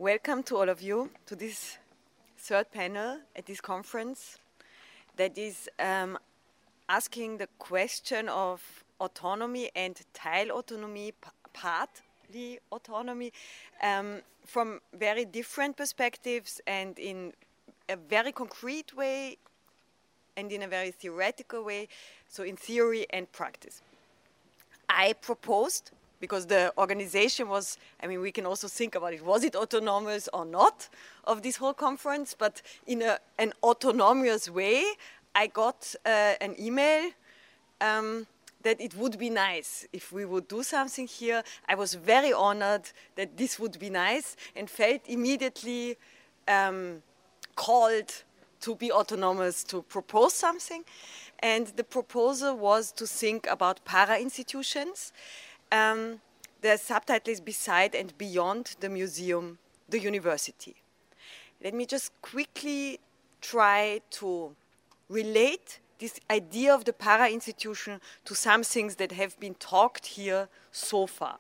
Welcome to all of you to this third panel at this conference that is asking the question of autonomy and Teilautonomie, partly autonomy, from very different perspectives and in a very concrete way and in a very theoretical way, so in theory and practice. I proposed, because the organization was, I mean, we can also think about it, was it autonomous or not of this whole conference, but in an autonomous way, I got an email that it would be nice if we would do something here. I was very honored that this would be nice and felt immediately called to be autonomous, to propose something. And the proposal was to think about para-institutions. The subtitle is Beside and Beyond the Museum, the University. Let me just quickly try to relate this idea of the para-institution to some things that have been talked here so far.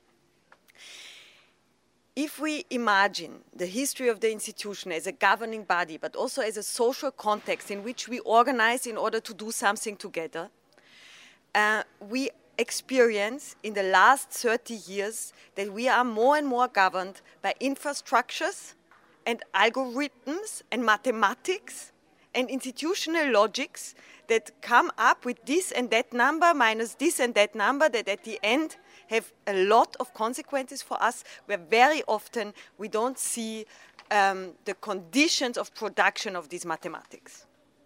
If we imagine the history of the institution as a governing body, but also as a social context in which we organize in order to do something together, we experience in the last 30 years that we are more and more governed by infrastructures and algorithms and mathematics and institutional logics that come up with this and that number minus this and that number that at the end have a lot of consequences for us, where very often we don't see the conditions of production of these mathematics.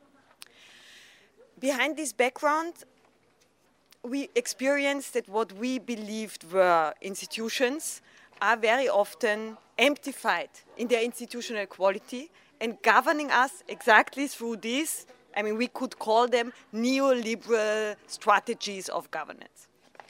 Behind this background, we experienced that what we believed were institutions are very often amplified in their institutional quality and governing us exactly through these, I mean, we could call them neoliberal strategies of governance.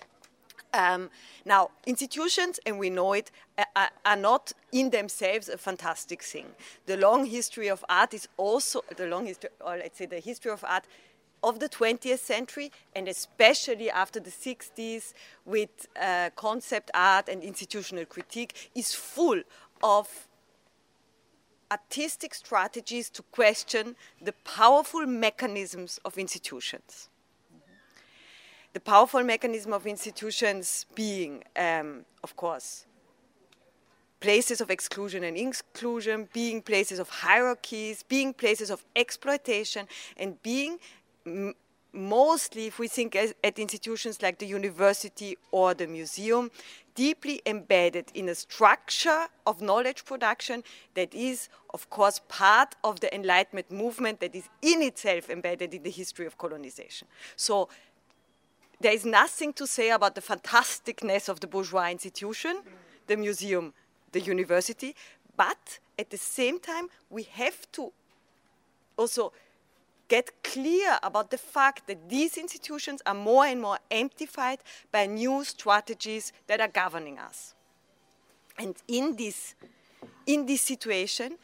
Now, institutions, and we know it, are not in themselves a fantastic thing. The long history of art is also, the long history, or let's say the history of art of the 20th century, and especially after the 60s with concept art and institutional critique, is full of artistic strategies to question the powerful mechanisms of institutions. The powerful mechanism of institutions being, of course, places of exclusion and inclusion, being places of hierarchies, being places of exploitation, and being mostly, if we think at institutions like the university or the museum, deeply embedded in a structure of knowledge production that is, of course, part of the Enlightenment movement that is in itself embedded in the history of colonization. So there is nothing to say about the fantasticness of the bourgeois institution, the museum, the university, but at the same time, we have to also get clear about the fact that these institutions are more and more amplified by new strategies that are governing us. And in this situation,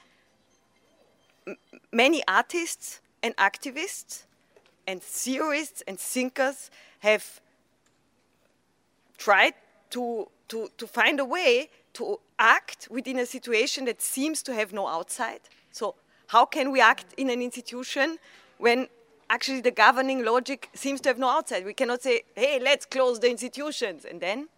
many artists and activists and theorists and thinkers have tried to find a way to act within a situation that seems to have no outside. So how can we act in an institution when actually the governing logic seems to have no outside? We cannot say, hey, let's close the institutions, and then.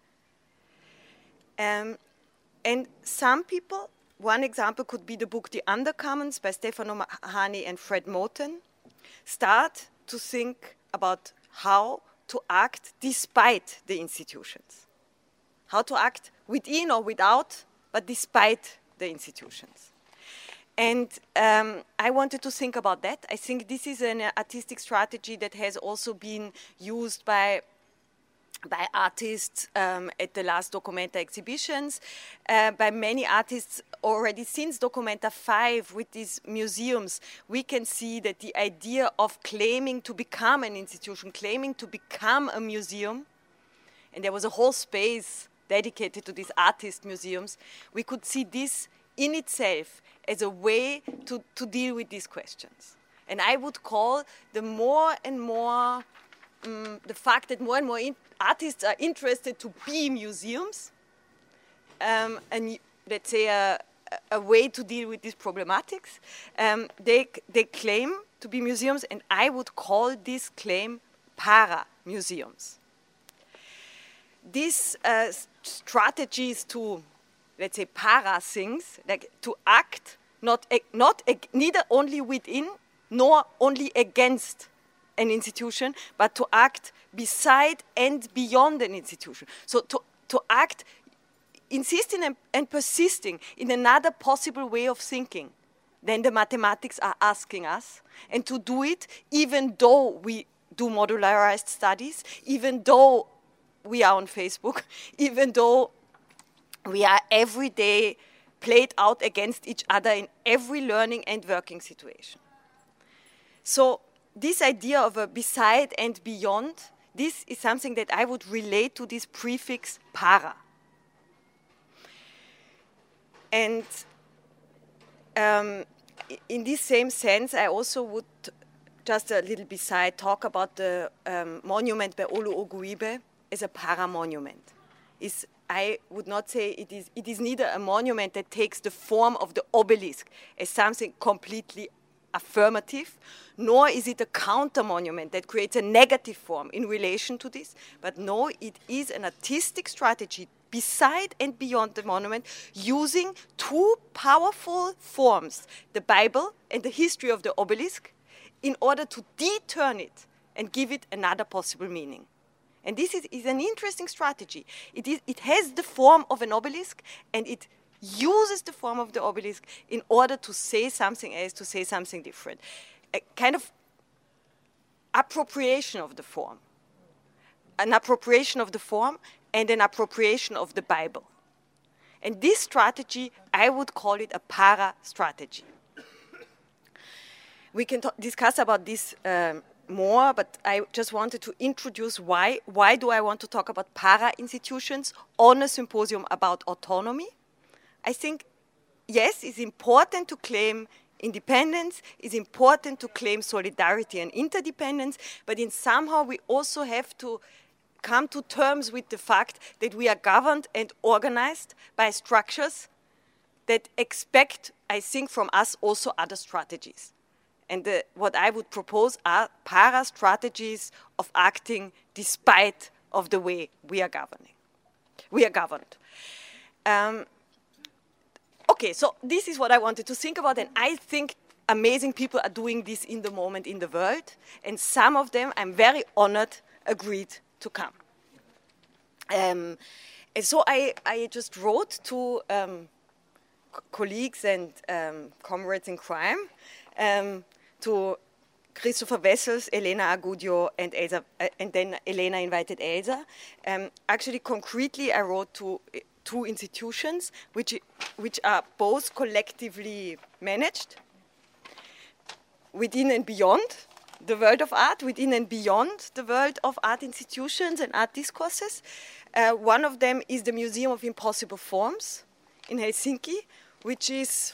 And some people, one example could be the book The Undercommons by Stefano Mahani and Fred Moten, start to think about how to act despite the institutions. How to act within or without, but despite the institutions. And I wanted to think about that. I think this is an artistic strategy that has also been used by artists at the last Documenta exhibitions, by many artists already since Documenta 5 with these museums. We can see that the idea of claiming to become an institution, claiming to become a museum, and there was a whole space dedicated to these artist museums, we could see this in itself as a way to deal with these questions. And I would call the more and more, the fact that more and more artists are interested to be museums, and let's say a way to deal with these problematics. They claim to be museums, and I would call this claim para-museums. These strategies to, let's say, para things, like to act neither only within nor only against an institution, but to act beside and beyond an institution. So to act, insisting and persisting in another possible way of thinking than the mathematics are asking us, and to do it even though we do modularized studies, even though we are on Facebook, even though we are every day played out against each other in every learning and working situation. So this idea of a beside and beyond, this is something that I would relate to this prefix para. And in this same sense, I also would, just a little beside, talk about the monument by Olu Oguibe as a para-monument. I would not say it is neither a monument that takes the form of the obelisk as something completely affirmative, nor is it a counter-monument that creates a negative form in relation to this, but no, it is an artistic strategy beside and beyond the monument, using two powerful forms, the Bible and the history of the obelisk, in order to deturn it and give it another possible meaning. And this is an interesting strategy. It has the form of an obelisk, and it uses the form of the obelisk in order to say something else, to say something different. A kind of appropriation of the form. An appropriation of the form and an appropriation of the Bible. And this strategy, I would call it a para-strategy. We can discuss about this more, but I just wanted to introduce why do I want to talk about para-institutions on a symposium about autonomy. I think, yes, it's important to claim independence, it's important to claim solidarity and interdependence, but in somehow we also have to come to terms with the fact that we are governed and organized by structures that expect, I think, from us also other strategies. And what I would propose are para-strategies of acting despite of the way we are governing. We are governed. Okay, so this is what I wanted to think about, and I think amazing people are doing this in the moment in the world, and some of them, I'm very honored, agreed to come. And so I just wrote to colleagues and comrades in crime, to Christopher Wessels, Elena Agudio, and Elsa, and then Elena invited Elsa. Actually, concretely, I wrote to two institutions which are both collectively managed within and beyond the world of art, within and beyond the world of art institutions and art discourses. One of them is the Museum of Impossible Forms in Helsinki, which is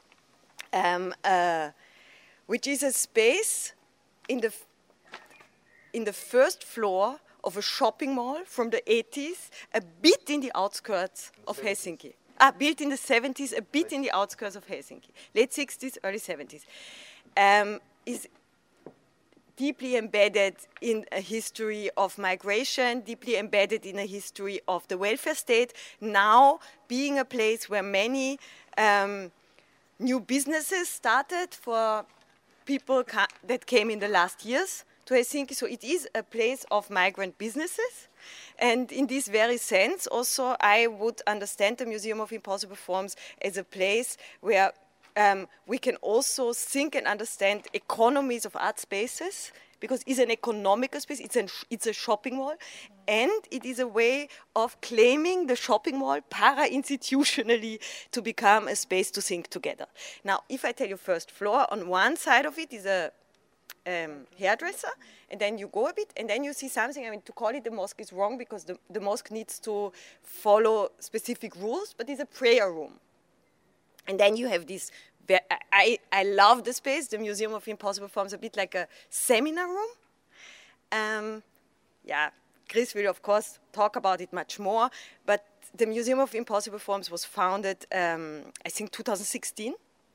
a space in the first floor of a shopping mall from the 80s, a bit in the outskirts of Helsinki. Built in the 70s, a bit in the outskirts of Helsinki. Late 60s, early 70s. Is deeply embedded in a history of migration, deeply embedded in a history of the welfare state, now being a place where many new businesses started for people that came in the last years to Helsinki. So it is a place of migrant businesses. And in this very sense, also, I would understand the Museum of Impossible Forms as a place where we can also think and understand economies of art spaces, because it's an economical space, it's a shopping mall, and it is a way of claiming the shopping mall para-institutionally to become a space to think together. Now, if I tell you first floor, on one side of it is a hairdresser, and then you go a bit, and then you see something. I mean, to call it the mosque is wrong, because the mosque needs to follow specific rules, but it's a prayer room. And then you have this, I love the space, the Museum of Impossible Forms, a bit like a seminar room. Yeah, Chris will, of course, talk about it much more, but the Museum of Impossible Forms was founded, I think, 2016.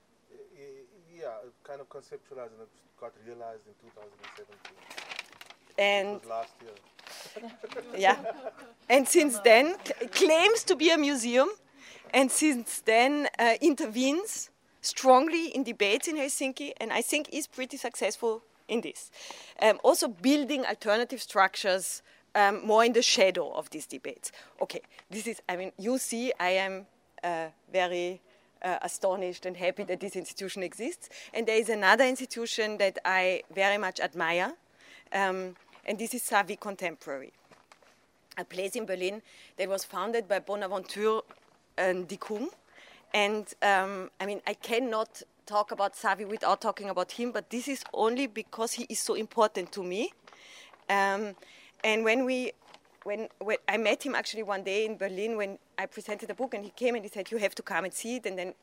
Yeah, kind of conceptualized and it got realized in 2017. And it was last year. yeah, and since then claims to be a museum, and since then intervenes strongly in debates in Helsinki, and I think is pretty successful in this. Also building alternative structures more in the shadow of these debates. Okay, this is, I mean, you see, I am very astonished and happy that this institution exists. And there is another institution that I very much admire, and this is Savvy Contemporary, a place in Berlin that was founded by Bonaventure Dicum. And I mean, I cannot talk about Savvy without talking about him, but this is only because he is so important to me. And when I met him actually one day in Berlin when I presented a book, and he came and he said, "You have to come and see it." And then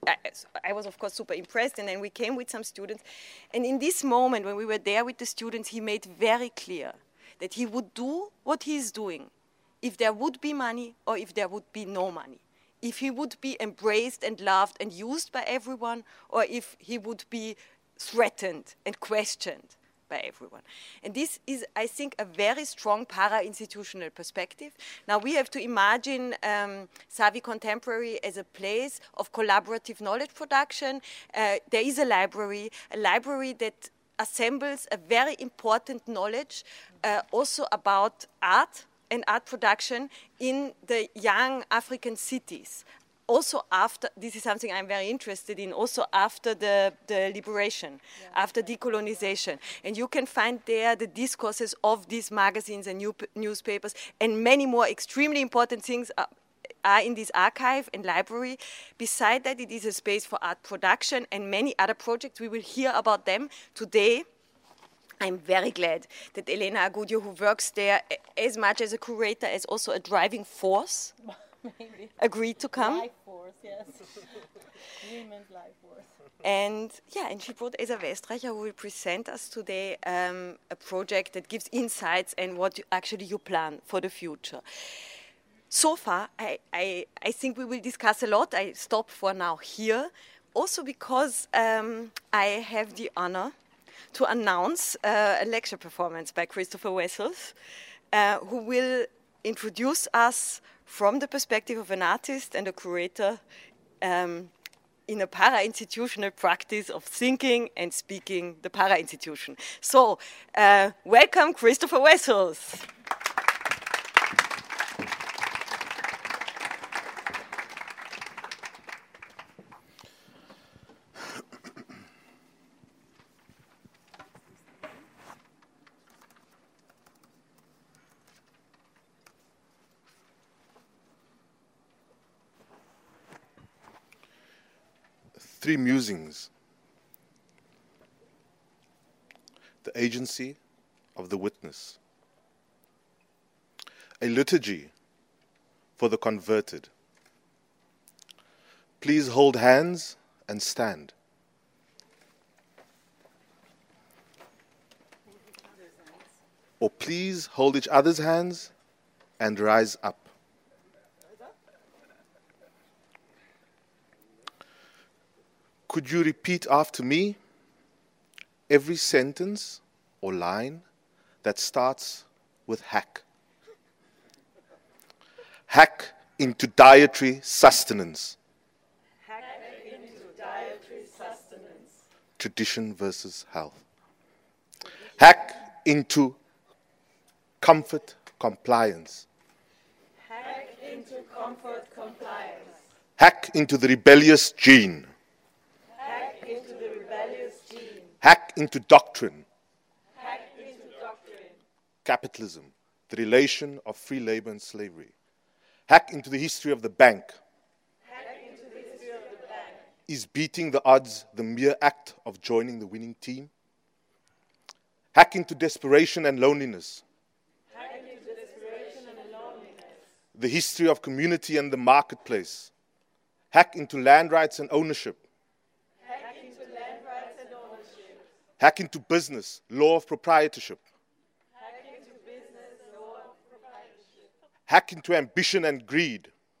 I was, of course, super impressed. And then we came with some students. And in this moment, when we were there with the students, he made very clear that he would do what he's doing if there would be money or if there would be no money. If he would be embraced and loved and used by everyone, or if he would be threatened and questioned by everyone. And this is, I think, a very strong para-institutional perspective. Now we have to imagine Savvy Contemporary as a place of collaborative knowledge production. There is a library that assembles a very important knowledge also about art and art production in the young African cities. Also after, this is something I'm very interested in, also after the liberation, after decolonization. And you can find there the discourses of these magazines and newspapers, and many more extremely important things are in this archive and library. Beside that, it is a space for art production and many other projects. We will hear about them today. I'm very glad that Elena Agudio, who works there as much as a curator as also a driving force, maybe agreed to come. Life force, yes. Women's life force. And yeah, and she brought Esa Westreicher, who will present us today a project that gives insights and what actually you plan for the future. So far, I think we will discuss a lot. I stop for now here, also because I have the honor to announce a lecture performance by Christopher Wessels, who will introduce us from the perspective of an artist and a curator in a para-institutional practice of thinking and speaking the para-institution. So, welcome Christopher Wessels. Three musings. The agency of the witness. A liturgy for the converted. Please hold hands and stand. Or please hold each other's hands and rise up. Could you repeat after me every sentence or line that starts with hack? Hack into dietary sustenance. Hack into dietary sustenance. Tradition versus health. Hack into comfort compliance. Hack into comfort compliance. Hack into the rebellious gene. Into the rebellious gene. Hack into doctrine. Hack into doctrine. Capitalism, the relation of free labor and slavery. Hack into the history of the bank. Hack into the history of the bank. Is beating the odds the mere act of joining the winning team? Hack into desperation and loneliness. Hack into desperation and loneliness. The history of community and the marketplace. Hack into land rights and ownership. Hack into business, law of proprietorship. Hack into business, law of proprietorship. Hack into ambition and greed.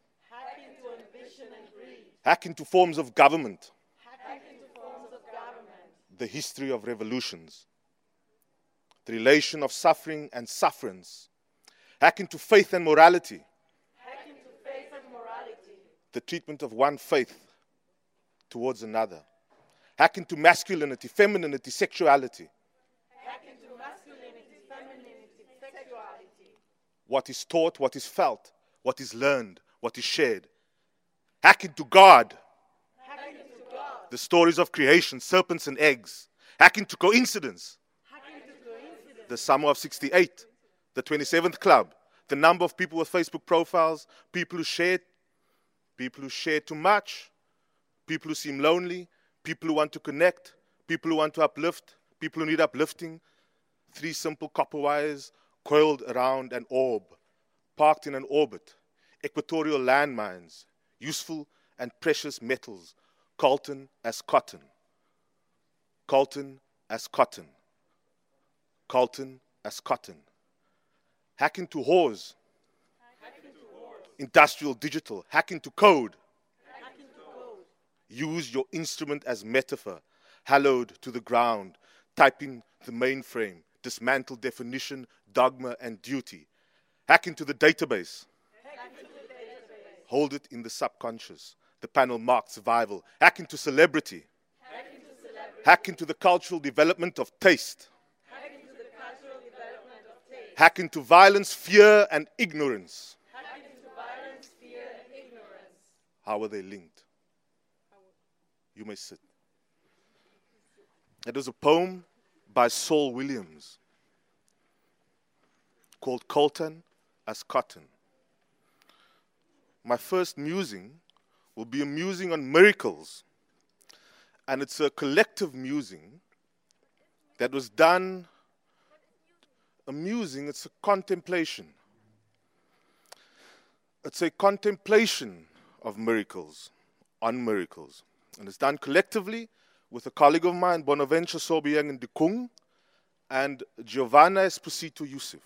Hack into forms of government. Hack into forms of government. The history of revolutions. The relation of suffering and sufferance. Hack into faith and morality. Hack into faith and morality. The treatment of one faith towards another. Hack into masculinity, femininity, sexuality. Hack into masculinity, femininity, sexuality. What is taught, what is felt, what is learned, what is shared. Hack into God. Hack into God. The stories of creation, serpents and eggs. Hack into coincidence. Hack into coincidence. The summer of 68. The 27th Club. The number of people with Facebook profiles. People who shared too much. People who seem lonely. People who want to connect. People who want to uplift. People who need uplifting. 3 simple copper wires coiled around an orb. Parked in an orbit. Equatorial landmines. Useful and precious metals. Colton as cotton. Colton as cotton. Colton as cotton. Hack into whores. Industrial digital. Hack into code. Use your instrument as metaphor. Hallowed to the ground. Type in the mainframe. Dismantle definition, dogma, and duty. Hack into the database. Hold it in the subconscious. The panel marked survival. Hack into celebrity. Hack into the cultural development of taste. Hack into violence, fear, and ignorance. How are they linked? You may sit. It is a poem by Saul Williams called Colton as Cotton. My first musing will be a musing on miracles. And it's a collective musing that was done. A musing, it's a contemplation. It's a contemplation of miracles, on miracles. And it's done collectively with a colleague of mine, Bonaventure Sobiang Ndikung, and Giovanna Esposito Yusuf.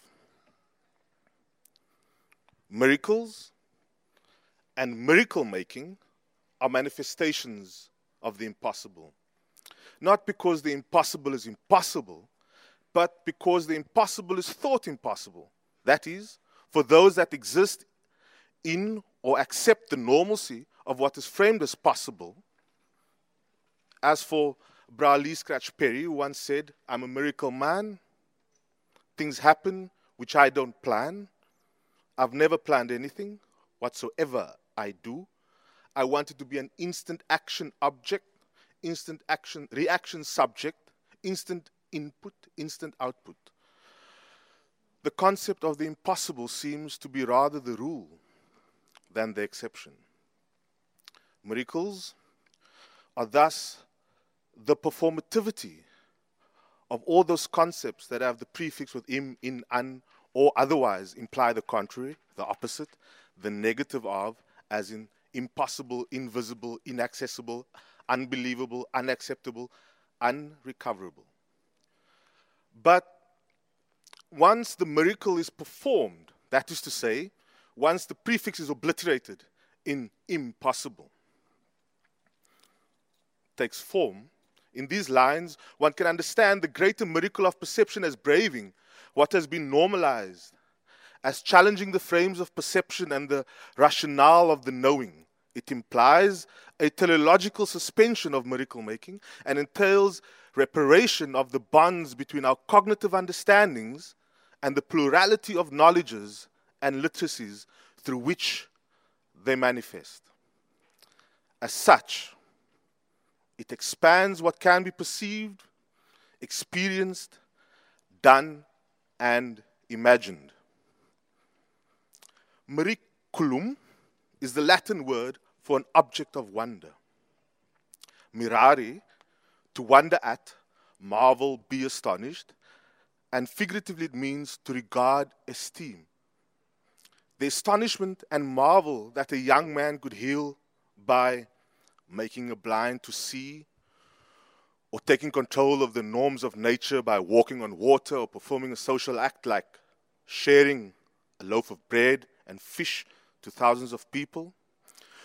Miracles and miracle making are manifestations of the impossible. Not because the impossible is impossible, but because the impossible is thought impossible. That is, for those that exist in or accept the normalcy of what is framed as possible. As for Bra Lee Scratch Perry, who once said, "I'm a miracle man. Things happen which I don't plan. I've never planned anything. Whatsoever I do, I want it to be an instant action object, instant action reaction subject, instant input, instant output." The concept of the impossible seems to be rather the rule than the exception. Miracles are thus the performativity of all those concepts that have the prefix with im, in, un, or otherwise imply the contrary, the opposite, the negative of, as in impossible, invisible, inaccessible, unbelievable, unacceptable, unrecoverable. But once the miracle is performed, that is to say, once the prefix is obliterated in impossible, takes form, in these lines, one can understand the greater miracle of perception as braving what has been normalized, as challenging the frames of perception and the rationale of the knowing. It implies a teleological suspension of miracle making and entails reparation of the bonds between our cognitive understandings and the plurality of knowledges and literacies through which they manifest. As such, it expands what can be perceived, experienced, done, and imagined. Miraculum is the Latin word for an object of wonder. Mirare, to wonder at, marvel, be astonished, and figuratively it means to regard, esteem. The astonishment and marvel that a young man could heal by making a blind to see, or taking control of the norms of nature by walking on water or performing a social act like sharing a loaf of bread and fish to thousands of people.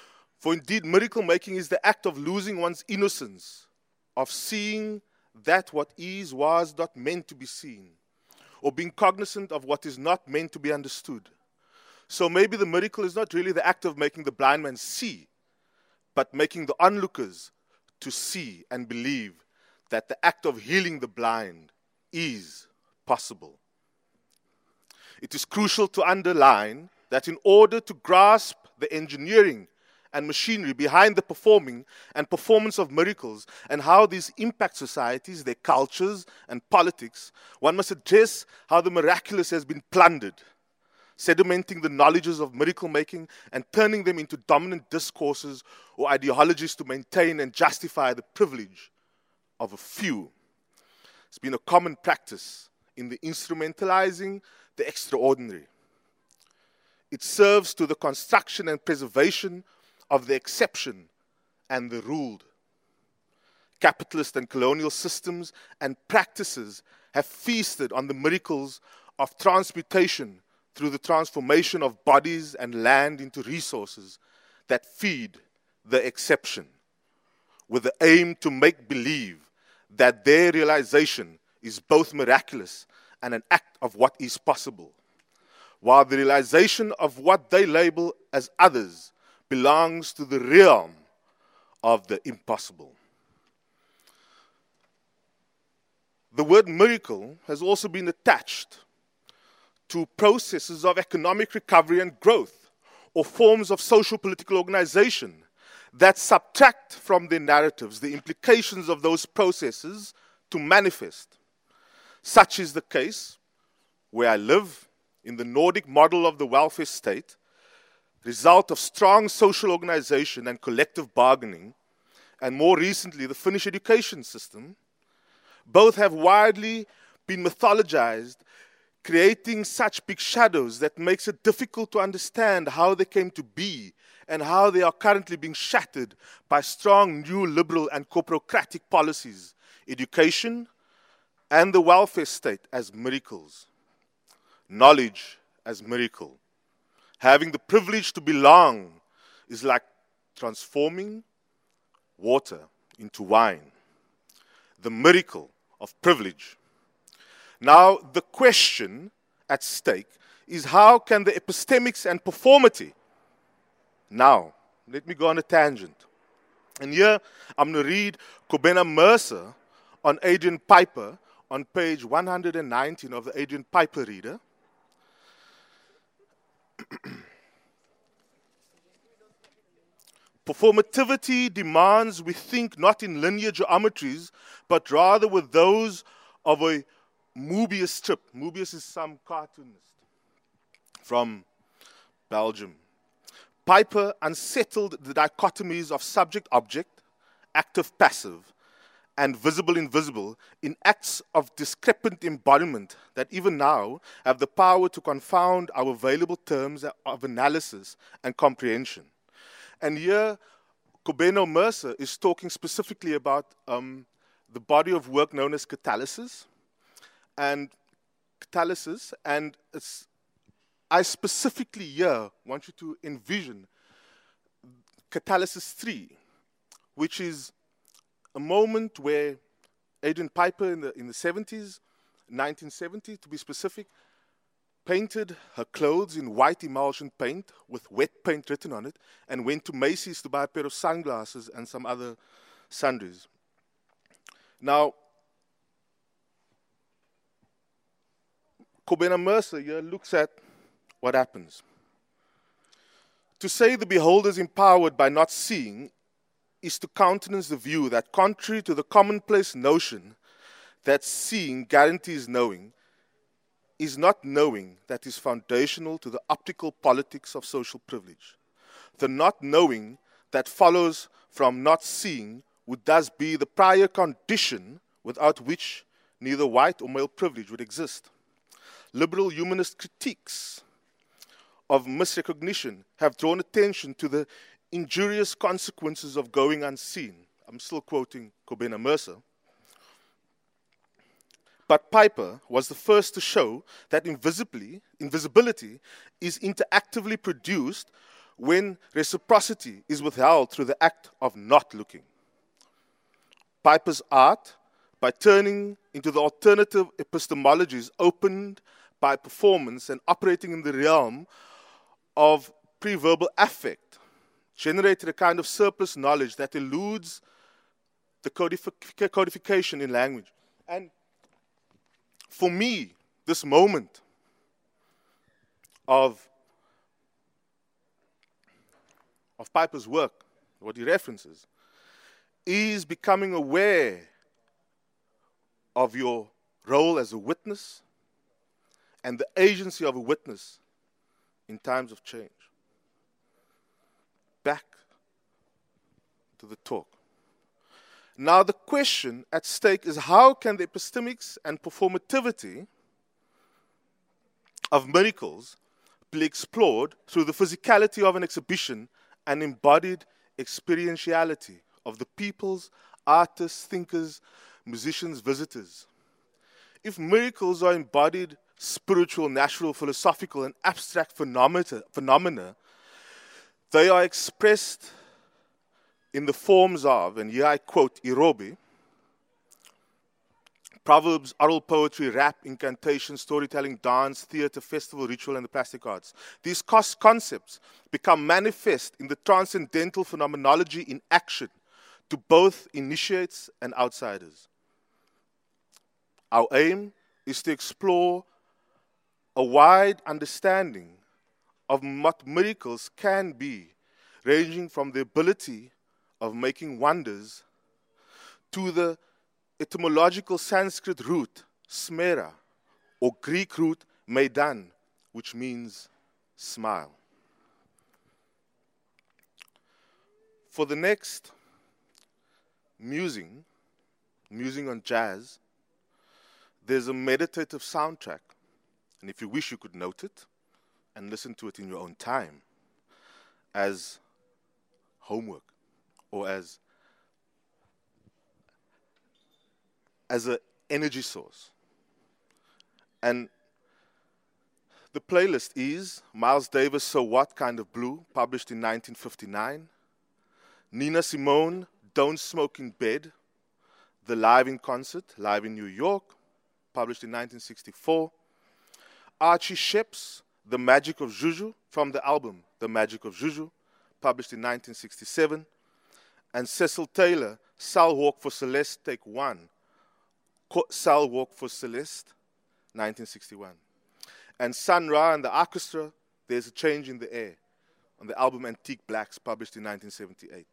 For indeed, miracle making is the act of losing one's innocence, of seeing that what is was not meant to be seen, or being cognizant of what is not meant to be understood. So maybe the miracle is not really the act of making the blind man see, but making the onlookers to see and believe that the act of healing the blind is possible. It is crucial to underline that in order to grasp the engineering and machinery behind the performing and performance of miracles and how these impact societies, their cultures and politics, one must address how the miraculous has been plundered, sedimenting the knowledges of miracle making and turning them into dominant discourses or ideologies to maintain and justify the privilege of a few. It's been a common practice in the instrumentalizing the extraordinary. It serves to the construction and preservation of the exception and the ruled. Capitalist and colonial systems and practices have feasted on the miracles of transmutation through the transformation of bodies and land into resources that feed the exception, with the aim to make believe that their realization is both miraculous and an act of what is possible, while the realization of what they label as others belongs to the realm of the impossible. The word miracle has also been attached to processes of economic recovery and growth, or forms of social political organization that subtract from their narratives the implications of those processes to manifest. Such is the case where I live, in the Nordic model of the welfare state, result of strong social organization and collective bargaining, and more recently the Finnish education system. Both have widely been mythologized, creating such big shadows that makes it difficult to understand how they came to be and how they are currently being shattered by strong new liberal and corporocratic policies, education, and the welfare state as miracles, knowledge as miracle. Having the privilege to belong is like transforming water into wine, the miracle of privilege. Now, the question at stake is, how can the epistemics and performity... Now, let me go on a tangent. And here, I'm going to read Kobena Mercer on Adrian Piper on page 119 of the Adrian Piper Reader. Performativity demands we think not in linear geometries, but rather with those of a Mobius strip. Mobius is some cartoonist from Belgium. Piper unsettled the dichotomies of subject-object, active-passive, and visible-invisible in acts of discrepant embodiment that even now have the power to confound our available terms of analysis and comprehension. And here, Kobena Mercer is talking specifically about the body of work known as catalysis. And I specifically here want you to envision catalysis 3, which is a moment where Adrian Piper in the 70s, 1970 to be specific, painted her clothes in white emulsion paint with wet paint written on it, and went to Macy's to buy a pair of sunglasses and some other sundries. Now, Kobena Mercer here looks at what happens. To say the beholder is empowered by not seeing is to countenance the view that, contrary to the commonplace notion that seeing guarantees knowing, is not knowing that is foundational to the optical politics of social privilege. The not knowing that follows from not seeing would thus be the prior condition without which neither white or male privilege would exist. Liberal humanist critiques of misrecognition have drawn attention to the injurious consequences of going unseen. I'm still quoting Kobena Mercer. But Piper was the first to show that invisibility is interactively produced when reciprocity is withheld through the act of not looking. Piper's art, by turning into the alternative epistemologies opened by performance and operating in the realm of pre-verbal affect, generated a kind of surplus knowledge that eludes the codification in language. And for me, this moment of Piper's work, what he references, is becoming aware of your role as a witness and the agency of a witness in times of change. Back to the talk. Now the question at stake is, how can the epistemics and performativity of miracles be explored through the physicality of an exhibition and embodied experientiality of the peoples, artists, thinkers, musicians, visitors? If miracles are embodied spiritual, natural, philosophical, and abstract phenomena, they are expressed in the forms of, and here I quote Irobi, proverbs, oral poetry, rap, incantation, storytelling, dance, theater, festival, ritual, and the plastic arts. These concepts become manifest in the transcendental phenomenology in action to both initiates and outsiders. Our aim is to explore a wide understanding of what miracles can be, ranging from the ability of making wonders to the etymological Sanskrit root, smera, or Greek root, meidan, which means smile. For the next musing on jazz, there's a meditative soundtrack. And if you wish, you could note it and listen to it in your own time as homework or as an energy source. And the playlist is Miles Davis' So What Kind of Blue, published in 1959. Nina Simone, Don't Smoke in Bed, The Live in Concert, live in New York, published in 1964. Archie Shepp's The Magic of Juju, from the album The Magic of Juju, published in 1967. And Cecil Taylor, Cell Walk for Celeste, Take One, Cell Walk for Celeste, 1961. And Sun Ra and the Orchestra, There's a Change in the Air, on the album Antique Blacks, published in 1978.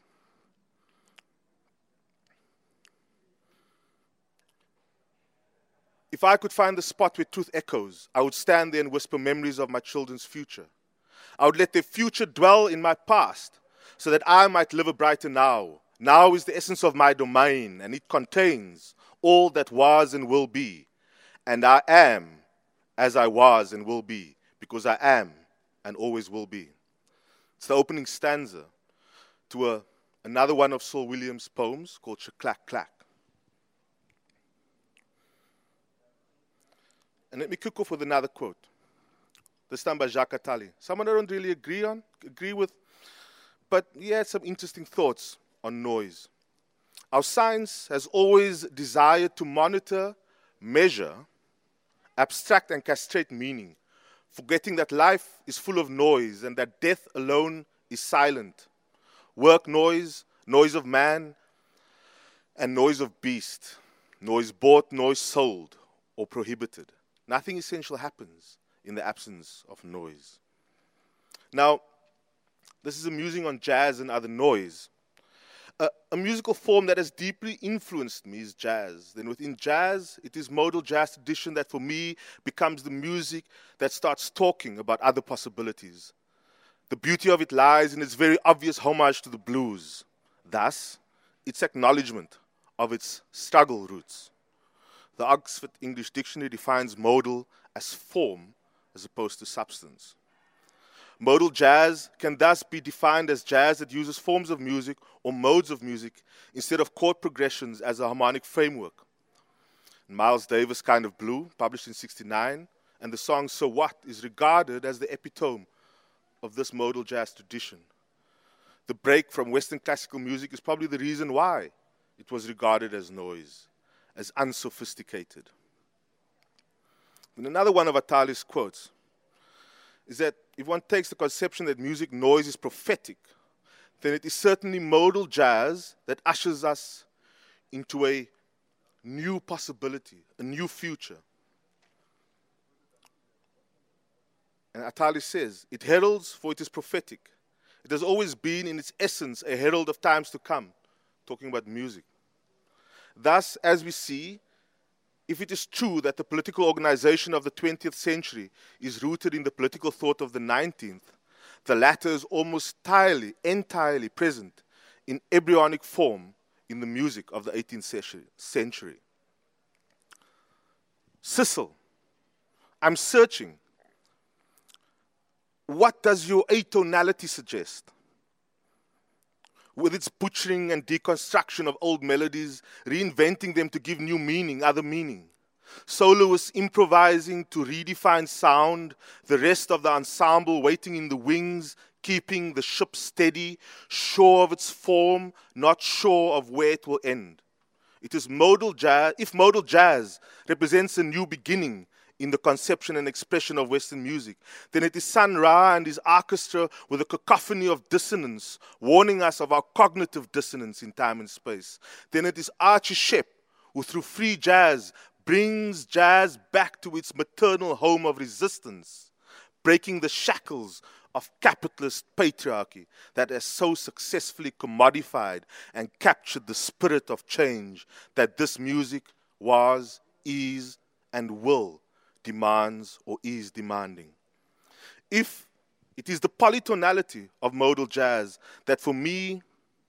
If I could find the spot where truth echoes, I would stand there and whisper memories of my children's future. I would let their future dwell in my past so that I might live a brighter now. Now is the essence of my domain, and it contains all that was and will be. And I am as I was and will be, because I am and always will be. It's the opening stanza to another one of Saul Williams' poems called Shaclack Clack. And let me kick off with another quote, this time by Jacques Attali. Someone I don't really agree with, but he had some interesting thoughts on noise. Our science has always desired to monitor, measure, abstract and castrate meaning, forgetting that life is full of noise and that death alone is silent. Work noise, noise of man, and noise of beast, noise bought, noise sold, or prohibited. Nothing essential happens in the absence of noise. Now, this is a musing on jazz and other noise. A musical form that has deeply influenced me is jazz. Then within jazz, it is modal jazz tradition that for me becomes the music that starts talking about other possibilities. The beauty of it lies in its very obvious homage to the blues. Thus, its acknowledgement of its struggle roots. The Oxford English Dictionary defines modal as form as opposed to substance. Modal jazz can thus be defined as jazz that uses forms of music or modes of music instead of chord progressions as a harmonic framework. Miles Davis' Kind of Blue, published in '69, and the song So What is regarded as the epitome of this modal jazz tradition. The break from Western classical music is probably the reason why it was regarded as noise, as unsophisticated. And another one of Atali's quotes is that if one takes the conception that music noise is prophetic, then it is certainly modal jazz that ushers us into a new possibility, a new future. And Atali says, it heralds for it is prophetic. It has always been in its essence a herald of times to come, talking about music. Thus, as we see, if it is true that the political organization of the 20th century is rooted in the political thought of the 19th, the latter is almost entirely present in embryonic form in the music of the 18th century. Cecil, I'm searching. What does your atonality suggest? With its butchering and deconstruction of old melodies, reinventing them to give new meaning, other meaning. Soloists improvising to redefine sound, the rest of the ensemble waiting in the wings, keeping the ship steady, sure of its form, not sure of where it will end. It is modal jazz. If modal jazz represents a new beginning in the conception and expression of Western music, then it is Sun Ra and his orchestra with a cacophony of dissonance, warning us of our cognitive dissonance in time and space. Then it is Archie Shepp, who through free jazz brings jazz back to its maternal home of resistance, breaking the shackles of capitalist patriarchy that has so successfully commodified and captured the spirit of change that this music was, is, and will demands or is demanding. If it is the polytonality of modal jazz that for me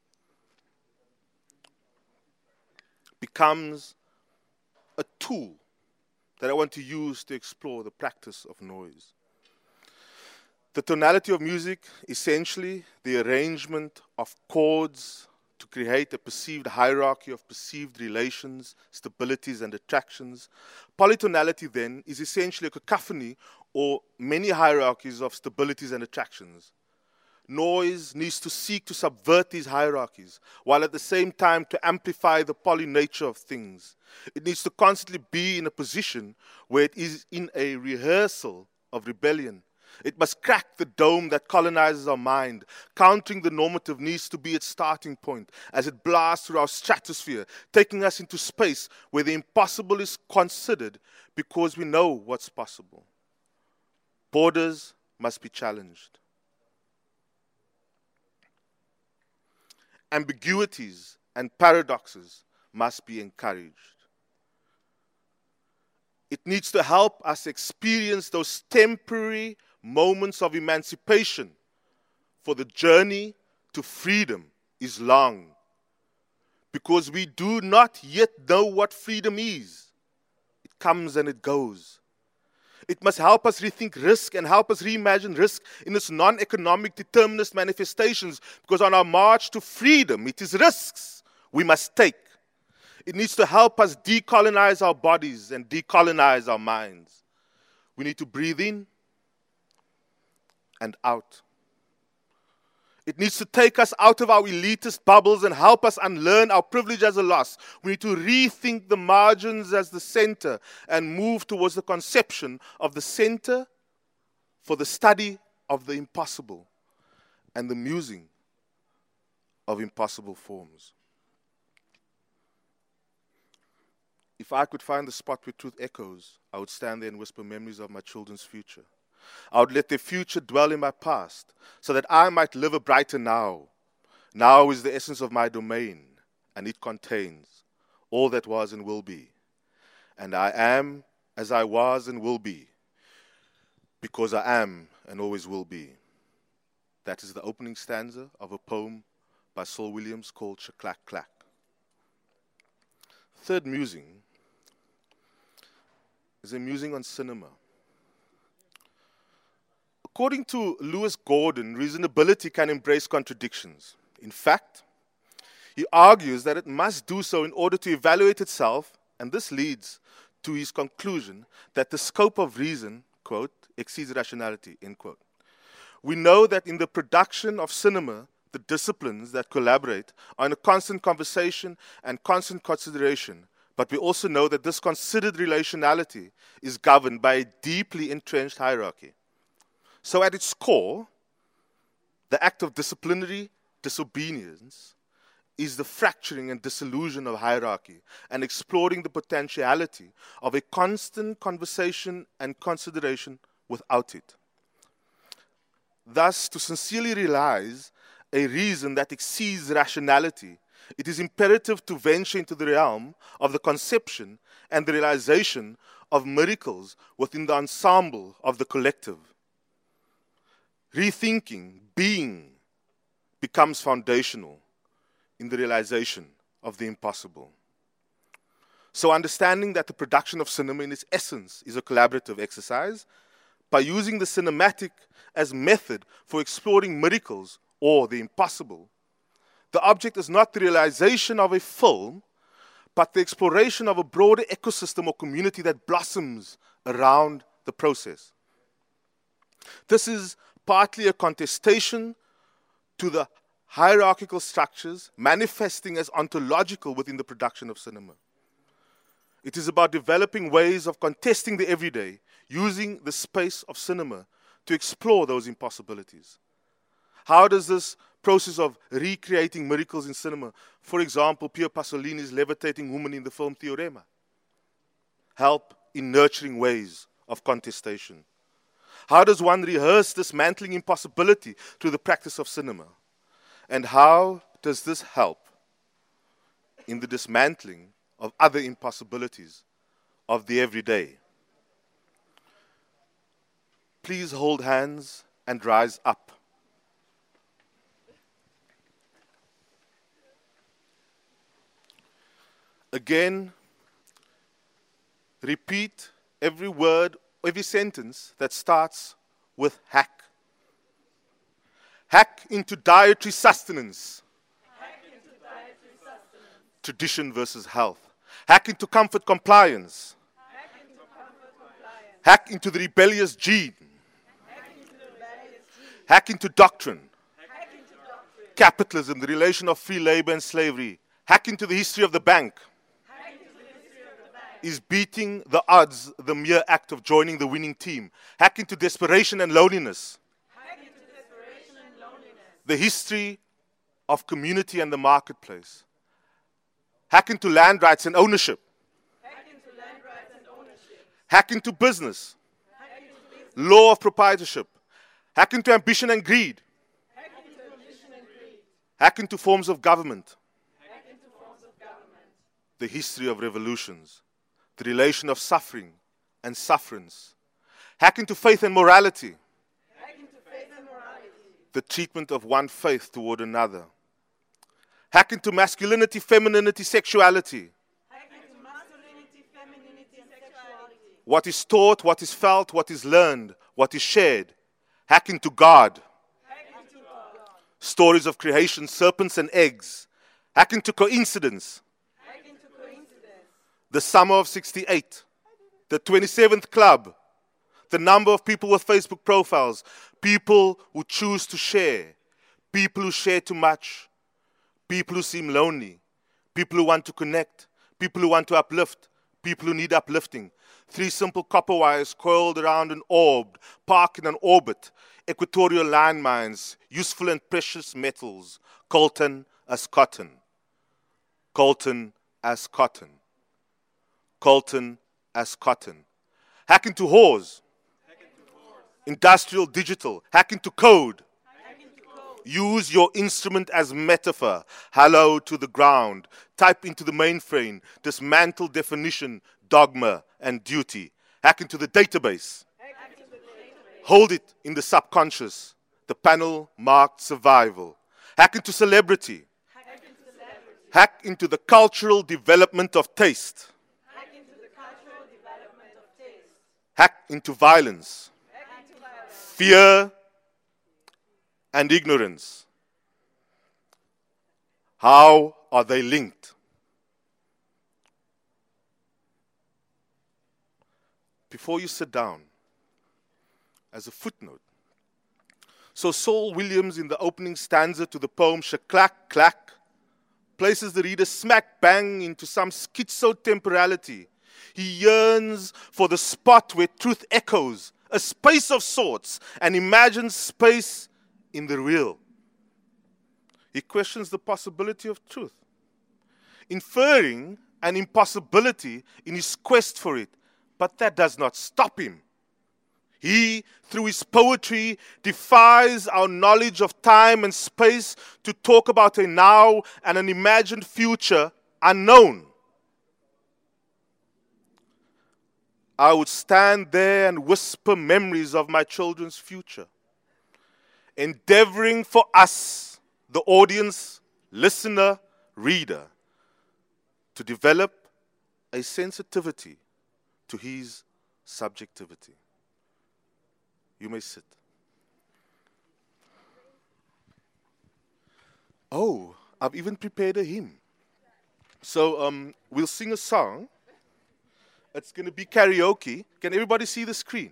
becomes a tool that I want to use to explore the practice of noise. The tonality of music, essentially the arrangement of chords to create a perceived hierarchy of perceived relations, stabilities, and attractions. Polytonality, then, is essentially a cacophony or many hierarchies of stabilities and attractions. Noise needs to seek to subvert these hierarchies, while at the same time to amplify the poly nature of things. It needs to constantly be in a position where it is in a rehearsal of rebellion. It must crack the dome that colonizes our mind. Countering the normative needs to be its starting point as it blasts through our stratosphere, taking us into space where the impossible is considered because we know what's possible. Borders must be challenged. Ambiguities and paradoxes must be encouraged. It needs to help us experience those temporary moments of emancipation, for the journey to freedom is long, because we do not yet know what freedom is. It comes and it goes. It must help us rethink risk and help us reimagine risk in its non-economic determinist manifestations, because on our march to freedom, it is risks we must take. It needs to help us decolonize our bodies and decolonize our minds. We need to breathe in and out. It needs to take us out of our elitist bubbles and help us unlearn our privilege as a loss. We need to rethink the margins as the center and move towards the conception of the center for the study of the impossible and the musing of impossible forms. If I could find the spot where truth echoes, I would stand there and whisper memories of my children's future. I would let their future dwell in my past, so that I might live a brighter now. Now is the essence of my domain, and it contains all that was and will be. And I am as I was and will be, because I am and always will be. That is the opening stanza of a poem by Saul Williams called Shaklack Clack. Third musing is a musing on cinema. According to Lewis Gordon, reasonability can embrace contradictions. In fact, he argues that it must do so in order to evaluate itself, and this leads to his conclusion that the scope of reason, quote, exceeds rationality, end quote. We know that in the production of cinema, the disciplines that collaborate are in a constant conversation and constant consideration. But we also know that this considered relationality is governed by a deeply entrenched hierarchy. So at its core, the act of disciplinary disobedience is the fracturing and dissolution of hierarchy and exploring the potentiality of a constant conversation and consideration without it. Thus, to sincerely realize a reason that exceeds rationality, it is imperative to venture into the realm of the conception and the realization of miracles within the ensemble of the collective. Rethinking, being, becomes foundational in the realization of the impossible. So understanding that the production of cinema in its essence is a collaborative exercise, by using the cinematic as method for exploring miracles or the impossible, the object is not the realization of a film, but the exploration of a broader ecosystem or community that blossoms around the process. This is partly a contestation to the hierarchical structures manifesting as ontological within the production of cinema. It is about developing ways of contesting the everyday, using the space of cinema to explore those impossibilities. How does this process of recreating miracles in cinema, for example, Pier Pasolini's levitating woman in the film Theorema, help in nurturing ways of contestation? How does one rehearse dismantling impossibility through the practice of cinema? And how does this help in the dismantling of other impossibilities of the everyday? Please hold hands and rise up. Again, repeat every word, every sentence that starts with hack. Hack into dietary sustenance. Hack into dietary sustenance. Tradition versus health. Hack into comfort compliance. Hack into comfort compliance. Hack into the rebellious gene. Hack into the rebellious gene. Hack into doctrine. Hack into doctrine. Capitalism, the relation of free labor and slavery. Hack into the history of the bank. Hack into the history of the bank. Is beating the odds the mere act of joining the winning team. Hack into desperation and loneliness. Hack into desperation and loneliness. The history of community and the marketplace. Hack into land rights and ownership. Hack into land rights and ownership. Hack into business. Hack into business. Law of proprietorship. Hack into ambition and greed. Hack into ambition and greed. Hack into forms of government. Hack into forms of government. The history of revolutions. The relation of suffering and sufferance. Hack into faith and morality. Hack into faith and morality. The treatment of one faith toward another. Hack into masculinity, femininity, sexuality. Hack into masculinity, femininity, and sexuality. What is taught, what is felt, what is learned, what is shared. Hack into God. Hack into God. Stories of creation, serpents and eggs. Hack into coincidence. Hack into coincidence. The summer of 68. The 27th club. The number of people with Facebook profiles. People who choose to share. People who share too much. People who seem lonely. People who want to connect. People who want to uplift. People who need uplifting. 3 simple copper wires coiled around an orb, parked in an orbit. Equatorial landmines, useful and precious metals. Coltan as cotton. Coltan as cotton. Coltan as cotton. Hack into whores. Industrial, digital. Hack into code. Use your instrument as metaphor. Hello to the ground. Type into the mainframe. Dismantle definition, dogma, and duty. Hack into the database. Hold it in the subconscious. The panel marked survival. Hack into celebrity. Hack into the cultural development of taste. Hack into the cultural development of taste. Hack into violence. Hack into violence. Fear and ignorance. How are they linked? Before you sit down, as a footnote, So Saul Williams, in the opening stanza to the poem Shaklack Clack, places the reader smack bang into some schizo-temporality. He yearns for the spot where truth echoes, a space of sorts, and imagines space in the real. He questions the possibility of truth, inferring an impossibility in his quest for it, but that does not stop him. He, through his poetry, defies our knowledge of time and space to talk about a now and an imagined future unknown. I would stand there and whisper memories of my children's future, endeavoring for us, the audience, listener, reader, to develop a sensitivity to his subjectivity. You may sit. Oh, I've even prepared a hymn. So we'll sing a song. It's going to be karaoke. Can everybody see the screen?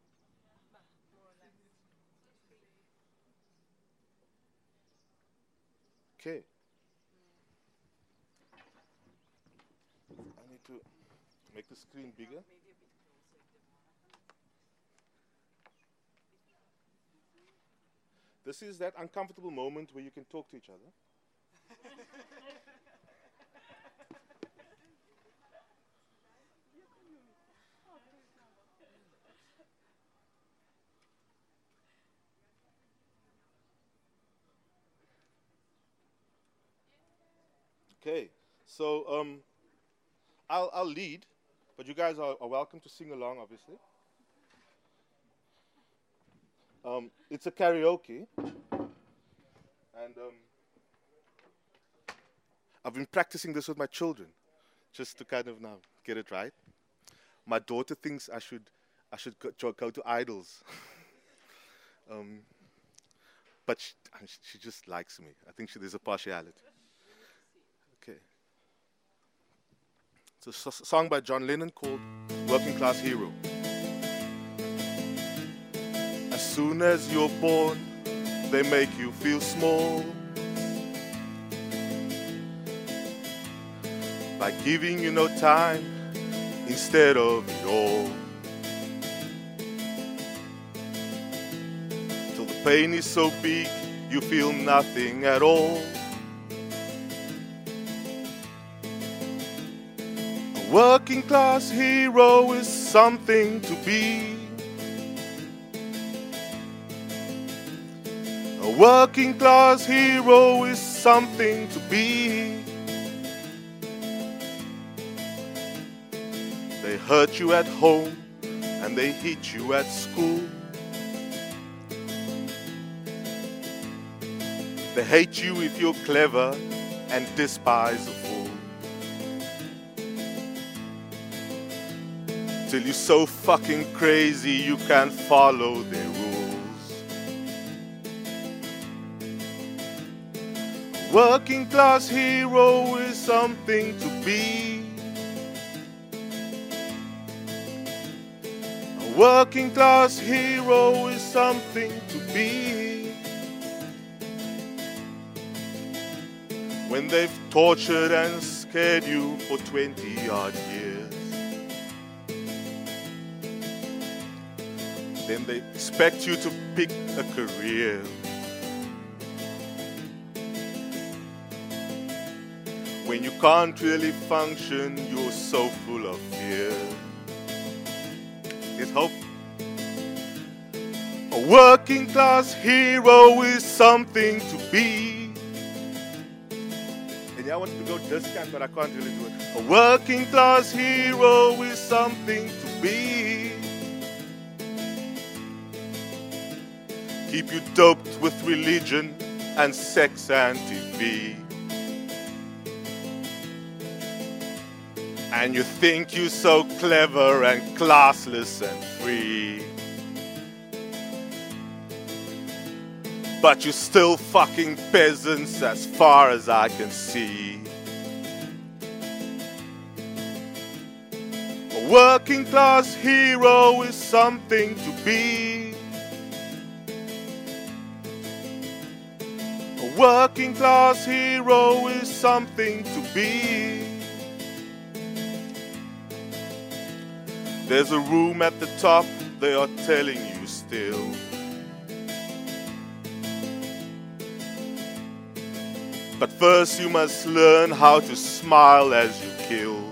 Okay. I need to make the screen bigger. This is that uncomfortable moment where you can talk to each other. Okay, so I'll lead, but you guys are welcome to sing along, obviously. It's a karaoke, and I've been practicing this with my children, just to kind of now get it right. My daughter thinks I should go to idols, but she just likes me. I think there's a partiality. Okay. It's a song by John Lennon called Working Class Hero. As soon as you're born, they make you feel small by giving you no time instead of it all. Till the pain is so big, you feel nothing at all. A working class hero is something to be. A working class hero is something to be. They hurt you at home and they hit you at school. They hate you if you're clever and despise a fool. Till you're so fucking crazy you can't follow their rules. A working class hero is something to be. A working class hero is something to be. When they've tortured and scared you for 20-odd years, then they expect you to pick a career. When you can't really function, you're so full of fear. There's hope. A working class hero is something to be. And yeah, I wanted to go discount, but I can't really do it. A working class hero is something to be. Keep you doped with religion and sex and TV. And you think you're so clever and classless and free. But you're still fucking peasants as far as I can see. A working class hero is something to be. working class hero is something to be. There's a room at the top, they are telling you still. But first you must learn how to smile as you kill.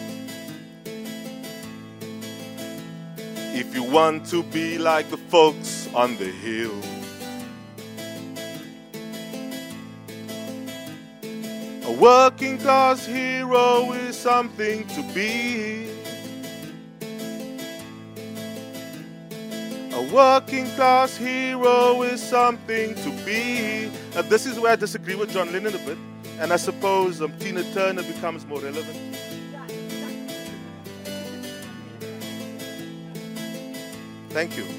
If you want to be like the folks on the hill. A working class hero is something to be. A working class hero is something to be. This is where I disagree with John Lennon a bit, and I suppose Tina Turner becomes more relevant. Thank you.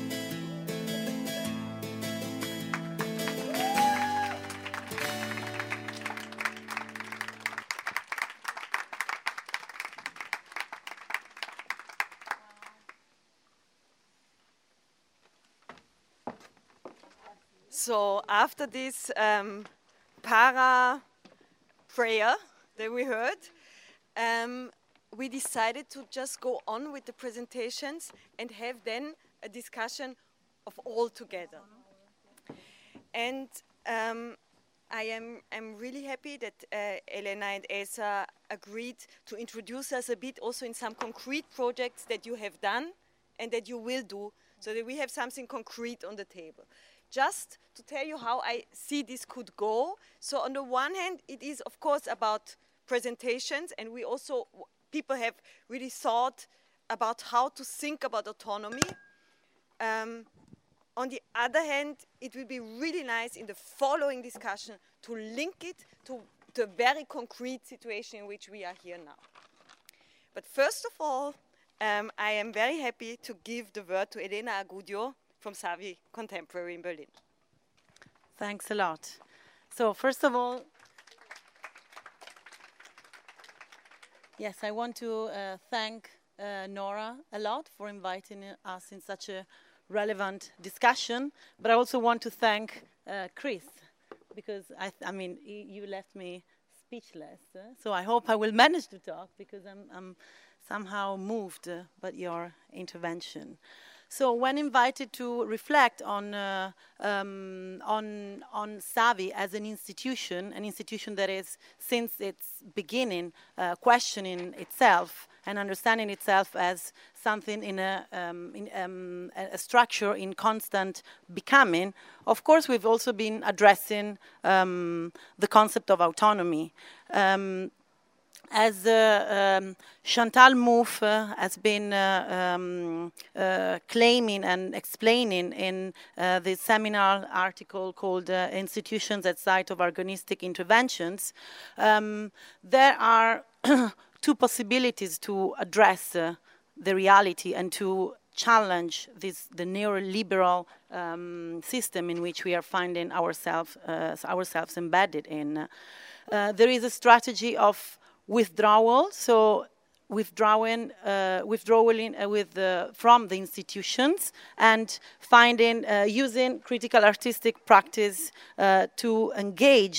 So after this para prayer that we heard, we decided to just go on with the presentations and have then a discussion of all together. And I'm really happy that Elena and Elsa agreed to introduce us a bit also in some concrete projects that you have done and that you will do, so that we have something concrete on the table. Just to tell you how I see this could go. So on the one hand, it is of course about presentations, and we also, people have really thought about how to think about autonomy. On the other hand, it will be really nice in the following discussion to link it to the very concrete situation in which we are here now. But first of all, I am very happy to give the word to Elena Agudio from Savi Contemporary in Berlin. Thanks a lot. So first of all, yes, I want to thank Nora a lot for inviting us in such a relevant discussion, but I also want to thank Chris, because I mean, you left me speechless. So I hope I will manage to talk, because I'm somehow moved by your intervention. So when invited to reflect on Savi as an institution that is, since its beginning, questioning itself and understanding itself as something in a structure in constant becoming, of course we've also been addressing the concept of autonomy. As Chantal Mouffe has been claiming and explaining in the seminar article called Institutions at Site of Agonistic Interventions, there are two possibilities to address the reality and to challenge the neoliberal system in which we are finding ourselves embedded in. There is a strategy of withdrawal, so withdrawing from the institutions and finding, using critical artistic practice to engage,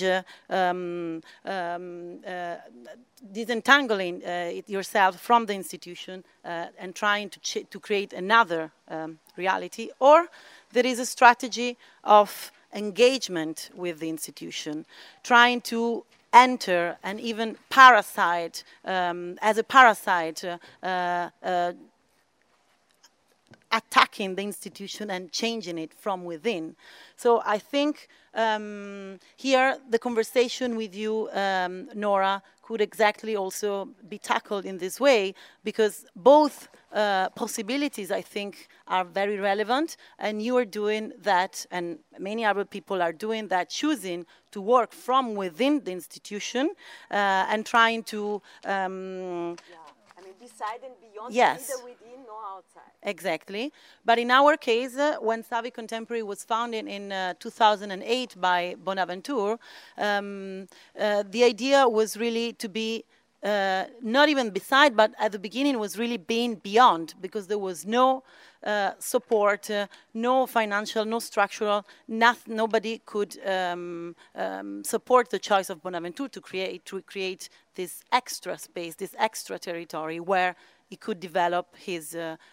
disentangling yourself from the institution and trying to create another reality. Or there is a strategy of engagement with the institution, trying to enter and even parasite, as a parasite, attacking the institution and changing it from within. So I think here the conversation with you, Nora, could exactly also be tackled in this way, because both possibilities, I think, are very relevant, and you are doing that, and many other people are doing that, choosing to work from within the institution and trying to beside and beyond, yes, neither within nor outside. Exactly. But in our case, when Savi Contemporary was founded in 2008 by Bonaventure, the idea was really to be not even beside, but at the beginning was really being beyond, because there was no support, no financial, no structural, nobody could support the choice of Bonaventure to create this extra space, this extra territory where he could develop his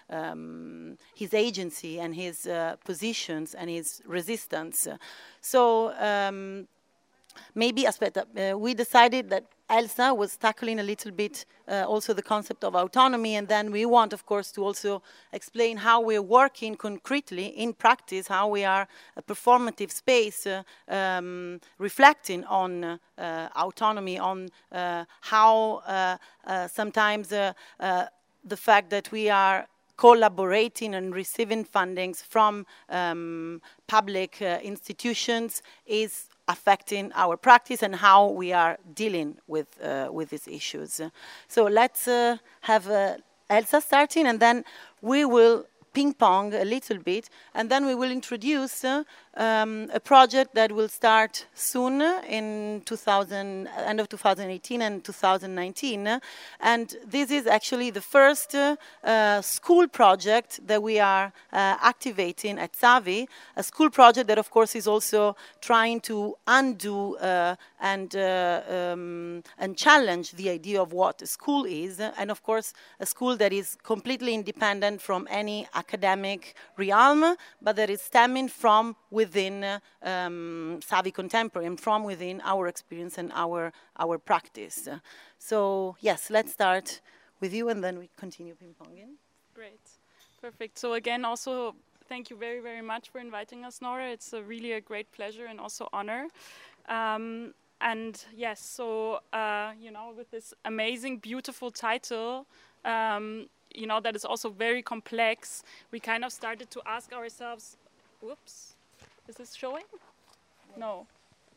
agency and his positions and his resistance. So maybe we decided that Elsa was tackling a little bit also the concept of autonomy, and then we want, of course, to also explain how we're working concretely in practice, how we are a performative space reflecting on autonomy, on how sometimes the fact that we are collaborating and receiving fundings from public institutions is affecting our practice and how we are dealing with these issues. So let's have Elsa starting, and then we will ping-pong a little bit, and then we will introduce a project that will start soon in end of 2018 and 2019. And this is actually the first school project that we are activating at Savi, a school project that, of course, is also trying to undo and challenge the idea of what a school is, and, of course, a school that is completely independent from any academic realm, but that is stemming from within Savi Contemporary and from within our experience and our practice. So yes, let's start with you, and then we continue ping-ponging. Great, perfect. So again, also thank you very, very much for inviting us, Nora. It's really a great pleasure and also honor. And yes, so with this amazing, beautiful title, that is also very complex, we kind of started to ask ourselves, whoops, is this showing? No.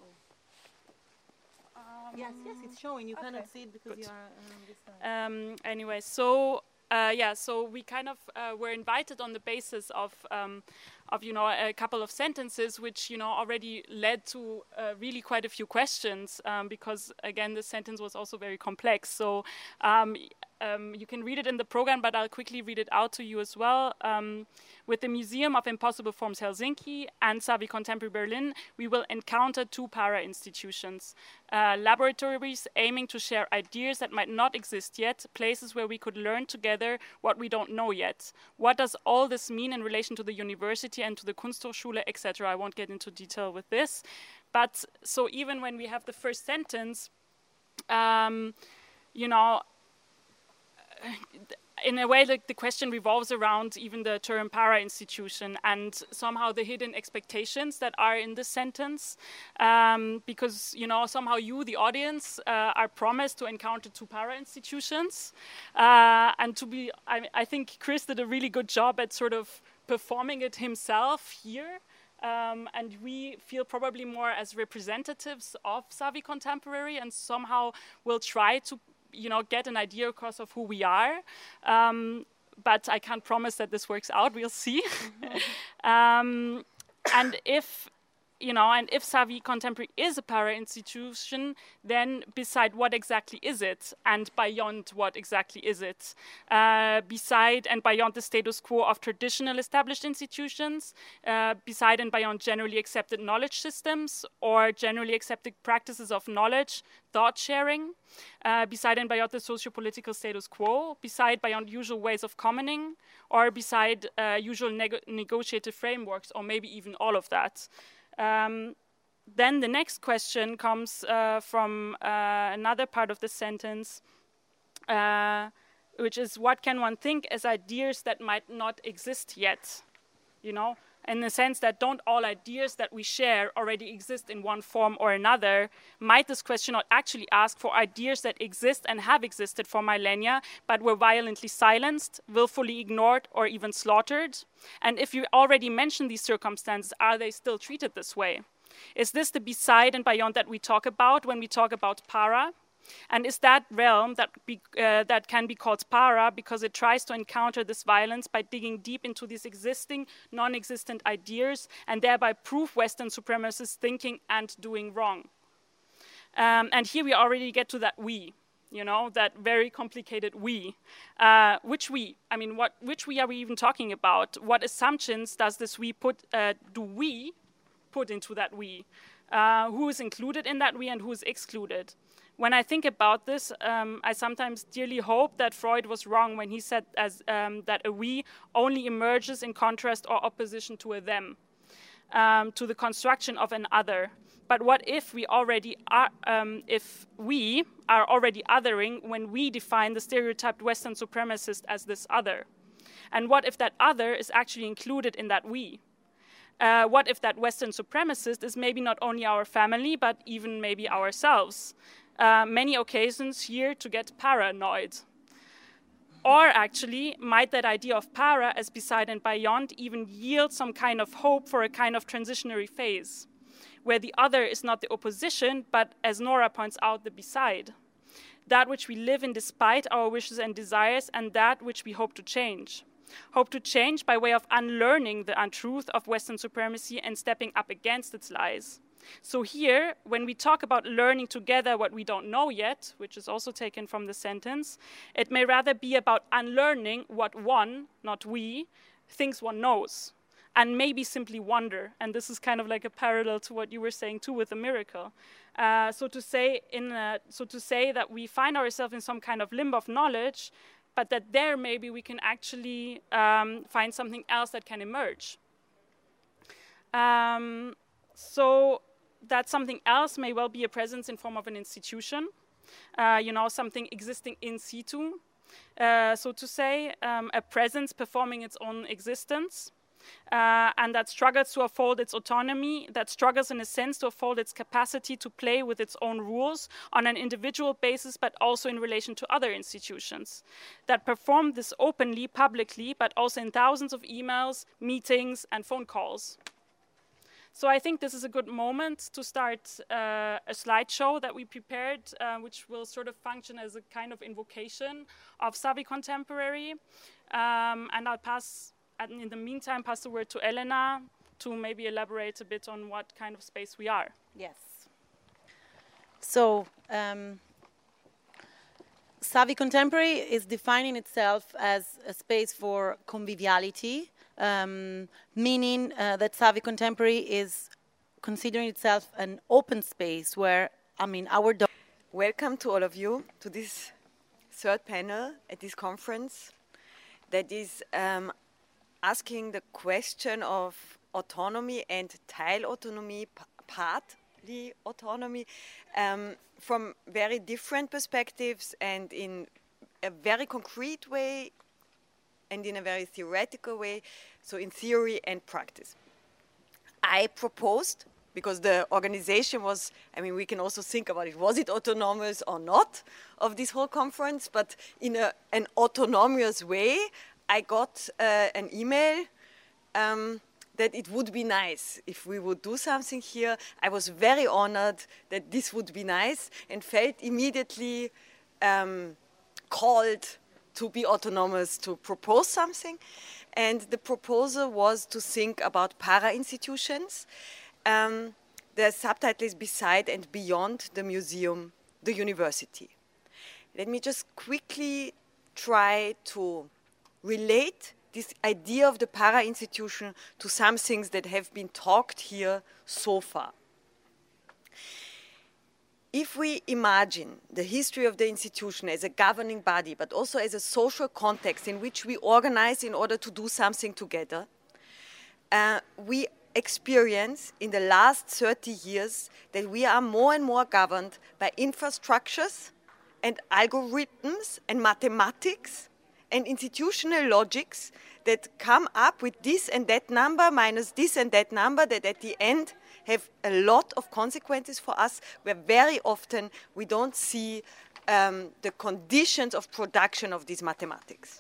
Yes, it's showing. You cannot see it because Good. you are on this side. Anyway, so so we kind of were invited on the basis of a couple of sentences, which already led to really quite a few questions, because again the sentence was also very complex. So you can read it in the program, but I'll quickly read it out to you as well. With the Museum of Impossible Forms Helsinki and Savi Contemporary Berlin, we will encounter two para-institutions, laboratories aiming to share ideas that might not exist yet, places where we could learn together what we don't know yet. What does all this mean in relation to the university and to the Kunsthochschule, etc.? I won't get into detail with this. But so even when we have the first sentence, in a way, the question revolves around even the term para-institution and somehow the hidden expectations that are in this sentence, because somehow you, the audience, are promised to encounter two para-institutions, and I think Chris did a really good job at sort of performing it himself here. And we feel probably more as representatives of Savi Contemporary, and somehow will try to get an idea across of who we are, but I can't promise that this works out. We'll see. And if Savi Contemporary is a para-institution, then beside what exactly is it, and beyond what exactly is it, beside and beyond the status quo of traditional established institutions, beside and beyond generally accepted knowledge systems or generally accepted practices of knowledge, thought sharing, beside and beyond the socio-political status quo, beside beyond usual ways of commoning, or beside usual negotiative frameworks, or maybe even all of that. Then the next question comes from another part of the sentence, which is, what can one think as ideas that might not exist yet? In the sense that don't all ideas that we share already exist in one form or another? Might this question not actually ask for ideas that exist and have existed for millennia, but were violently silenced, willfully ignored, or even slaughtered? And if you already mentioned these circumstances, are they still treated this way? Is this the beside and beyond that we talk about when we talk about para? And is that realm that can be called para because it tries to encounter this violence by digging deep into these existing, non-existent ideas and thereby prove Western supremacist thinking and doing wrong? And here we already get to that we. you know, that very complicated we. Which we? I mean, which we are we even talking about? What assumptions does this we do we put into that we? Who is included in that we and who is excluded? When I think about this, I sometimes dearly hope that Freud was wrong when he said that a we only emerges in contrast or opposition to a them, to the construction of an other. But what if we already are, if we are already othering when we define the stereotyped Western supremacist as this other? And what if that other is actually included in that we? What if that Western supremacist is maybe not only our family, but even maybe ourselves? Many occasions here to get paranoid. Or actually, might that idea of para as beside and beyond even yield some kind of hope for a kind of transitionary phase, where the other is not the opposition, but, as Nora points out, the beside, that which we live in despite our wishes and desires, and that which we hope to change. Hope to change by way of unlearning the untruth of Western supremacy and stepping up against its lies. So here, when we talk about learning together what we don't know yet, which is also taken from the sentence, it may rather be about unlearning what one, not we, thinks one knows, and maybe simply wonder. And this is kind of like a parallel to what you were saying too with the miracle. So to say that we find ourselves in some kind of limbo of knowledge, but that there maybe we can actually find something else that can emerge. So that something else may well be a presence in form of an institution, you know, something existing in situ, so to say, a presence performing its own existence, and that struggles to uphold its autonomy, that struggles in a sense to uphold its capacity to play with its own rules on an individual basis, but also in relation to other institutions, that perform this openly, publicly, but also in thousands of emails, meetings, and phone calls. So I think this is a good moment to start a slideshow that we prepared, which will sort of function as a kind of invocation of Savvy Contemporary. And I'll in the meantime, pass the word to Elena to maybe elaborate a bit on what kind of space we are. Yes. So Savvy Contemporary is defining itself as a space for conviviality, meaning that Savvy Contemporary is considering itself an open space where, Welcome to all of you to this third panel at this conference that is asking the question of autonomy and Teilautonomie, partly autonomy, from very different perspectives and in a very concrete way and in a very theoretical way, so in theory and practice. I proposed, because the organization was, we can also think about it, was it autonomous or not of this whole conference, but in an autonomous way, I got an email that it would be nice if we would do something here. I was very honored that this would be nice and felt immediately called to be autonomous, to propose something. And the proposal was to think about para-institutions. The subtitle is Beside and Beyond the Museum, the University. Let me just quickly try to relate this idea of the para-institution to some things that have been talked here so far. If we imagine the history of the institution as a governing body, but also as a social context in which we organize in order to do something together, we experience in the last 30 years that we are more and more governed by infrastructures and algorithms and mathematics and institutional logics that come up with this and that number minus this and that number that at the end have a lot of consequences for us, where very often we don't see the conditions of production of these mathematics.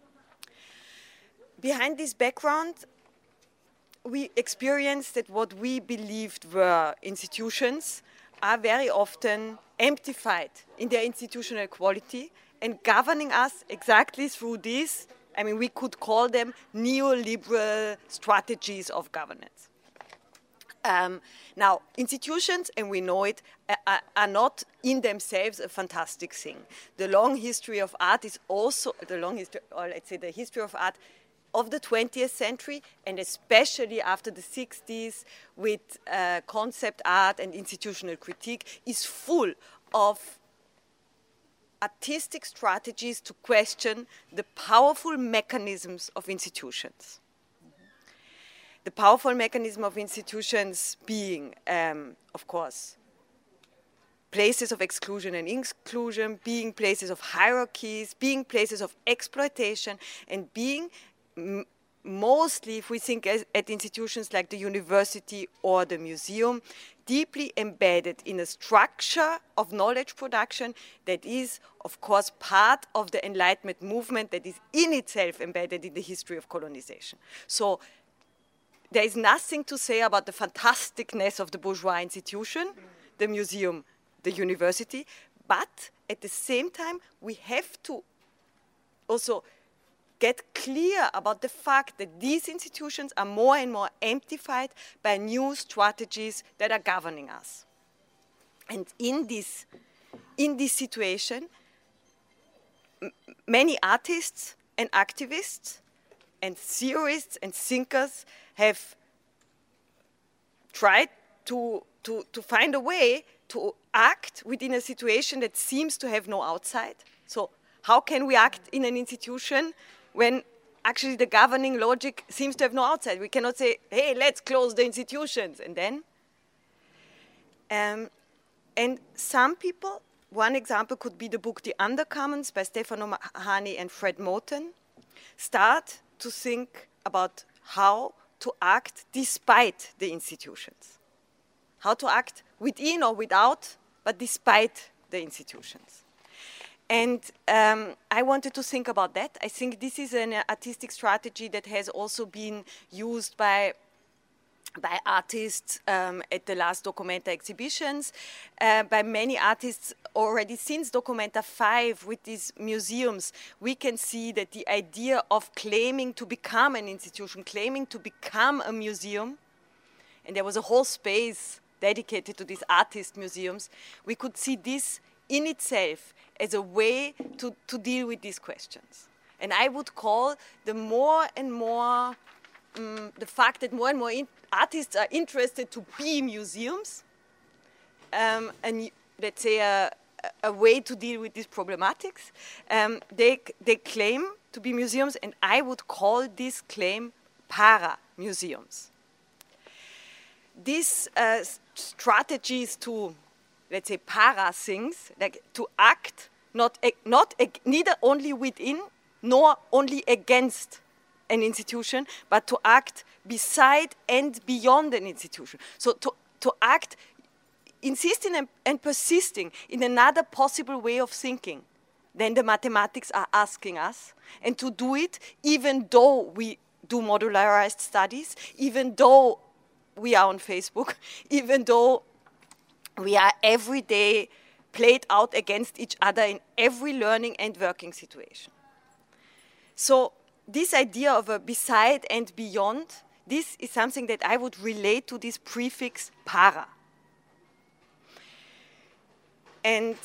Behind this background, we experienced that what we believed were institutions are very often amplified in their institutional quality and governing us exactly through these, we could call them neoliberal strategies of governance. Now, institutions, and we know it, are not in themselves a fantastic thing. The long history of art is also the long history, or let's say the history of art of the 20th century, and especially after the 60s with concept art and institutional critique, is full of artistic strategies to question the powerful mechanisms of institutions. The powerful mechanism of institutions being, of course, places of exclusion and inclusion, being places of hierarchies, being places of exploitation, and being mostly, if we think at institutions like the university or the museum, deeply embedded in a structure of knowledge production that is, of course, part of the Enlightenment movement that is in itself embedded in the history of colonization. So there is nothing to say about the fantasticness of the bourgeois institution, the museum, the university, but at the same time, we have to also get clear about the fact that these institutions are more and more amplified by new strategies that are governing us. And in this situation, many artists and activists and theorists and thinkers have tried to find a way to act within a situation that seems to have no outside. So how can we act in an institution when actually the governing logic seems to have no outside? We cannot say, hey, let's close the institutions, and then. And some people, one example could be the book The Undercommons by Stefano Mahani and Fred Moten, start to think about how to act despite the institutions. How to act within or without, but despite the institutions. And I wanted to think about that. I think this is an artistic strategy that has also been used by artists at the last Documenta exhibitions, by many artists already since Documenta 5 with these museums. We can see that the idea of claiming to become an institution, claiming to become a museum, and there was a whole space dedicated to these artist museums, we could see this in itself as a way to deal with these questions. And I would call the more and more, the fact that more and more artists are interested to be museums, and let's say a way to deal with these problematics. They claim to be museums, and I would call this claim para-museums. These strategies to, let's say, para things, like to act neither only within nor only against an institution, but to act beside and beyond an institution. So to act, insisting and persisting in another possible way of thinking than the mathematics are asking us, and to do it even though we do modularized studies, even though we are on Facebook, even though we are every day played out against each other in every learning and working situation. So this idea of a beside and beyond, this is something that I would relate to this prefix para. And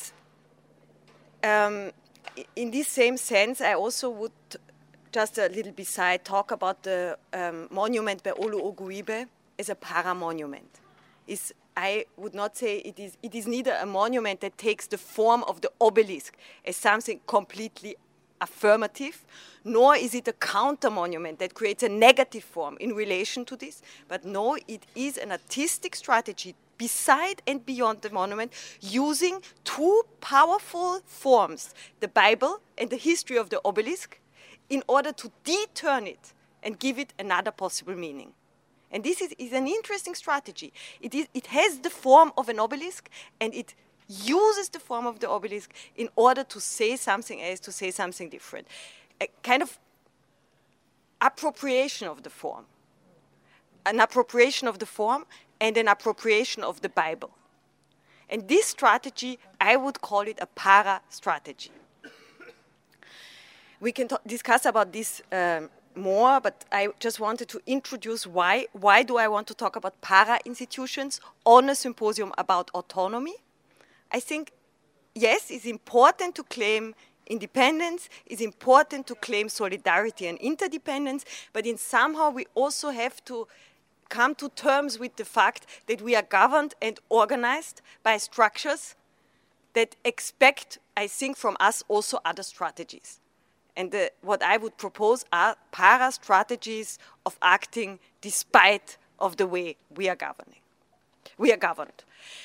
in this same sense, I also would, just a little beside, talk about the monument by Olu Oguibe as a para-monument. I would not say it is neither a monument that takes the form of the obelisk as something completely affirmative, nor is it a counter-monument that creates a negative form in relation to this, but no, it is an artistic strategy beside and beyond the monument, using two powerful forms, the Bible and the history of the obelisk, in order to deturn it and give it another possible meaning. And this is an interesting strategy. It has the form of an obelisk, and it uses the form of the obelisk in order to say something else, to say something different. A kind of appropriation of the form. An appropriation of the form and an appropriation of the Bible. And this strategy, I would call it a para-strategy. We can discuss about this more, but I just wanted to introduce why do I want to talk about para-institutions on a symposium about autonomy. I think, yes, it's important to claim independence, it's important to claim solidarity and interdependence, but in somehow we also have to come to terms with the fact that we are governed and organized by structures that expect, I think, from us also other strategies. And what I would propose are para-strategies of acting despite of the way we are governing. We are governed.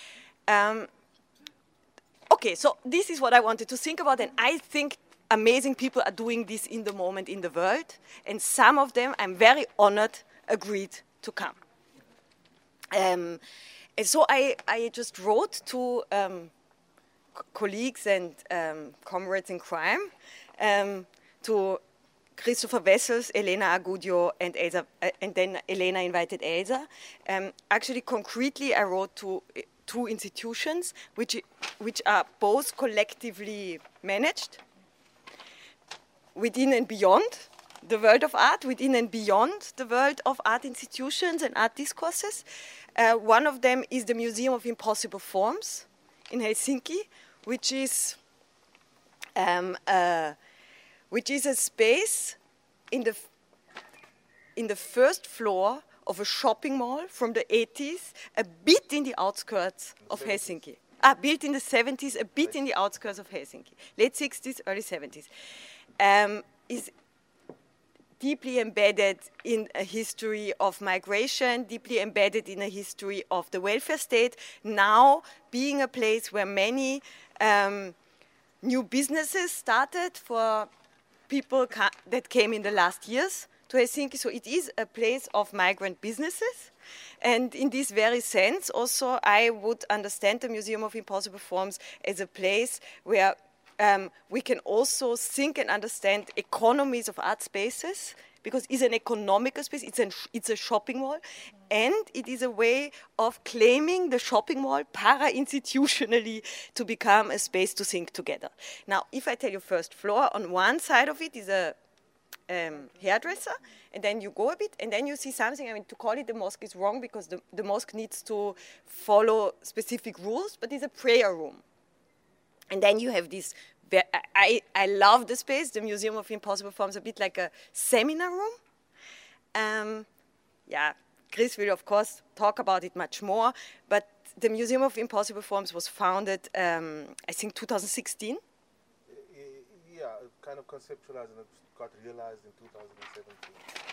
Okay, so this is what I wanted to think about, and I think amazing people are doing this in the moment in the world, and some of them, I'm very honored, agreed to come. And so I just wrote to colleagues and comrades in crime, to Christopher Wessels, Elena Agudio, and Elsa, and then Elena invited Elsa. Actually, concretely, I wrote to two institutions which are both collectively managed within and beyond the world of art, within and beyond the world of art institutions and art discourses. One of them is the Museum of Impossible Forms in Helsinki, which is a space in the first floor of a shopping mall from the 80s, a bit in the outskirts of Helsinki. Built in the 70s, a bit in the outskirts of Helsinki. Late 60s, early 70s. Is deeply embedded in a history of migration, deeply embedded in a history of the welfare state, now being a place where many new businesses started for people that came in the last years to Helsinki. So it is a place of migrant businesses. And in this very sense, also, I would understand the Museum of Impossible Forms as a place where we can also think and understand economies of art spaces, because it's an economical space, it's a shopping mall, and it is a way of claiming the shopping mall para-institutionally to become a space to think together. Now, if I tell you first floor, on one side of it is a hairdresser, and then you go a bit, and then you see something. I mean, to call it the mosque is wrong, because the mosque needs to follow specific rules, but it's a prayer room. And then you have this, I love the space, the Museum of Impossible Forms, a bit like a seminar room. Yeah, Chris will, of course, talk about it much more, but the Museum of Impossible Forms was founded, I think, 2016. Yeah, kind of conceptualized, and it got realized in 2017.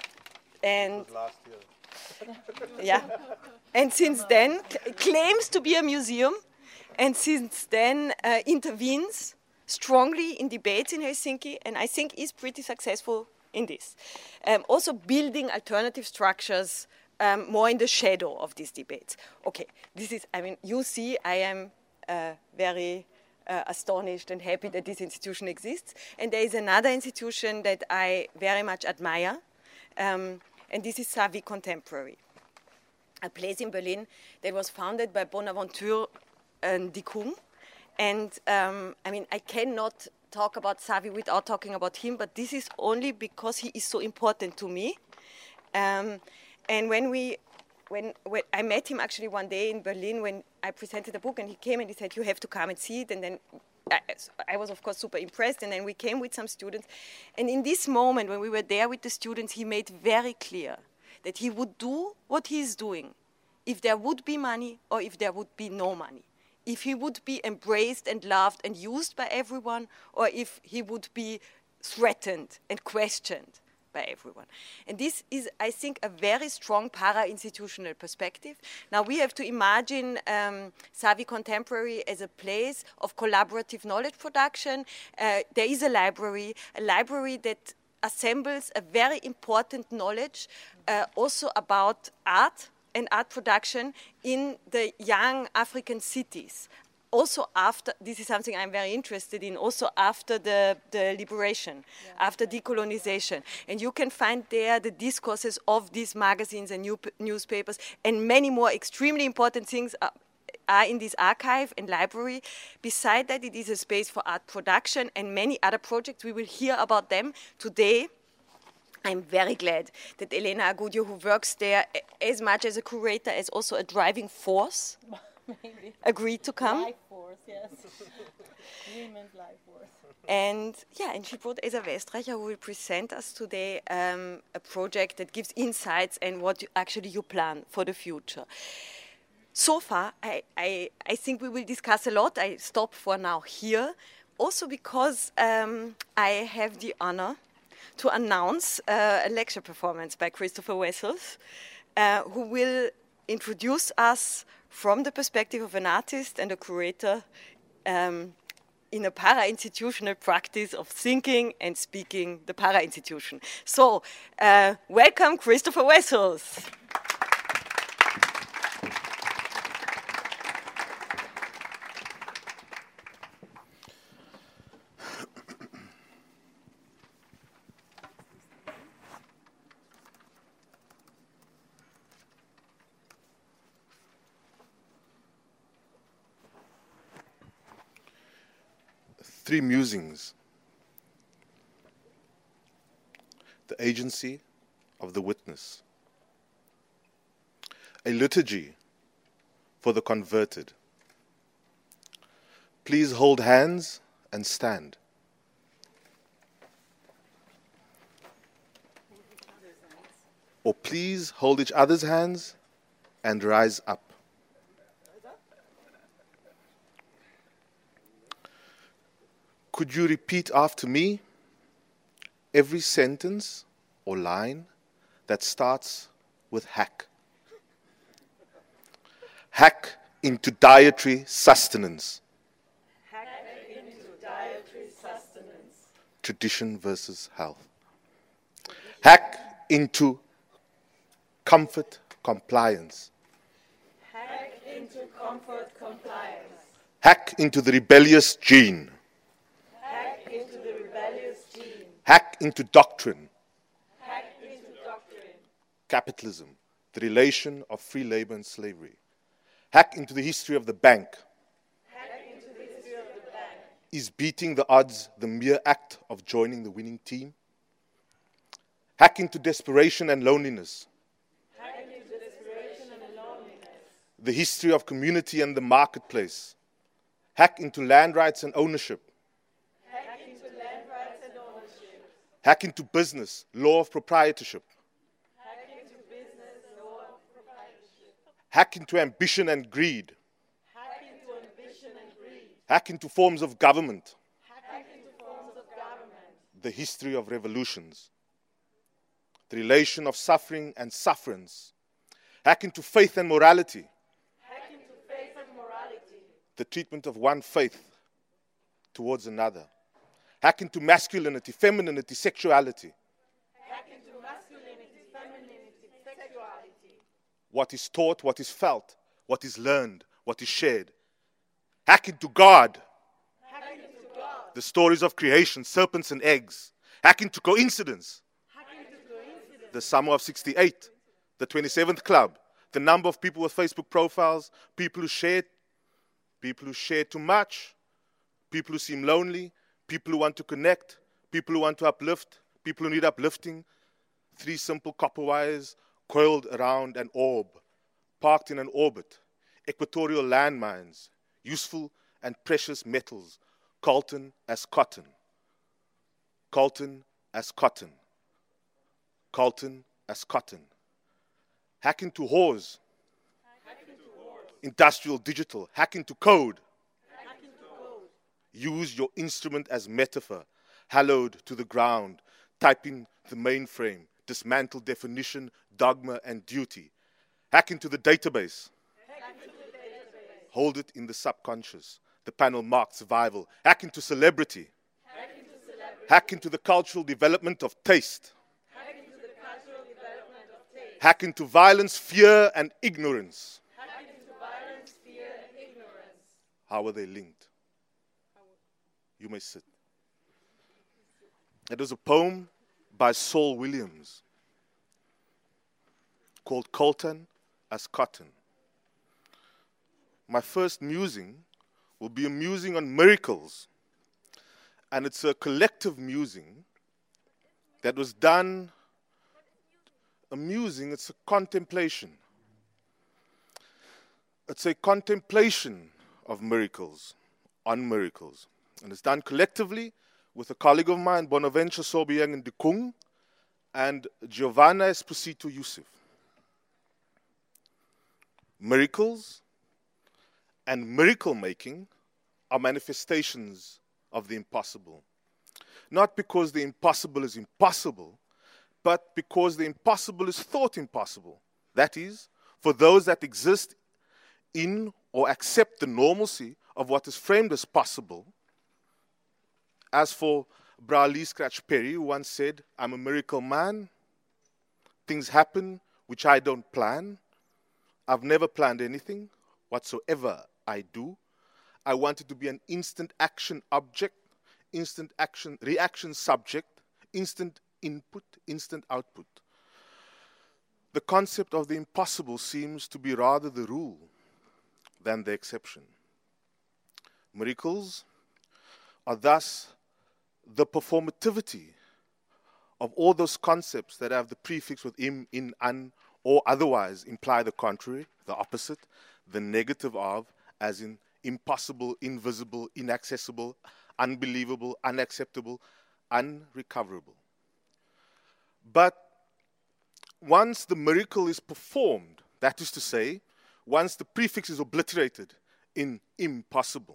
And it was last year. Yeah, and since then, claims to be a museum, and since then intervenes strongly in debates in Helsinki, and I think is pretty successful in this. Also building alternative structures more in the shadow of these debates. Okay, this is, I mean, you see, I am very astonished and happy that this institution exists. And there is another institution that I very much admire, and this is Savvy Contemporary, a place in Berlin that was founded by Bonaventure Ndikung. And I mean, I cannot talk about Savvy without talking about him, but this is only because he is so important to me. And when I met him actually one day in Berlin when I presented a book, and he came and he said, "You have to come and see it." And then I was, of course, super impressed. And then we came with some students. And in this moment, when we were there with the students, he made very clear that he would do what he's doing if there would be money or if there would be no money. If he would be embraced and loved and used by everyone, or if he would be threatened and questioned by everyone. And this is, I think, a very strong para-institutional perspective. Now we have to imagine Savvy Contemporary as a place of collaborative knowledge production. There is a library that assembles a very important knowledge also about art and art production in the young African cities. Also after, this is something I'm very interested in, also after the liberation, after decolonization. And you can find there the discourses of these magazines and newspapers, and many more extremely important things are in this archive and library. Beside that, it is a space for art production and many other projects. We will hear about them today. I'm very glad that Elena Agudio, who works there as much as a curator as also a driving force, agreed to come. Life force, yes. Women's life force. And she brought Esa Westreicher, who will present us today a project that gives insights and what you plan for the future. So far, I think we will discuss a lot. I stop for now here, also because I have the honor to announce a lecture performance by Christopher Wessels, who will introduce us from the perspective of an artist and a curator in a para-institutional practice of thinking and speaking the para-institution. So, welcome Christopher Wessels. Three musings. The agency of the witness. A liturgy for the converted. Please hold hands and stand. Or please hold each other's hands and rise up. Could you repeat after me every sentence or line that starts with hack? Hack into dietary sustenance. Hack into dietary sustenance. Tradition versus health. Hack into comfort compliance. Hack into comfort compliance. Hack into the rebellious gene. Into the rebellious gene. Hack into doctrine. Hack into doctrine. Capitalism, the relation of free labor and slavery. Hack into the history of the bank. Hack into the history of the bank. Is beating the odds the mere act of joining the winning team? Hack into desperation and loneliness. Hack into desperation and loneliness. The history of community and the marketplace. Hack into land rights and ownership. Hack into business, law of proprietorship. Hack into business, law of proprietorship. Hack into ambition and greed. Hack into ambition and greed. Hack into forms of government. Hack into forms of government. The history of revolutions. The relation of suffering and sufferance. Hack into faith and morality. Hack into faith and morality. The treatment of one faith towards another. Hack into masculinity, femininity, sexuality. Hack into masculinity, femininity, sexuality. What is taught, what is felt, what is learned, what is shared. Hack into God. Hack into God. The stories of creation, serpents and eggs. Hack into coincidence. Hack into coincidence. The summer of 68, the 27th club, the number of people with Facebook profiles, people who share too much, people who seem lonely, people who want to connect, people who want to uplift, people who need uplifting. 3 simple copper wires coiled around an orb, parked in an orbit. Equatorial landmines, useful and precious metals, coltan as cotton. Coltan as cotton. Coltan as cotton. Hack into whores. Industrial digital. Hack into code. Use your instrument as metaphor, hallowed to the ground. Type in the mainframe, dismantle definition, dogma, and duty. Hack into the database. Hold it in the subconscious. The panel marked survival. Hack into celebrity. Hack into the cultural development of taste. Hack into violence, fear, and ignorance. How are they linked? You may sit. It was a poem by Saul Williams called Coltan as Cotton. My first musing will be a musing on miracles, and it's a collective musing that was done amusing, it's a contemplation. It's a contemplation of miracles, on miracles. And it's done collectively with a colleague of mine, Bonaventure Sobieng Ndikung, and Giovanna Esposito Yusuf. Miracles and miracle making are manifestations of the impossible. Not because the impossible is impossible, but because the impossible is thought impossible. That is, for those that exist in or accept the normalcy of what is framed as possible. As for Bra Lee Scratch Perry, who once said, "I'm a miracle man. Things happen which I don't plan. I've never planned anything. Whatsoever I do, I want it to be an instant action object, instant action reaction subject, instant input, instant output." The concept of the impossible seems to be rather the rule than the exception. Miracles are thus the performativity of all those concepts that have the prefix with im, in, an, or otherwise imply the contrary, the opposite, the negative of, as in impossible, invisible, inaccessible, unbelievable, unacceptable, unrecoverable. But once the miracle is performed, that is to say, once the prefix is obliterated in impossible,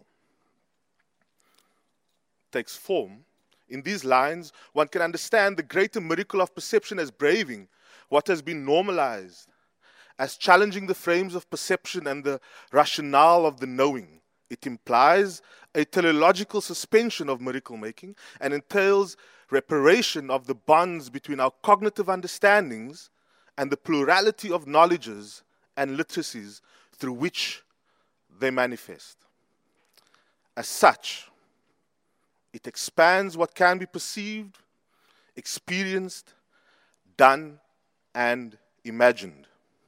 takes form, in these lines, one can understand the greater miracle of perception as braving what has been normalized, as challenging the frames of perception and the rationale of the knowing. It implies a teleological suspension of miracle making and entails reparation of the bonds between our cognitive understandings and the plurality of knowledges and literacies through which they manifest. As such, it expands what can be perceived, experienced, done, and imagined.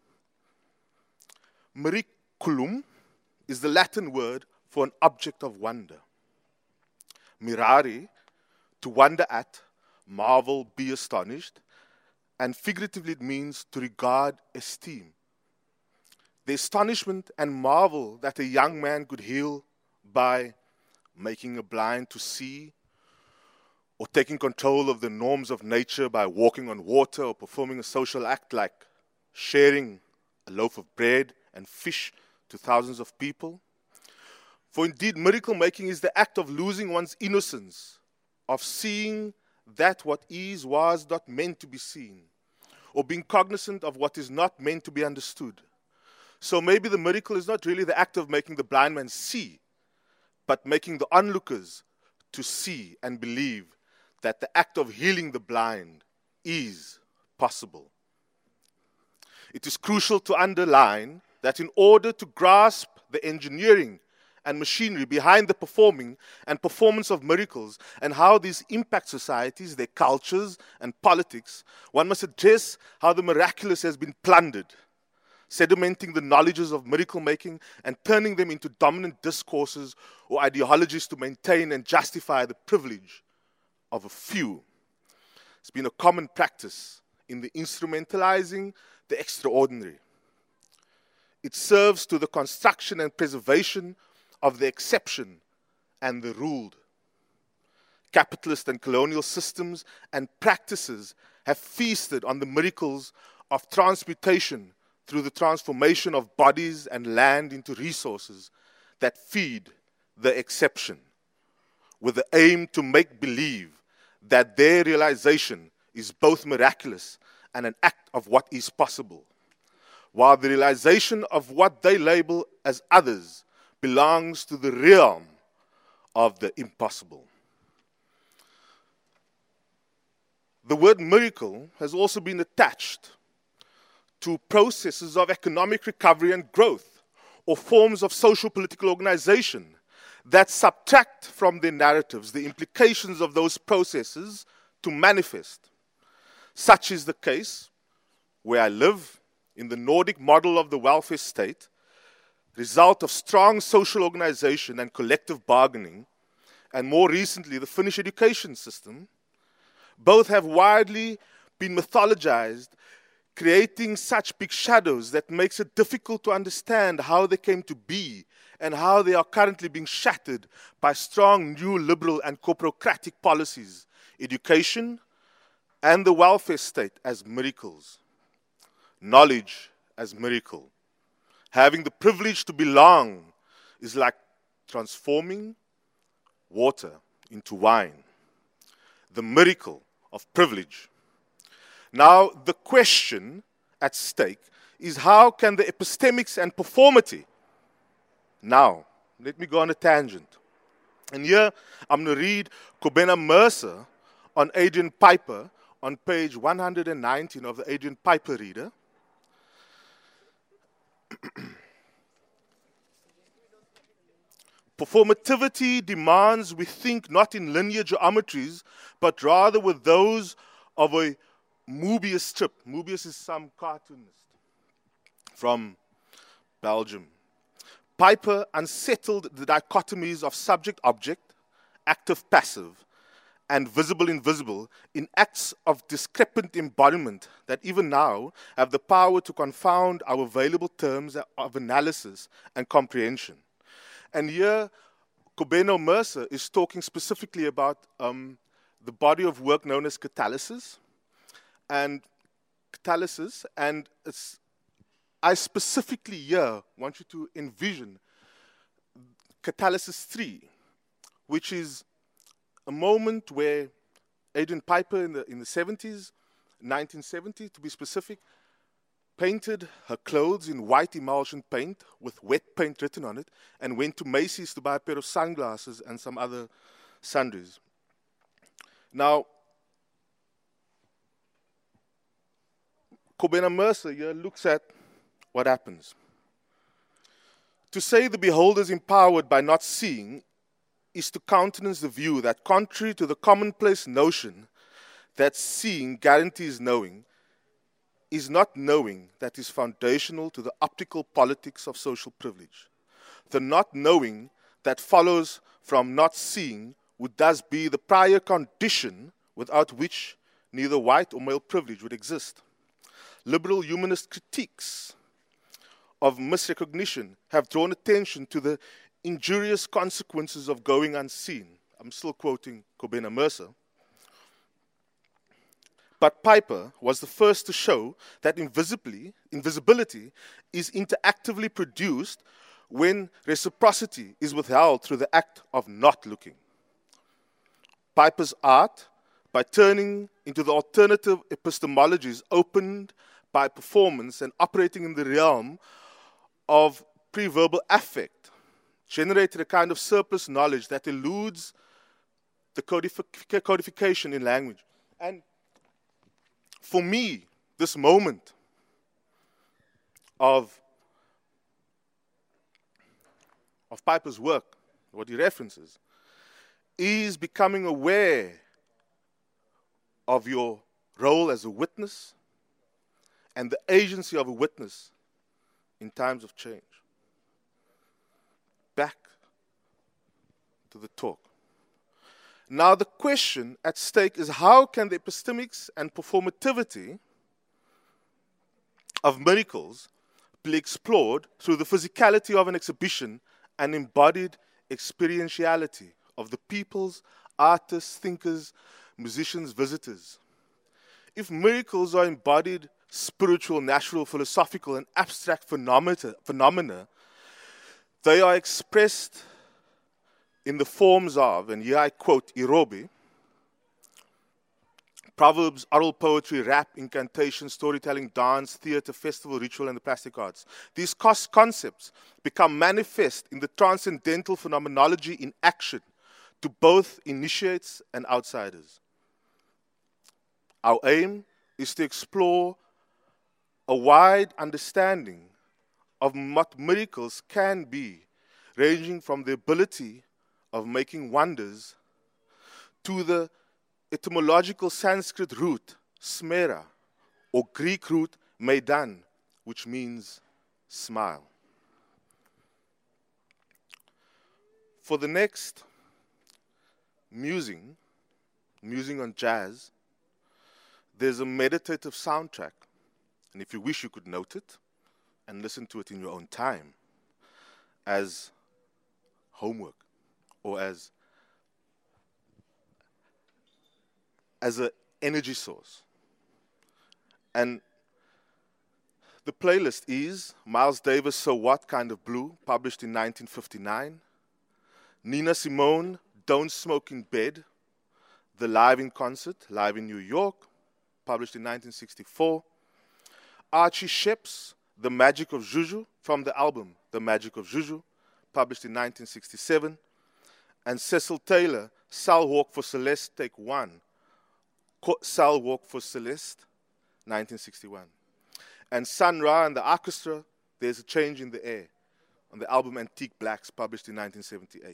Miraculum is the Latin word for an object of wonder. Mirare, to wonder at, marvel, be astonished, and figuratively it means to regard, esteem. The astonishment and marvel that a young man could heal by making a blind to see, or taking control of the norms of nature by walking on water or performing a social act like sharing a loaf of bread and fish to thousands of people. For indeed, miracle making is the act of losing one's innocence, of seeing that what is was not meant to be seen, or being cognizant of what is not meant to be understood. So maybe the miracle is not really the act of making the blind man see, but making the onlookers to see and believe that the act of healing the blind is possible. It is crucial to underline that in order to grasp the engineering and machinery behind the performing and performance of miracles and how these impact societies, their cultures and politics, one must address how the miraculous has been plundered, sedimenting the knowledges of miracle making and turning them into dominant discourses or ideologies to maintain and justify the privilege of a few. It's been a common practice in the instrumentalizing the extraordinary. It serves to the construction and preservation of the exception and the ruled. Capitalist and colonial systems and practices have feasted on the miracles of transmutation through the transformation of bodies and land into resources that feed the exception, with the aim to make believe that their realization is both miraculous and an act of what is possible, while the realization of what they label as others belongs to the realm of the impossible. The word miracle has also been attached to processes of economic recovery and growth, or forms of social political organization that subtract from their narratives the implications of those processes to manifest. Such is the case where I live, in the Nordic model of the welfare state, result of strong social organization and collective bargaining, and more recently the Finnish education system. Both have widely been mythologized, creating such big shadows that makes it difficult to understand how they came to be and how they are currently being shattered by strong new liberal and corporocratic policies, education, and the welfare state as miracles, knowledge as miracle. Having the privilege to belong is like transforming water into wine, the miracle of privilege. Now, the question at stake is how can the epistemics and performity. Now, let me go on a tangent. And here, I'm going to read Kobena Mercer on Adrian Piper on page 119 of the Adrian Piper Reader. Performativity demands we think not in linear geometries, but rather with those of a Mobius strip. Mobius is some cartoonist from Belgium. Piper unsettled the dichotomies of subject-object, active-passive, and visible-invisible in acts of discrepant embodiment that even now have the power to confound our available terms of analysis and comprehension. And here, Kobena Mercer is talking specifically about the body of work known as catalysis. And I specifically here want you to envision Catalysis 3, which is a moment where Adrian Piper in the 70s, 1970 to be specific, painted her clothes in white emulsion paint with wet paint written on it and went to Macy's to buy a pair of sunglasses and some other sundries. Now, Kobena Mercer here looks at what happens. To say the beholder is empowered by not seeing is to countenance the view that, contrary to the commonplace notion that seeing guarantees knowing, is not knowing that is foundational to the optical politics of social privilege. The not knowing that follows from not seeing would thus be the prior condition without which neither white or male privilege would exist. Liberal humanist critiques of misrecognition have drawn attention to the injurious consequences of going unseen. I'm still quoting Kobena Mercer. But Piper was the first to show that invisibility is interactively produced when reciprocity is withheld through the act of not looking. Piper's art, by turning into the alternative epistemologies opened by performance and operating in the realm of pre-verbal affect, generated a kind of surplus knowledge that eludes the codification in language. And for me, this moment of Piper's work, what he references, is becoming aware of your role as a witness and the agency of a witness in times of change. Back to the talk. Now the question at stake is how can the epistemics and performativity of miracles be explored through the physicality of an exhibition and embodied experientiality of the peoples, artists, thinkers, musicians, visitors. If miracles are embodied spiritual, natural, philosophical, and abstract phenomena, they are expressed in the forms of, and here I quote Irobe, proverbs, oral poetry, rap, incantation, storytelling, dance, theater, festival, ritual, and the plastic arts. These concepts become manifest in the transcendental phenomenology in action to both initiates and outsiders. Our aim is to explore a wide understanding of what miracles can be, ranging from the ability of making wonders to the etymological Sanskrit root, smera, or Greek root, meidan, which means smile. For the next musing on jazz, there's a meditative soundtrack and if you wish, you could note it and listen to it in your own time as homework or as an energy source. And the playlist is Miles Davis, So What Kind of Blue, published in 1959. Nina Simone, Don't Smoke in Bed, The Live in Concert, live in New York, published in 1964. Archie Shepp's The Magic of Juju, from the album The Magic of Juju, published in 1967. And Cecil Taylor, Sal Walk for Celeste, Take One, Sal Walk for Celeste, 1961. And Sun Ra and the Orchestra, There's a Change in the Air, on the album Antique Blacks, published in 1978.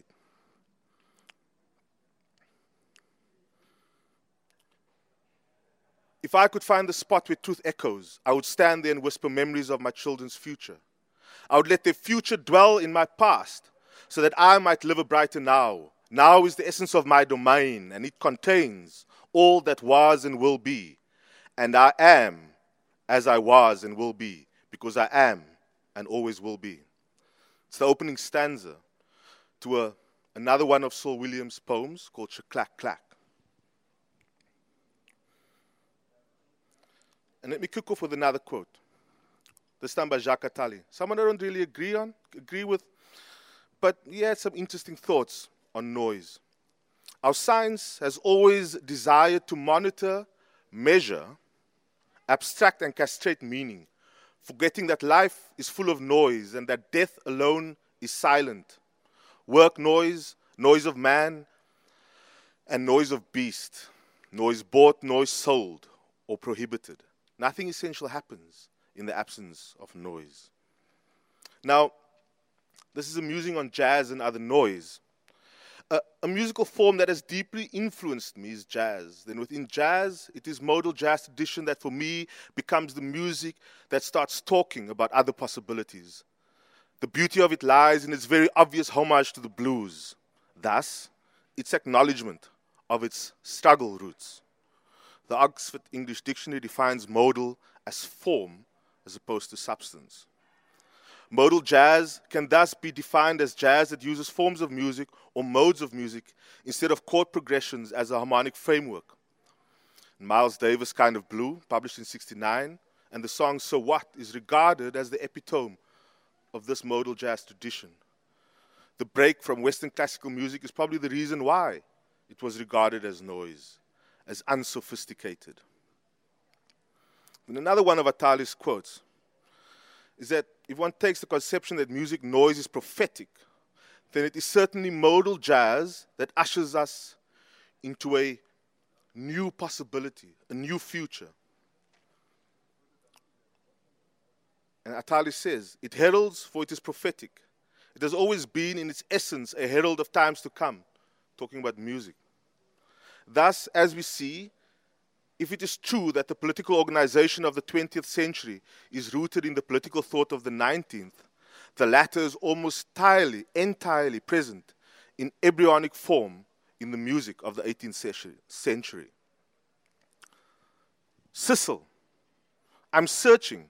If I could find the spot where truth echoes, I would stand there and whisper memories of my children's future. I would let their future dwell in my past so that I might live a brighter now. Now is the essence of my domain, and it contains all that was and will be. And I am as I was and will be, because I am and always will be. It's the opening stanza to another one of Saul Williams' poems called Shaclack Clack. And let me kick off with another quote, this time by Jacques Attali. Someone I don't really agree with, but he had some interesting thoughts on noise. Our science has always desired to monitor, measure, abstract and castrate meaning, forgetting that life is full of noise and that death alone is silent. Work noise, noise of man, and noise of beast, noise bought, noise sold, or prohibited. Nothing essential happens in the absence of noise. Now, this is a musing on jazz and other noise. A musical form that has deeply influenced me is jazz. Then within jazz, it is modal jazz tradition that for me becomes the music that starts talking about other possibilities. The beauty of it lies in its very obvious homage to the blues. Thus, its acknowledgement of its struggle roots. The Oxford English Dictionary defines modal as form as opposed to substance. Modal jazz can thus be defined as jazz that uses forms of music or modes of music instead of chord progressions as a harmonic framework. Miles Davis' Kind of Blue, published in '69, and the song So What is regarded as the epitome of this modal jazz tradition. The break from Western classical music is probably the reason why it was regarded as noise, as unsophisticated. And another one of Attali's quotes is that if one takes the conception that music noise is prophetic, then it is certainly modal jazz that ushers us into a new possibility, a new future. And Attali says, it heralds for it is prophetic. It has always been in its essence a herald of times to come, talking about music. Thus, as we see, if it is true that the political organization of the 20th century is rooted in the political thought of the 19th, the latter is almost entirely present in embryonic form in the music of the 18th century. Cecil, I'm searching.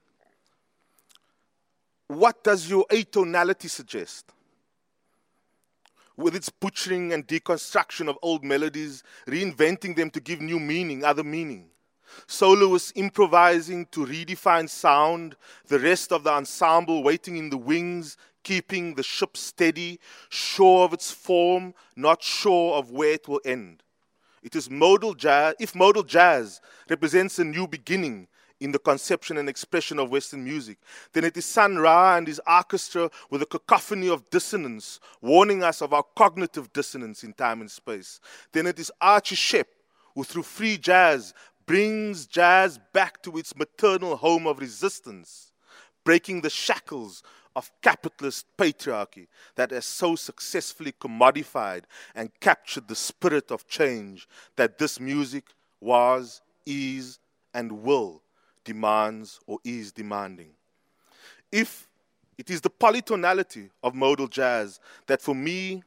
What does your atonality suggest? With its butchering and deconstruction of old melodies, reinventing them to give new meaning, other meaning. Soloists improvising to redefine sound, the rest of the ensemble waiting in the wings, keeping the ship steady, sure of its form, not sure of where it will end. It is modal jazz. If modal jazz represents a new beginning in the conception and expression of Western music, then it is Sun Ra and his orchestra with a cacophony of dissonance, warning us of our cognitive dissonance in time and space. Then it is Archie Shepp, who through free jazz brings jazz back to its maternal home of resistance, breaking the shackles of capitalist patriarchy that has so successfully commodified and captured the spirit of change that this music was, is, and will demands or is demanding. If it is the polytonality of modal jazz that for me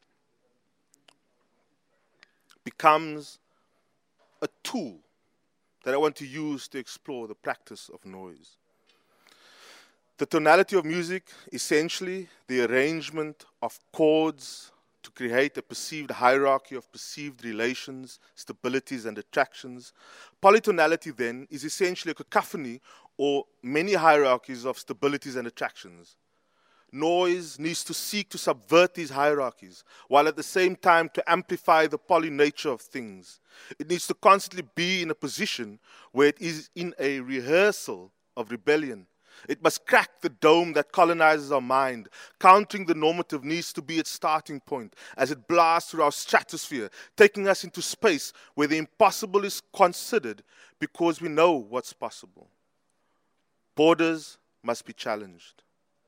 becomes a tool that I want to use to explore the practice of noise. The tonality of music, essentially the arrangement of chords to create a perceived hierarchy of perceived relations, stabilities, and attractions. Polytonality, then, is essentially a cacophony or many hierarchies of stabilities and attractions. Noise needs to seek to subvert these hierarchies, while at the same time to amplify the poly nature of things. It needs to constantly be in a position where it is in a rehearsal of rebellion. It must crack the dome that colonizes our mind. Countering the normative needs to be its starting point as it blasts through our stratosphere, taking us into space where the impossible is considered because we know what's possible. Borders must be challenged.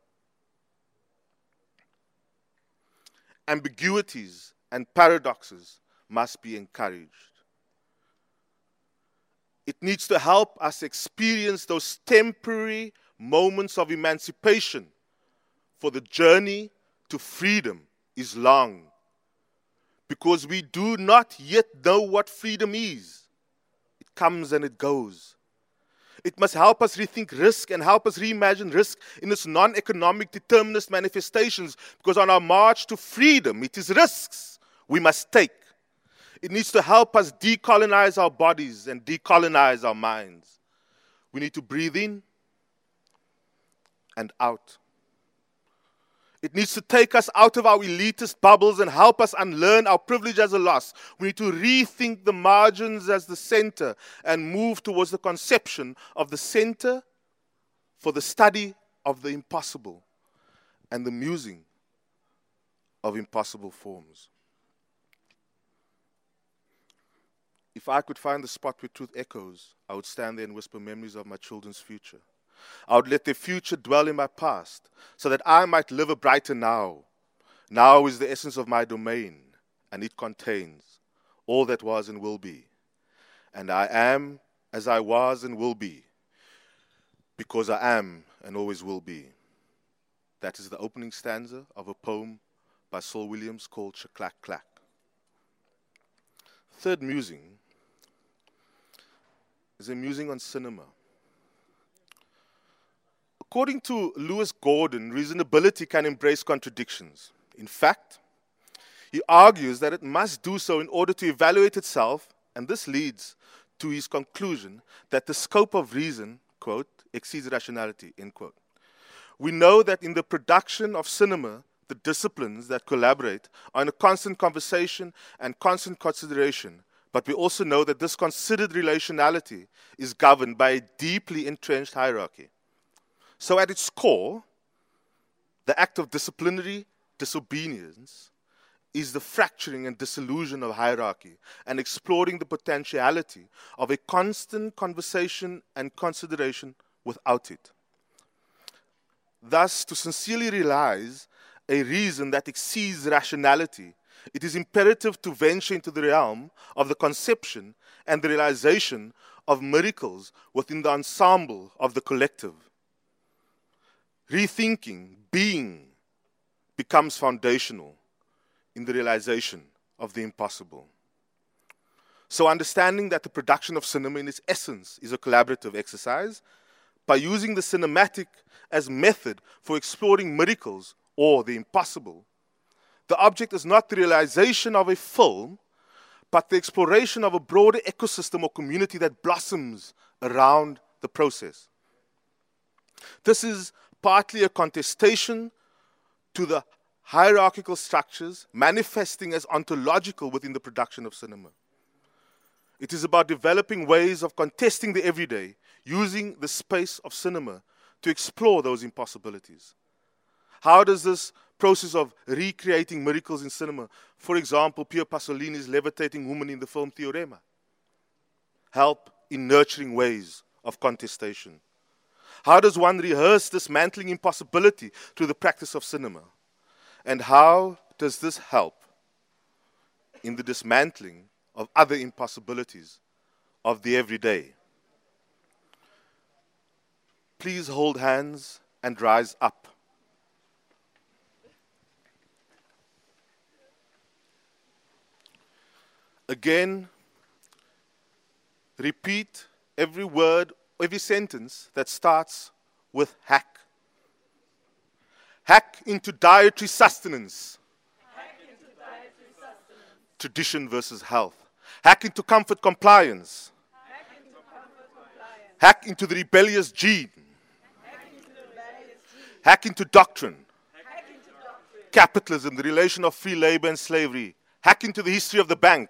Ambiguities and paradoxes must be encouraged. It needs to help us experience those temporary moments of emancipation, for the journey to freedom is long, because we do not yet know what freedom is. It comes and it goes. It must help us rethink risk and help us reimagine risk in its non-economic determinist manifestations, because on our march to freedom, it is risks we must take. It needs to help us decolonize our bodies and decolonize our minds. We need to breathe in and out. It needs to take us out of our elitist bubbles and help us unlearn our privilege as a loss. We need to rethink the margins as the center and move towards the conception of the center for the study of the impossible and the musing of impossible forms. If I could find the spot where truth echoes, I would stand there and whisper memories of my children's future. I would let their future dwell in my past, so that I might live a brighter now. Now is the essence of my domain, and it contains all that was and will be. And I am as I was and will be, because I am and always will be. That is the opening stanza of a poem by Saul Williams called Shaklack Clack. Third musing is a musing on cinema. According to Lewis Gordon, reasonability can embrace contradictions. In fact, he argues that it must do so in order to evaluate itself, and this leads to his conclusion that the scope of reason, quote, exceeds rationality, end quote. We know that in the production of cinema, the disciplines that collaborate are in a constant conversation and constant consideration, but we also know that this considered relationality is governed by a deeply entrenched hierarchy. So at its core, the act of disciplinary disobedience is the fracturing and dissolution of hierarchy and exploring the potentiality of a constant conversation and consideration without it. Thus, to sincerely realize a reason that exceeds rationality, it is imperative to venture into the realm of the conception and the realization of miracles within the ensemble of the collective. Rethinking, being, becomes foundational in the realization of the impossible. So understanding that the production of cinema in its essence is a collaborative exercise, by using the cinematic as method for exploring miracles or the impossible, the object is not the realization of a film, but the exploration of a broader ecosystem or community that blossoms around the process. This is partly a contestation to the hierarchical structures manifesting as ontological within the production of cinema. It is about developing ways of contesting the everyday, using the space of cinema to explore those impossibilities. How does this process of recreating miracles in cinema, for example, Pier Pasolini's levitating woman in the film Theorema, help in nurturing ways of contestation? How does one rehearse dismantling impossibility through the practice of cinema? And how does this help in the dismantling of other impossibilities of the everyday? Please hold hands and rise up. Again, repeat every word, every sentence that starts with hack. Hack into dietary sustenance. Tradition versus health. Hack into comfort compliance. Hack into the rebellious gene. Hack into doctrine. Capitalism, the relation of free labor and slavery. Hack into the history of the bank.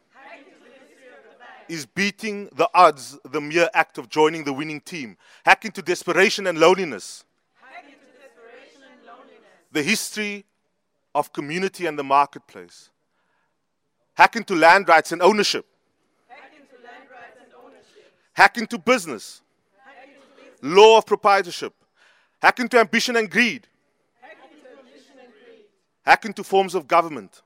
Is beating the odds the mere act of joining the winning team. Hack into desperation and loneliness. The history of community and the marketplace. Hack into land rights and ownership. Hack into business. Law of proprietorship. Hack into ambition and greed. Hack into forms of government.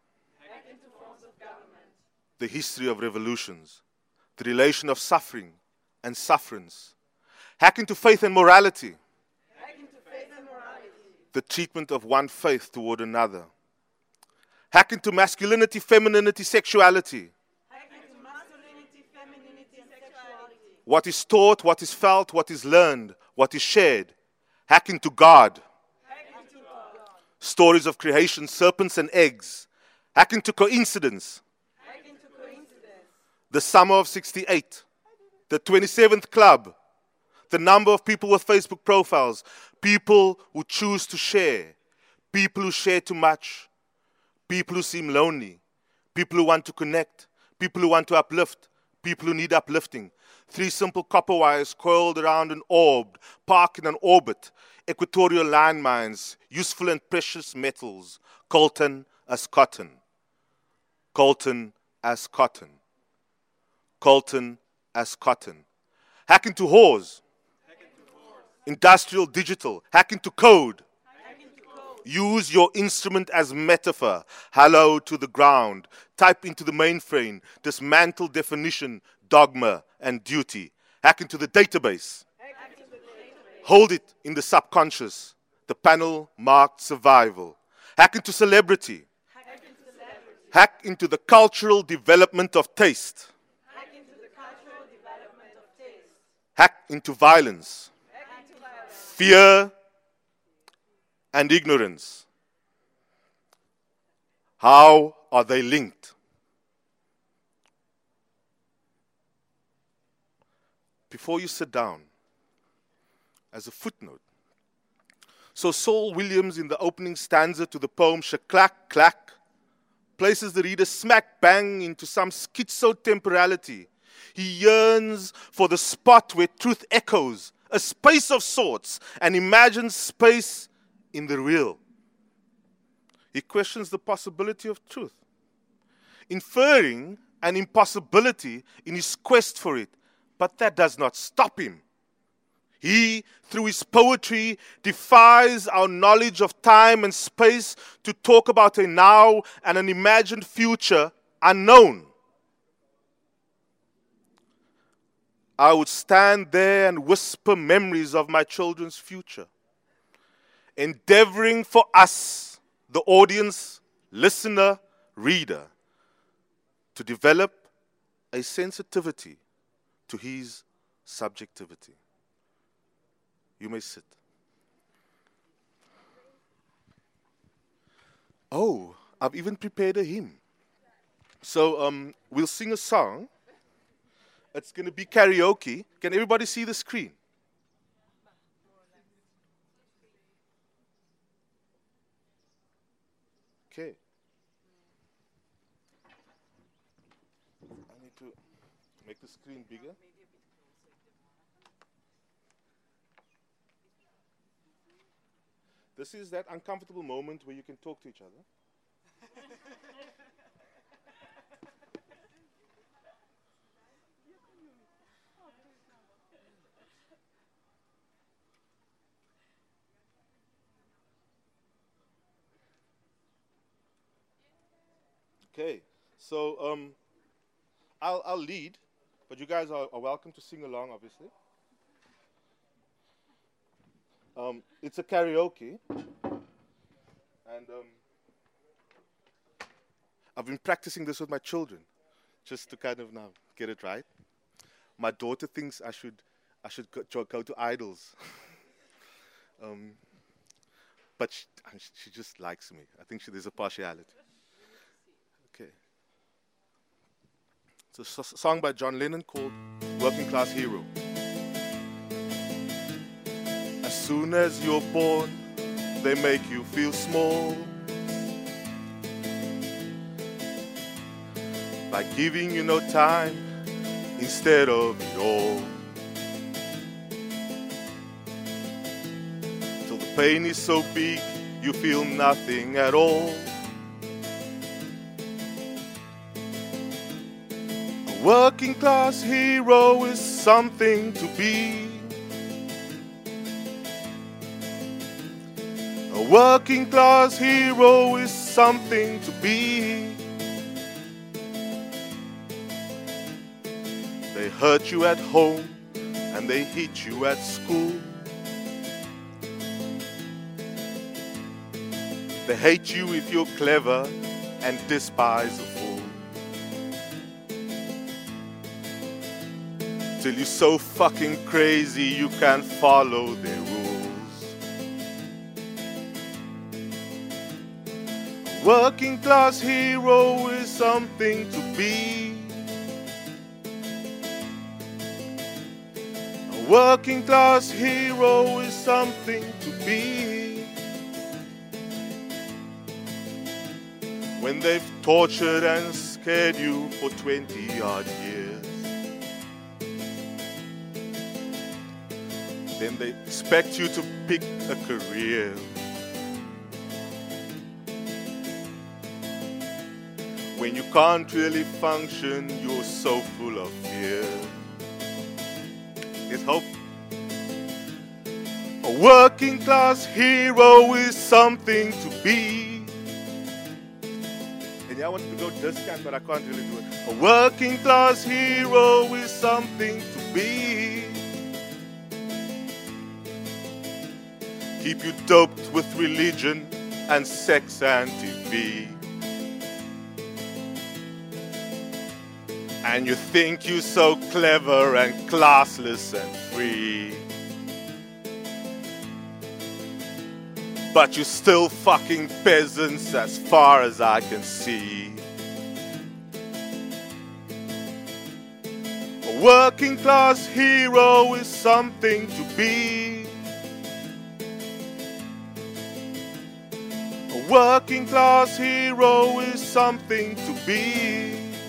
The history of revolutions. The relation of suffering and sufferance. Hack into faith and morality. The treatment of one faith toward another. Hack into masculinity, femininity, sexuality. What is taught, what is felt, what is learned, what is shared. Hack into God. Stories of creation, serpents and eggs. Hack into coincidence. The summer of 68. The 27th club. The number of people with Facebook profiles. People who choose to share. People who share too much. People who seem lonely. People who want to connect. People who want to uplift. People who need uplifting. 3 simple copper wires coiled around an orb, parked in an orbit. Equatorial landmines, useful and precious metals. Coltan as cotton. Coltan as cotton. Coltan as cotton. Hack into whores. Industrial, digital. Hack into code. Use your instrument as metaphor. Hello to the ground. Type into the mainframe. Dismantle definition, dogma, and duty. Hack into the database. Hold it in the subconscious. The panel marked survival. Hack into celebrity. Hack into the cultural development of taste. Hack into violence. Fear and ignorance. How are they linked? Before you sit down, as a footnote, so Saul Williams in the opening stanza to the poem Shaklack Clack places the reader smack bang into some schizo-temporality. He yearns for the spot where truth echoes, a space of sorts, and imagines space in the real. He questions the possibility of truth, inferring an impossibility in his quest for it, but that does not stop him. He, through his poetry, defies our knowledge of time and space to talk about a now and an imagined future unknown. I would stand there and whisper memories of my children's future, endeavoring for us, the audience, listener, reader, to develop a sensitivity to his subjectivity. You may sit. Oh, I've even prepared a hymn. So we'll sing a song. It's going to be karaoke. Can everybody see the screen? Okay. I need to make the screen bigger. This is that uncomfortable moment where you can talk to each other. Okay, so I'll lead, but you guys are welcome to sing along, obviously. It's a karaoke, and I've been practicing this with my children, just to kind of now get it right. My daughter thinks I should go to idols. But she just likes me. I think there's a partiality. Okay. It's a song by John Lennon called Working Class Hero. As soon as you're born, they make you feel small by giving you no time instead of it all. Till the pain is so big, you feel nothing at all. A working class hero is something to be. A working class hero is something to be. They hurt you at home and they hit you at school. They hate you if you're clever and despise a fool. Till you're so fucking crazy you can't follow their rules. A working class hero is something to be. A working class hero is something to be. When they've tortured and scared you for 20-odd years, then they expect you to pick a career. When you can't really function, you're so full of fear. There's hope. A working class hero is something to be. And yeah, I wanted to go discount, but I can't really do it. A working class hero is something to be. Keep you doped with religion and sex and TV. And you think you're so clever and classless and free. But you're still fucking peasants as far as I can see. A working class hero is something to be. A working class hero is something to be.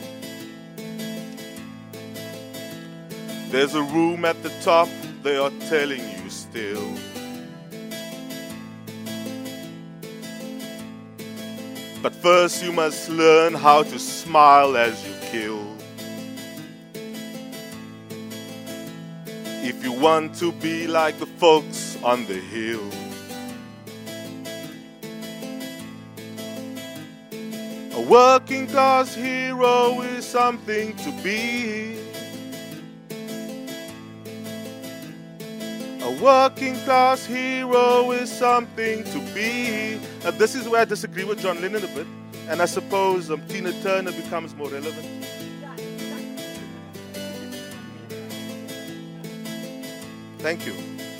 There's a room at the top, they are telling you still. But first you must learn how to smile as you kill. If you want to be like the folks on the hill. A working class hero is something to be. A working class hero is something to be. This is where I disagree with John Lennon a bit. And I suppose Tina Turner becomes more relevant. Thank you.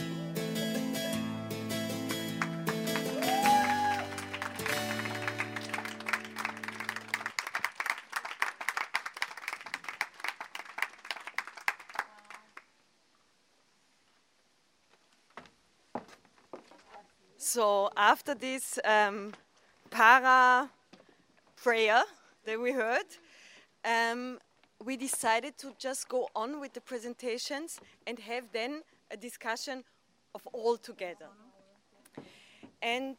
So after this para prayer that we heard, we decided to just go on with the presentations and have then a discussion of all together. And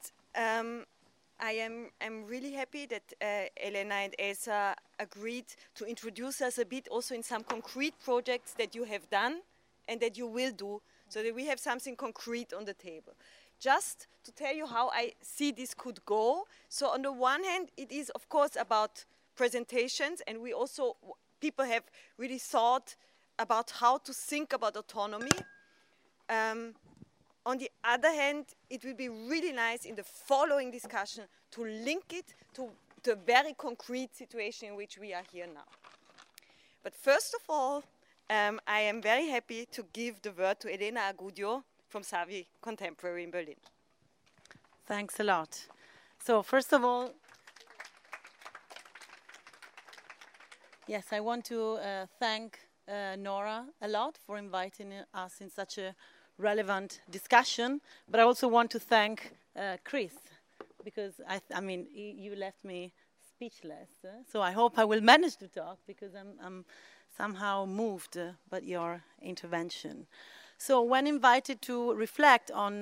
I'm really happy that Elena and Elsa agreed to introduce us a bit also in some concrete projects that you have done and that you will do, so that we have something concrete on the table. Just to tell you how I see this could go. So on the one hand, it is of course about presentations, and we also, people have really thought about how to think about autonomy. On the other hand, it will be really nice in the following discussion to link it to the very concrete situation in which we are here now. But first of all, I am very happy to give the word to Elena Agudio from Savi Contemporary in Berlin. Thanks a lot. So first of all, yes, I want to thank Nora a lot for inviting us in such a relevant discussion, but I also want to thank Chris, because I mean, you left me speechless. So I hope I will manage to talk, because I'm somehow moved by your intervention. So when invited to reflect on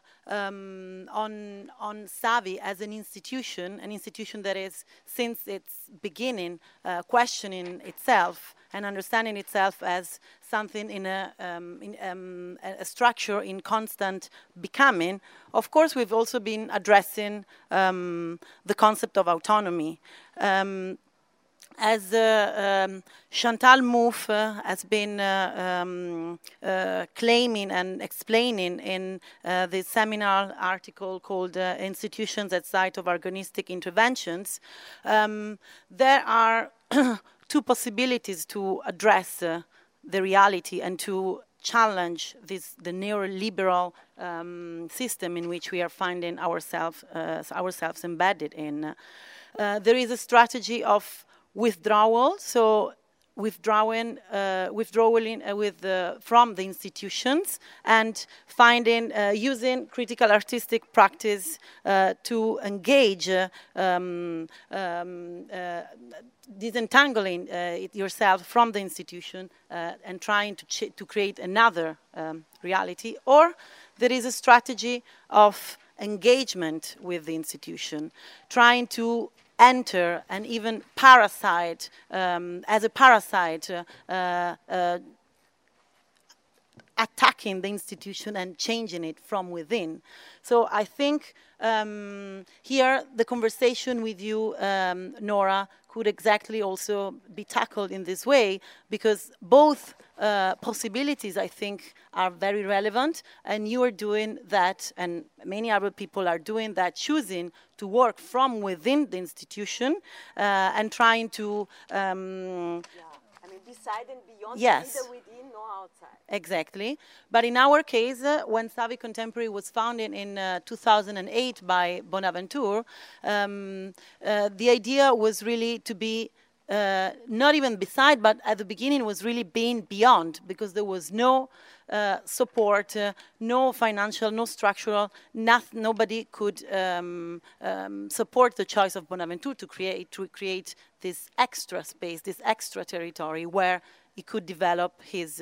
Savi as an institution that is, since its beginning, questioning itself and understanding itself as something in a structure in constant becoming, of course we've also been addressing the concept of autonomy. As Chantal Mouffe has been claiming and explaining in the seminal article called Institutions at Site of Agonistic Interventions, there are two possibilities to address the reality and to challenge the neoliberal system in which we are finding ourselves embedded in. There is a strategy of withdrawal, so withdrawing from the institutions and finding, using critical artistic practice to engage, disentangling yourself from the institution and trying to create another reality. Or there is a strategy of engagement with the institution, trying to enter and even parasite, as a parasite, attacking the institution and changing it from within. So I think here the conversation with you, Nora, could exactly also be tackled in this way, because both possibilities, I think, are very relevant, and you are doing that, and many other people are doing that, choosing to work from within the institution and trying to beside and beyond, yes, neither within nor outside. Exactly. But in our case, when Savi Contemporary was founded in 2008 by Bonaventure, the idea was really to be not even beside, but at the beginning was really being beyond, because there was no support, no financial, no structural, nobody could support the choice of Bonaventure to create this extra space, this extra territory where he could develop his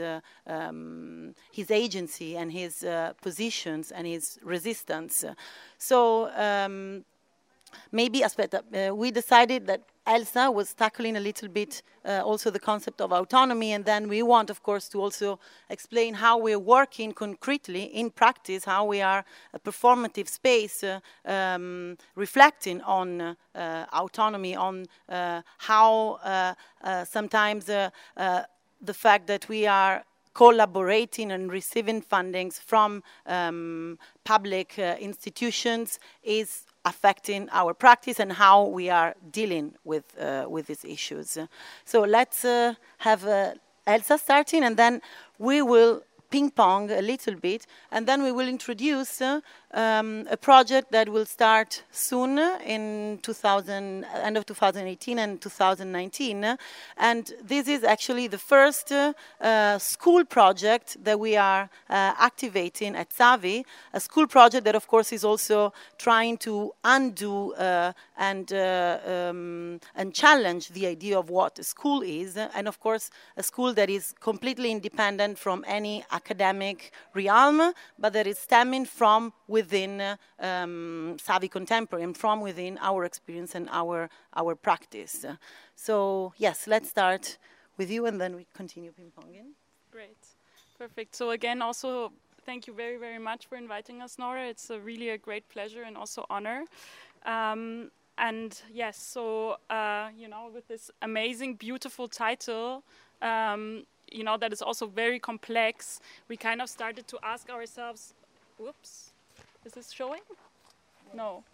agency and his positions and his resistance. So maybe we decided that Elsa was tackling a little bit also the concept of autonomy, and then we want, of course, to also explain how we're working concretely in practice, how we are a performative space reflecting on autonomy, on how sometimes the fact that we are collaborating and receiving fundings from public institutions is affecting our practice and how we are dealing with these issues. So let's have Elsa starting, and then we will ping-pong a little bit, and then we will introduce a project that will start soon in end of 2018 and 2019. And this is actually the first school project that we are activating at Savi, a school project that, of course, is also trying to undo and challenge the idea of what a school is, and, of course, a school that is completely independent from any academic realm, but that is stemming from within Savi Contemporary and from within our experience and our practice. So yes, let's start with you, and then we continue ping-ponging. Great, perfect. So again, also thank you very, very much for inviting us, Nora. It's really a great pleasure and also honor. And yes, so with this amazing, beautiful title, that is also very complex, we kind of started to ask ourselves, whoops, is this showing? Yes. No.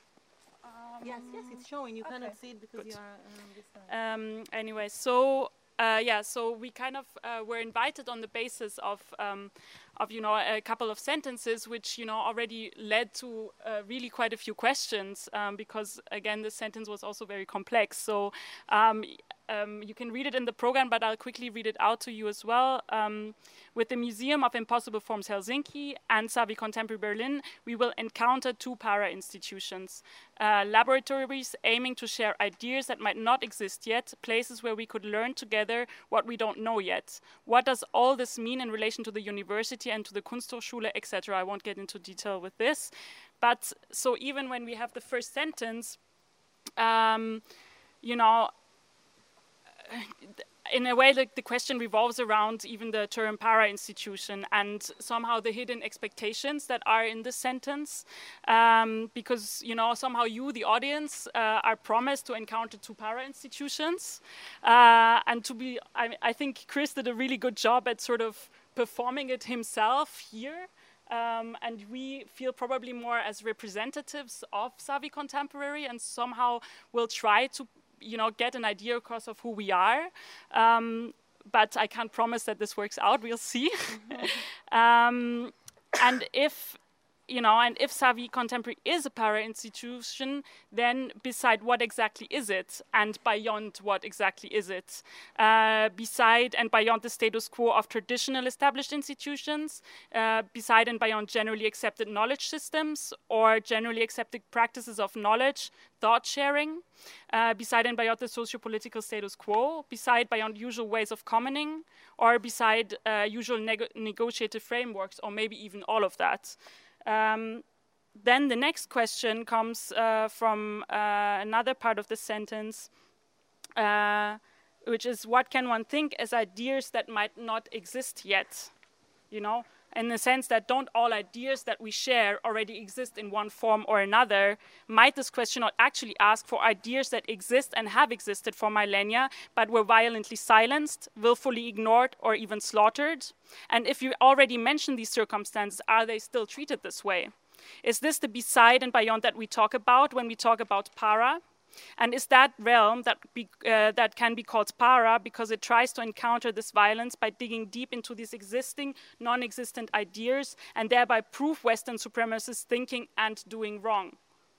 Yes, it's showing. You cannot see it because you are on this side. Anyway, so so we kind of were invited on the basis of a couple of sentences, which already led to really quite a few questions, because again the sentence was also very complex. So you can read it in the program, but I'll quickly read it out to you as well. With the Museum of Impossible Forms Helsinki and Savvy Contemporary Berlin, we will encounter two para-institutions, laboratories aiming to share ideas that might not exist yet, places where we could learn together what we don't know yet. What does all this mean in relation to the university and to the Kunsthochschule, etc.? I won't get into detail with this. But so even when we have the first sentence, in a way, the question revolves around even the term para-institution and somehow the hidden expectations that are in this sentence, because somehow you, the audience, are promised to encounter two para-institutions, and to be. I think Chris did a really good job at sort of performing it himself here. And we feel probably more as representatives of Savvy Contemporary, and somehow will try to get an idea across of who we are, but I can't promise that this works out. We'll see. And if Savvy Contemporary is a para-institution, then beside what exactly is it, and beyond what exactly is it? Beside and beyond the status quo of traditional established institutions, beside and beyond generally accepted knowledge systems, or generally accepted practices of knowledge, thought sharing, beside and beyond the socio-political status quo, beside beyond usual ways of commoning, or beside usual negotiative frameworks, or maybe even all of that. Then the next question comes from another part of the sentence, which is, what can one think as ideas that might not exist yet? In the sense that don't all ideas that we share already exist in one form or another? Might this question not actually ask for ideas that exist and have existed for millennia, but were violently silenced, willfully ignored, or even slaughtered? And if you already mentioned these circumstances, are they still treated this way? Is this the beside and beyond that we talk about when we talk about para? And is that realm that can be called para because it tries to encounter this violence by digging deep into these existing, non-existent ideas and thereby prove Western supremacist thinking and doing wrong?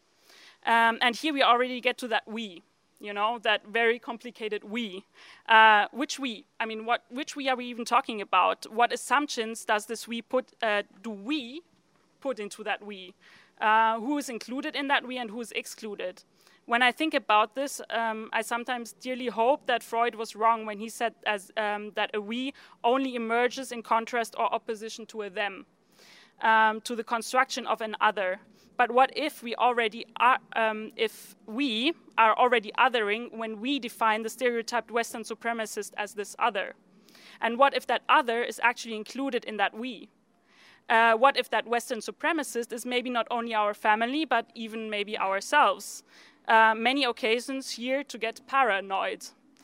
And here we already get to that we, that very complicated we. Which we? I mean, which we are we even talking about? What assumptions does this we do we put into that we? Who is included in that we and who is excluded? When I think about this, I sometimes dearly hope that Freud was wrong when he said that a we only emerges in contrast or opposition to a them, to the construction of an other. But what if we already are, if we are already othering when we define the stereotyped Western supremacist as this other? And what if that other is actually included in that we? What if that Western supremacist is maybe not only our family, but even maybe ourselves? Many occasions here to get paranoid.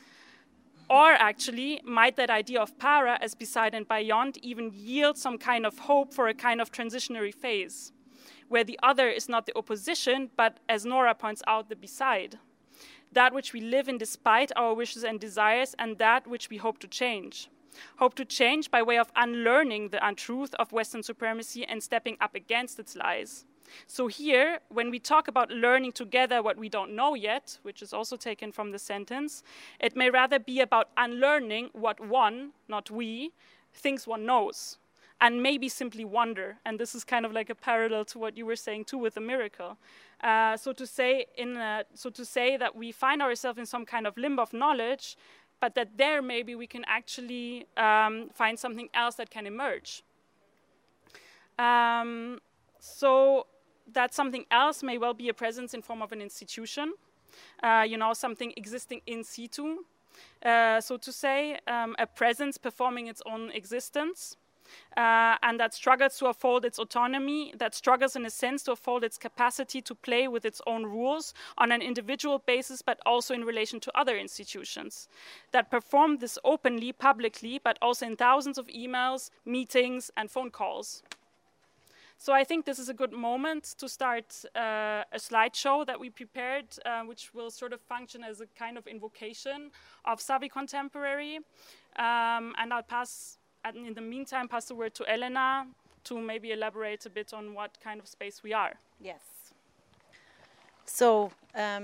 Or actually, might that idea of para as beside and beyond even yield some kind of hope for a kind of transitionary phase, where the other is not the opposition, but, as Nora points out, the beside, that which we live in despite our wishes and desires, and that which we hope to change. Hope to change by way of unlearning the untruth of Western supremacy and stepping up against its lies. So here, when we talk about learning together what we don't know yet, which is also taken from the sentence, it may rather be about unlearning what one, not we, thinks one knows, and maybe simply wonder. And this is kind of like a parallel to what you were saying too with the miracle. So to say that we find ourselves in some kind of limbo of knowledge, but that there maybe we can actually find something else that can emerge. So that something else may well be a presence in form of an institution, something existing in situ, so to say, a presence performing its own existence, and that struggles to uphold its autonomy, that struggles in a sense to uphold its capacity to play with its own rules on an individual basis, but also in relation to other institutions, that perform this openly, publicly, but also in thousands of emails, meetings, and phone calls. So I think this is a good moment to start a slideshow that we prepared, which will sort of function as a kind of invocation of Savvy Contemporary. And I'll in the meantime, pass the word to Elena to maybe elaborate a bit on what kind of space we are. Yes. So,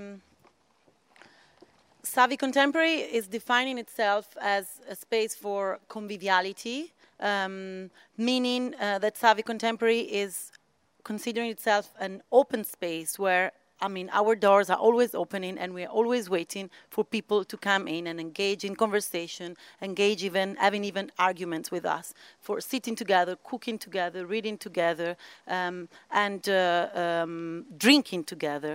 Savvy Contemporary is defining itself as a space for conviviality, meaning that Savvy Contemporary is considering itself an open space where, I mean, our doors are always opening and we're always waiting for people to come in and engage in conversation, having even arguments with us, for sitting together, cooking together, reading together, and drinking together.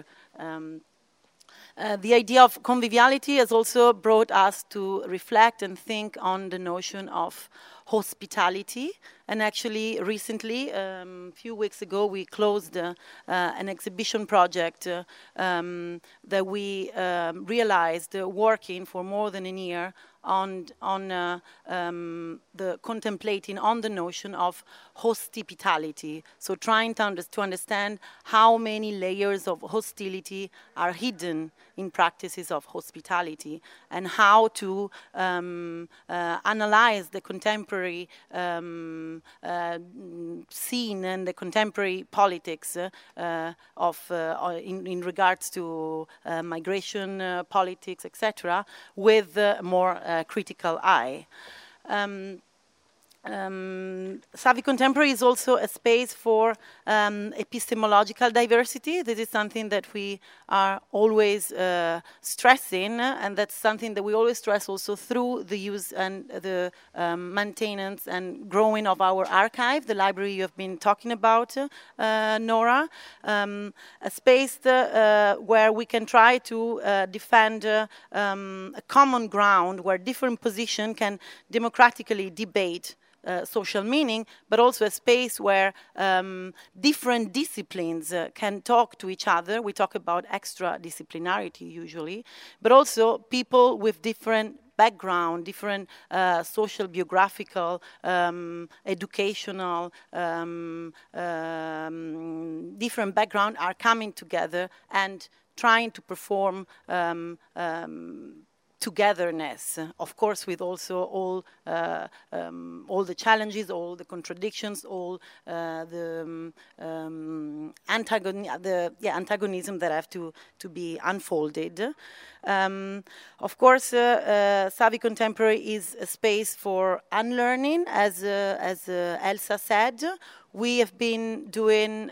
The idea of conviviality has also brought us to reflect and think on the notion of hospitality. And actually, recently, a few weeks ago, we closed an exhibition project that we realized working for more than a year on the contemplating on the notion of hospitality. So trying to understand how many layers of hostility are hidden in practices of hospitality, and how to analyze the contemporary scene and the contemporary politics in regards to migration politics, etc., with a more critical eye. Savvy Contemporary is also a space for epistemological diversity. This is something that we are always stressing, and that's something that we always stress also through the use and the maintenance and growing of our archive, the library you have been talking about, Nora. A space where we can try to defend a common ground where different positions can democratically debate social meaning, but also a space where different disciplines can talk to each other. We talk about extra-disciplinarity usually, but also people with different background, different social, biographical, educational, different background are coming together and trying to perform togetherness, of course, with also all the challenges, all the contradictions, all the antagonism that have to be unfolded. Of course, Savvy Contemporary is a space for unlearning, as Elsa said. We have been doing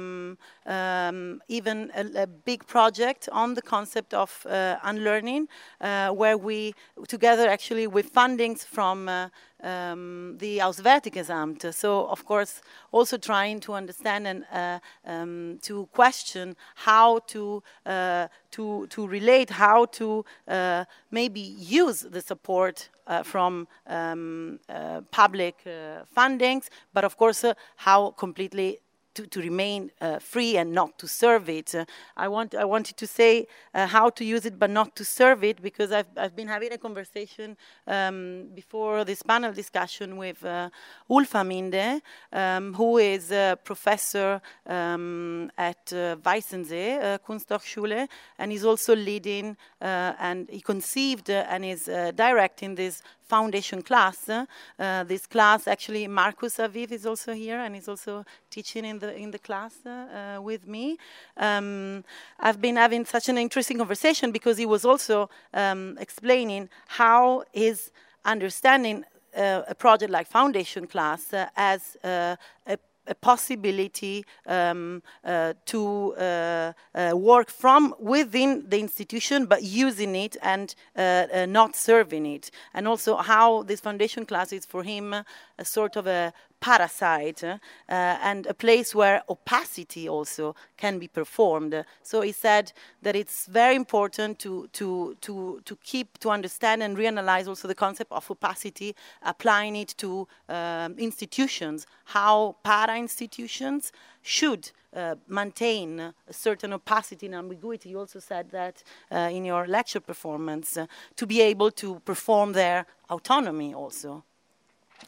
even a big project on the concept of unlearning, where we, together actually with fundings from the Auswärtiges Amt. So, of course, also trying to understand and to question how to relate, how to maybe use the support from public fundings, but of course how completely to remain free and not to serve it. I wanted to say how to use it but not to serve it, because I've been having a conversation before this panel discussion with Ulf Aminde, who is a professor at Weissensee Kunsthochschule, and is also leading and he conceived and is directing this foundation class. This class, actually, Marcus Aviv is also here and is also teaching in the class with me. I've been having such an interesting conversation because he was also explaining how his understanding a project like foundation class as a possibility to work from within the institution, but using it and not serving it. And also how this foundation class is for him a sort of a parasite and a place where opacity also can be performed. So he said that it's very important to keep, to understand and reanalyze also the concept of opacity, applying it to institutions, how para-institutions should maintain a certain opacity and ambiguity. You also said that in your lecture performance, to be able to perform their autonomy also.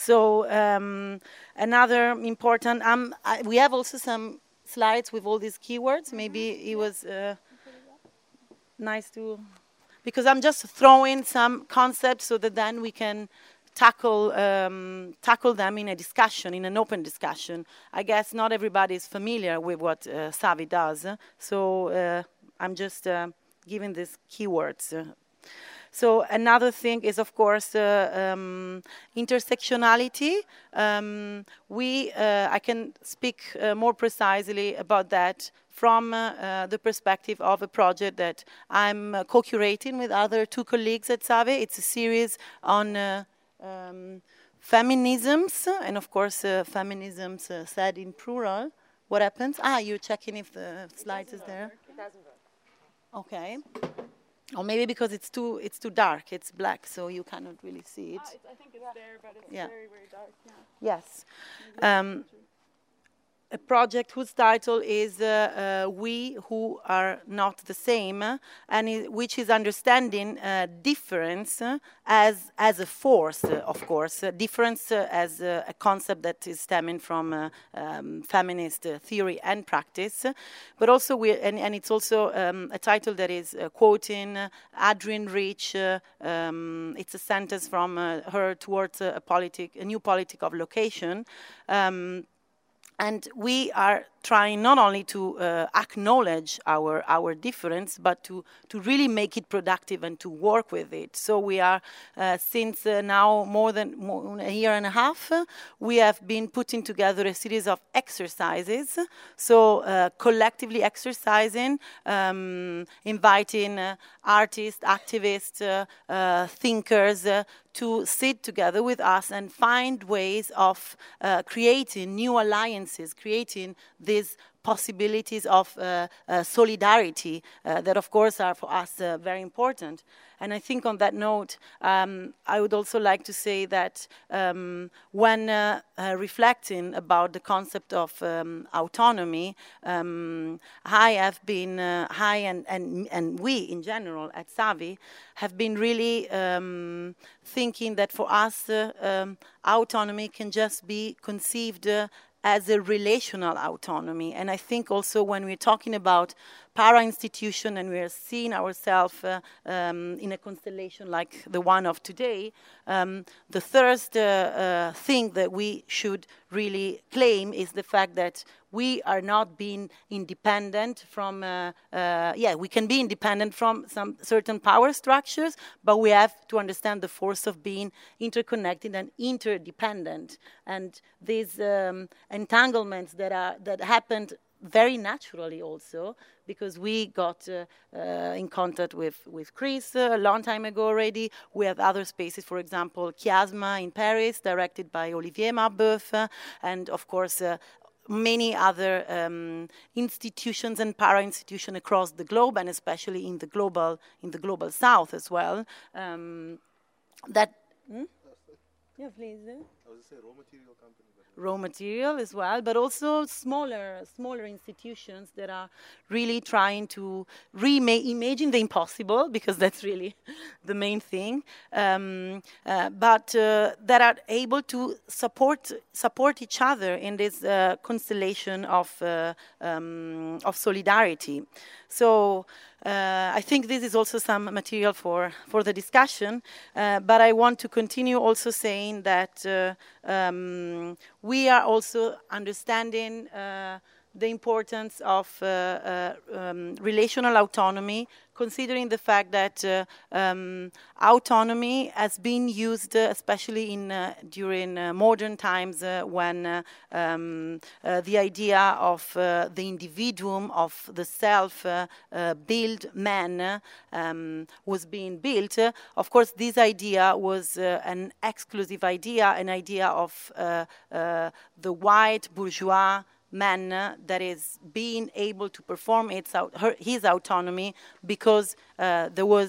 So another important, we have also some slides with all these keywords. Maybe it was nice to, because I'm just throwing some concepts so that then we can tackle them in a discussion, in an open discussion. I guess not everybody is familiar with what Savi does, so I'm just giving these keywords. So another thing is, of course, intersectionality. I can speak more precisely about that from the perspective of a project that I'm co-curating with other two colleagues at Savi. It's a series on feminisms, and of course, feminisms said in plural. What happens? You're checking if the slide is there. It doesn't work. Okay. Or maybe because it's too dark, it's black, so you cannot really see it. I think it's there, but it's very, very dark. Yeah. Yes. A project whose title is We Who Are Not the Same, and which is understanding difference as a force, of course. Difference as a concept that is stemming from feminist theory and practice. But also, and it's also a title that is quoting Adrienne Rich. It's a sentence from her towards a new politic of location. And we are trying not only to acknowledge our difference, but to really make it productive and to work with it. So we are, since now more than a year and a half, we have been putting together a series of exercises. So collectively exercising, inviting artists, activists, thinkers, to sit together with us and find ways of creating new alliances, creating these possibilities of solidarity that, of course, are for us very important. And I think on that note, I would also like to say that when reflecting about the concept of autonomy, I have been, and we in general at Savi have been really thinking that for us autonomy can just be conceived as a relational autonomy. And I think also when we're talking about para-institution and we're seeing ourselves in a constellation like the one of today, the first thing that we should really claim is the fact that we are not being independent from, we can be independent from some certain power structures, but we have to understand the force of being interconnected and interdependent. And these entanglements that happened very naturally also, because we got in contact with Chris a long time ago already. We have other spaces, for example, Chiasma in Paris, directed by Olivier Marbeuf, and of course many other institutions and para-institutions across the globe, and especially in the global south as well. Yeah, please. I was going to say raw material company. Raw material as well, but also smaller institutions that are really trying to reimagine the impossible, because that's really the main thing, but that are able to support each other in this constellation of solidarity. So I think this is also some material for the discussion, but I want to continue also saying that we are also understanding the importance of relational autonomy, considering the fact that autonomy has been used, especially during modern times, when the idea of the individuum, of the self-built man was being built. Of course, this idea was an exclusive idea, an idea of the white bourgeois man that is being able to perform his autonomy because there was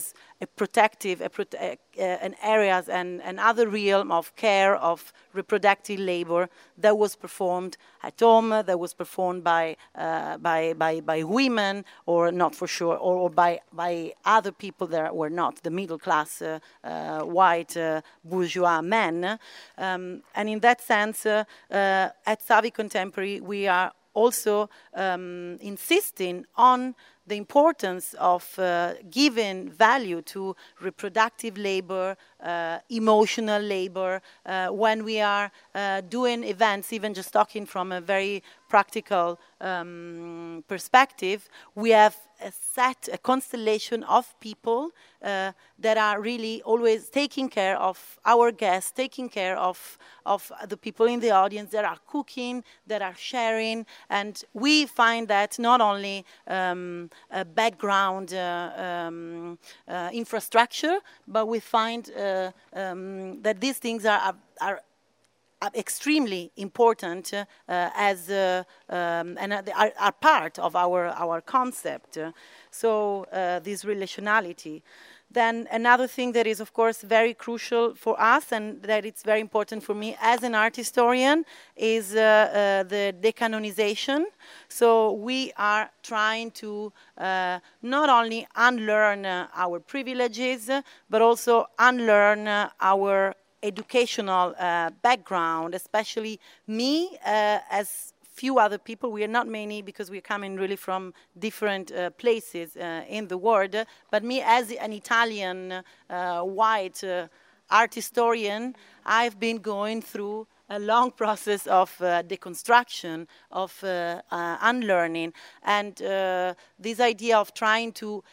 protective, an areas and other realm of care of reproductive labor that was performed at home, that was performed by women, or not for sure, or by other people that were not the middle class white bourgeois men. And in that sense, at Savi Contemporary, we are also insisting on the importance of giving value to reproductive labor, emotional labor, when we are doing events, even just talking from a very practical perspective. We have a constellation of people that are really always taking care of our guests, taking care of the people in the audience that are cooking, that are sharing, and we find that not only a background infrastructure, but we find that these things are extremely important and are part of our concept. So this relationality. Then another thing that is, of course, very crucial for us, and that it's very important for me as an art historian, is the decanonization. So we are trying to not only unlearn our privileges, but also unlearn our educational background, especially me as few other people. We are not many because we're coming really from different places in the world, but me as an Italian white art historian, I've been going through a long process of deconstruction, of unlearning, and this idea of trying to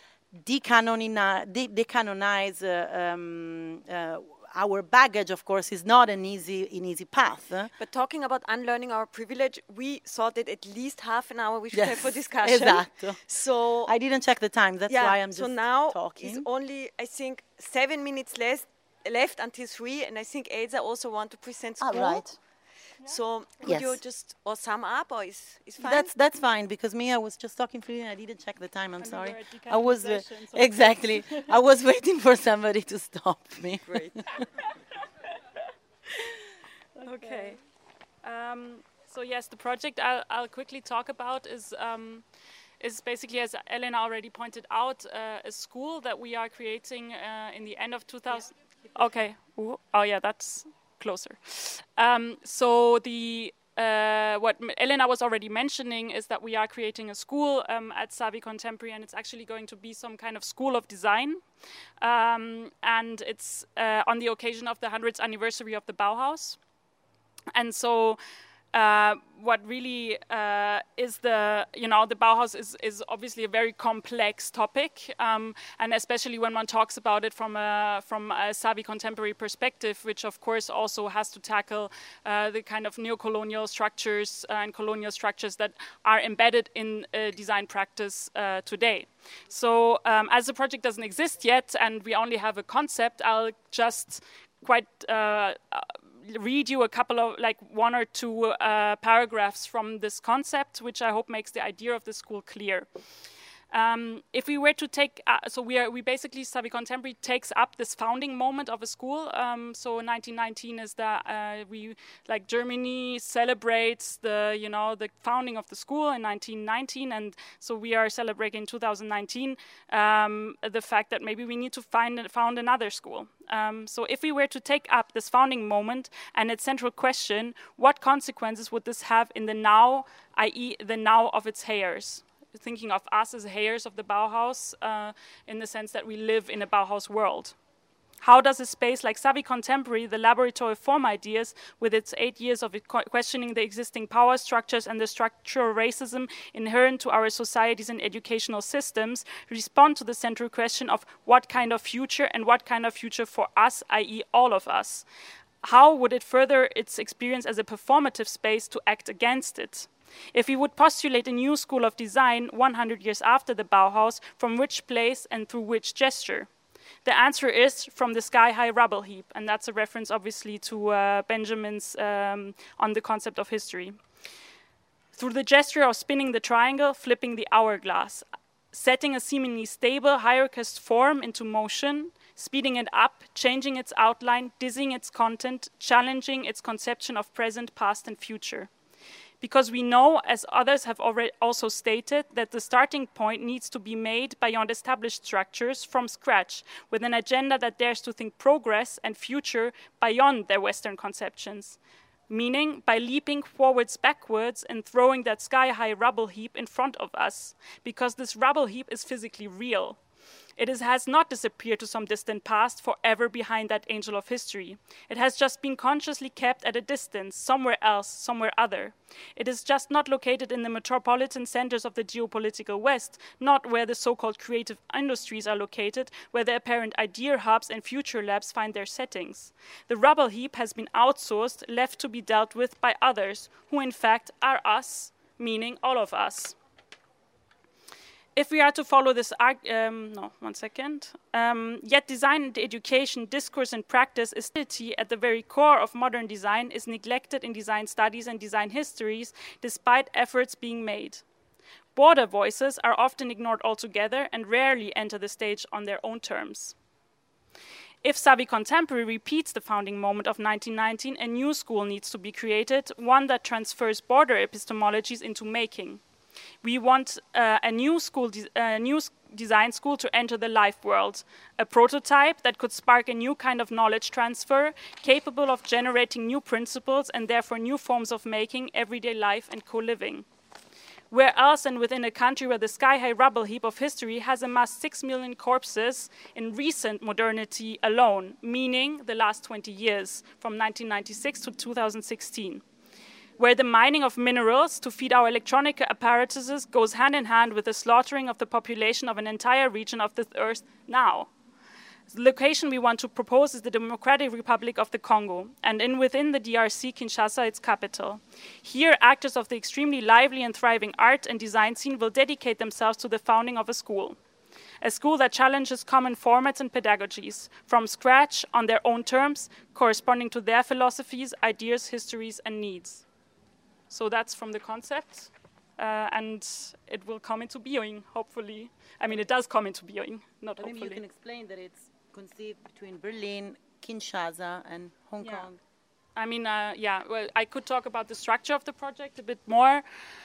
decanonize our baggage, of course, is not an easy path. But talking about unlearning our privilege, we thought that at least half an hour we should have for discussion. Exactly. So I didn't check the time. That's why I'm just talking. So now it's only, I think, 7 minutes left until 3, and I think Elsa also want to present school. Right. So could you just sum up, or is fine? That's fine, because I was just talking freely and I didn't check the time. I'm sorry. I was exactly. I was waiting for somebody to stop me. Great. Okay. So yes, the project I'll quickly talk about is basically, as Elena already pointed out, a school that we are creating in the end of 2000. Yeah. Okay. Ooh. Oh yeah, that's closer. So the what Elena was already mentioning is that we are creating a school at Savi Contemporary, and it's actually going to be some kind of school of design. And it's on the occasion of the 100th anniversary of the Bauhaus. And so what really is the Bauhaus is obviously a very complex topic, and especially when one talks about it from a Savi Contemporary perspective, which of course also has to tackle the kind of neo-colonial structures and colonial structures that are embedded in design practice today. So as the project doesn't exist yet and we only have a concept, I'll just read you a couple of, like, 1 or 2 paragraphs from this concept, which I hope makes the idea of the school clear. If we were to take, we basically, Savi Contemporary takes up this founding moment of a school. So 1919 is Germany celebrates the founding of the school in 1919, and so we are celebrating 2019 the fact that maybe we need to found another school. So if we were to take up this founding moment and its central question, what consequences would this have in the now, i.e. the now of its heirs? Thinking of us as heirs of the Bauhaus in the sense that we live in a Bauhaus world. How does a space like Savi Contemporary, the laboratory of form ideas, with its 8 years of questioning the existing power structures and the structural racism inherent to our societies and educational systems, respond to the central question of what kind of future and what kind of future for us, i.e. all of us? How would it further its experience as a performative space to act against it? If we would postulate a new school of design 100 years after the Bauhaus, from which place and through which gesture? The answer is from the sky-high rubble heap, and that's a reference obviously to Benjamin's on the concept of history. Through the gesture of spinning the triangle, flipping the hourglass. setting a seemingly stable hierarchist form into motion, speeding it up, changing its outline, dizzying its content, challenging its conception of present, past, and future. Because we know, as others have already also stated, that the starting point needs to be made beyond established structures from scratch, with an agenda that dares to think progress and future beyond their Western conceptions. Meaning, by leaping forwards backwards and throwing that sky-high rubble heap in front of us, because this rubble heap is physically real. It has not disappeared to some distant past forever behind that angel of history. It has just been consciously kept at a distance, somewhere else, somewhere other. It is just not located in the metropolitan centers of the geopolitical West, not where the so-called creative industries are located, where the apparent idea hubs and future labs find their settings. The rubble heap has been outsourced, left to be dealt with by others, who in fact are us, meaning all of us. If we are to follow this, yet design and education, discourse and practice is at the very core of modern design is neglected in design studies and design histories, despite efforts being made. Border voices are often ignored altogether and rarely enter the stage on their own terms. If Savvy Contemporary repeats the founding moment of 1919, a new school needs to be created, one that transfers border epistemologies into making. We want a new design school to enter the life world, a prototype that could spark a new kind of knowledge transfer, capable of generating new principles and therefore new forms of making, everyday life and co-living. Where else and within a country where the sky-high rubble heap of history has amassed 6 million corpses in recent modernity alone, meaning the last 20 years, from 1996 to 2016. Where the mining of minerals to feed our electronic apparatuses goes hand in hand with the slaughtering of the population of an entire region of this earth now. The location we want to propose is the Democratic Republic of the Congo, and within the DRC, Kinshasa, its capital. Here, actors of the extremely lively and thriving art and design scene will dedicate themselves to the founding of a school that challenges common formats and pedagogies, from scratch, on their own terms, corresponding to their philosophies, ideas, histories, and needs. So that's from the concept, and it will come into being, hopefully. I mean, it does come into being, not hopefully. Maybe you can explain that it's conceived between Berlin, Kinshasa, and Hong Kong. I mean, well, I could talk about the structure of the project a bit more,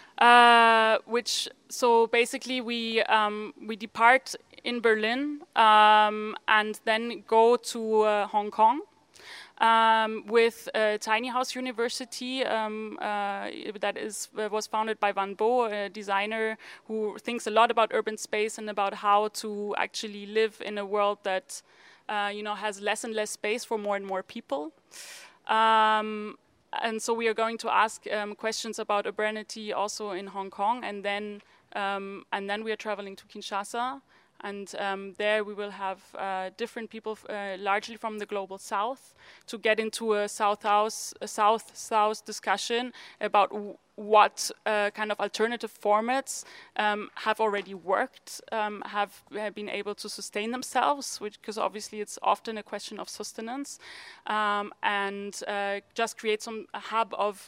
so basically we depart in Berlin and then go to Hong Kong. With Tiny House University that was founded by Van Bo, a designer who thinks a lot about urban space and about how to actually live in a world that has less and less space for more and more people. And so we are going to ask questions about urbanity also in Hong Kong, and then we are traveling to Kinshasa. And there we will have different people, largely from the global south, to get into a south-south discussion about what kind of alternative formats have already worked, have been able to sustain themselves, because obviously it's often a question of sustenance, and just create some hub of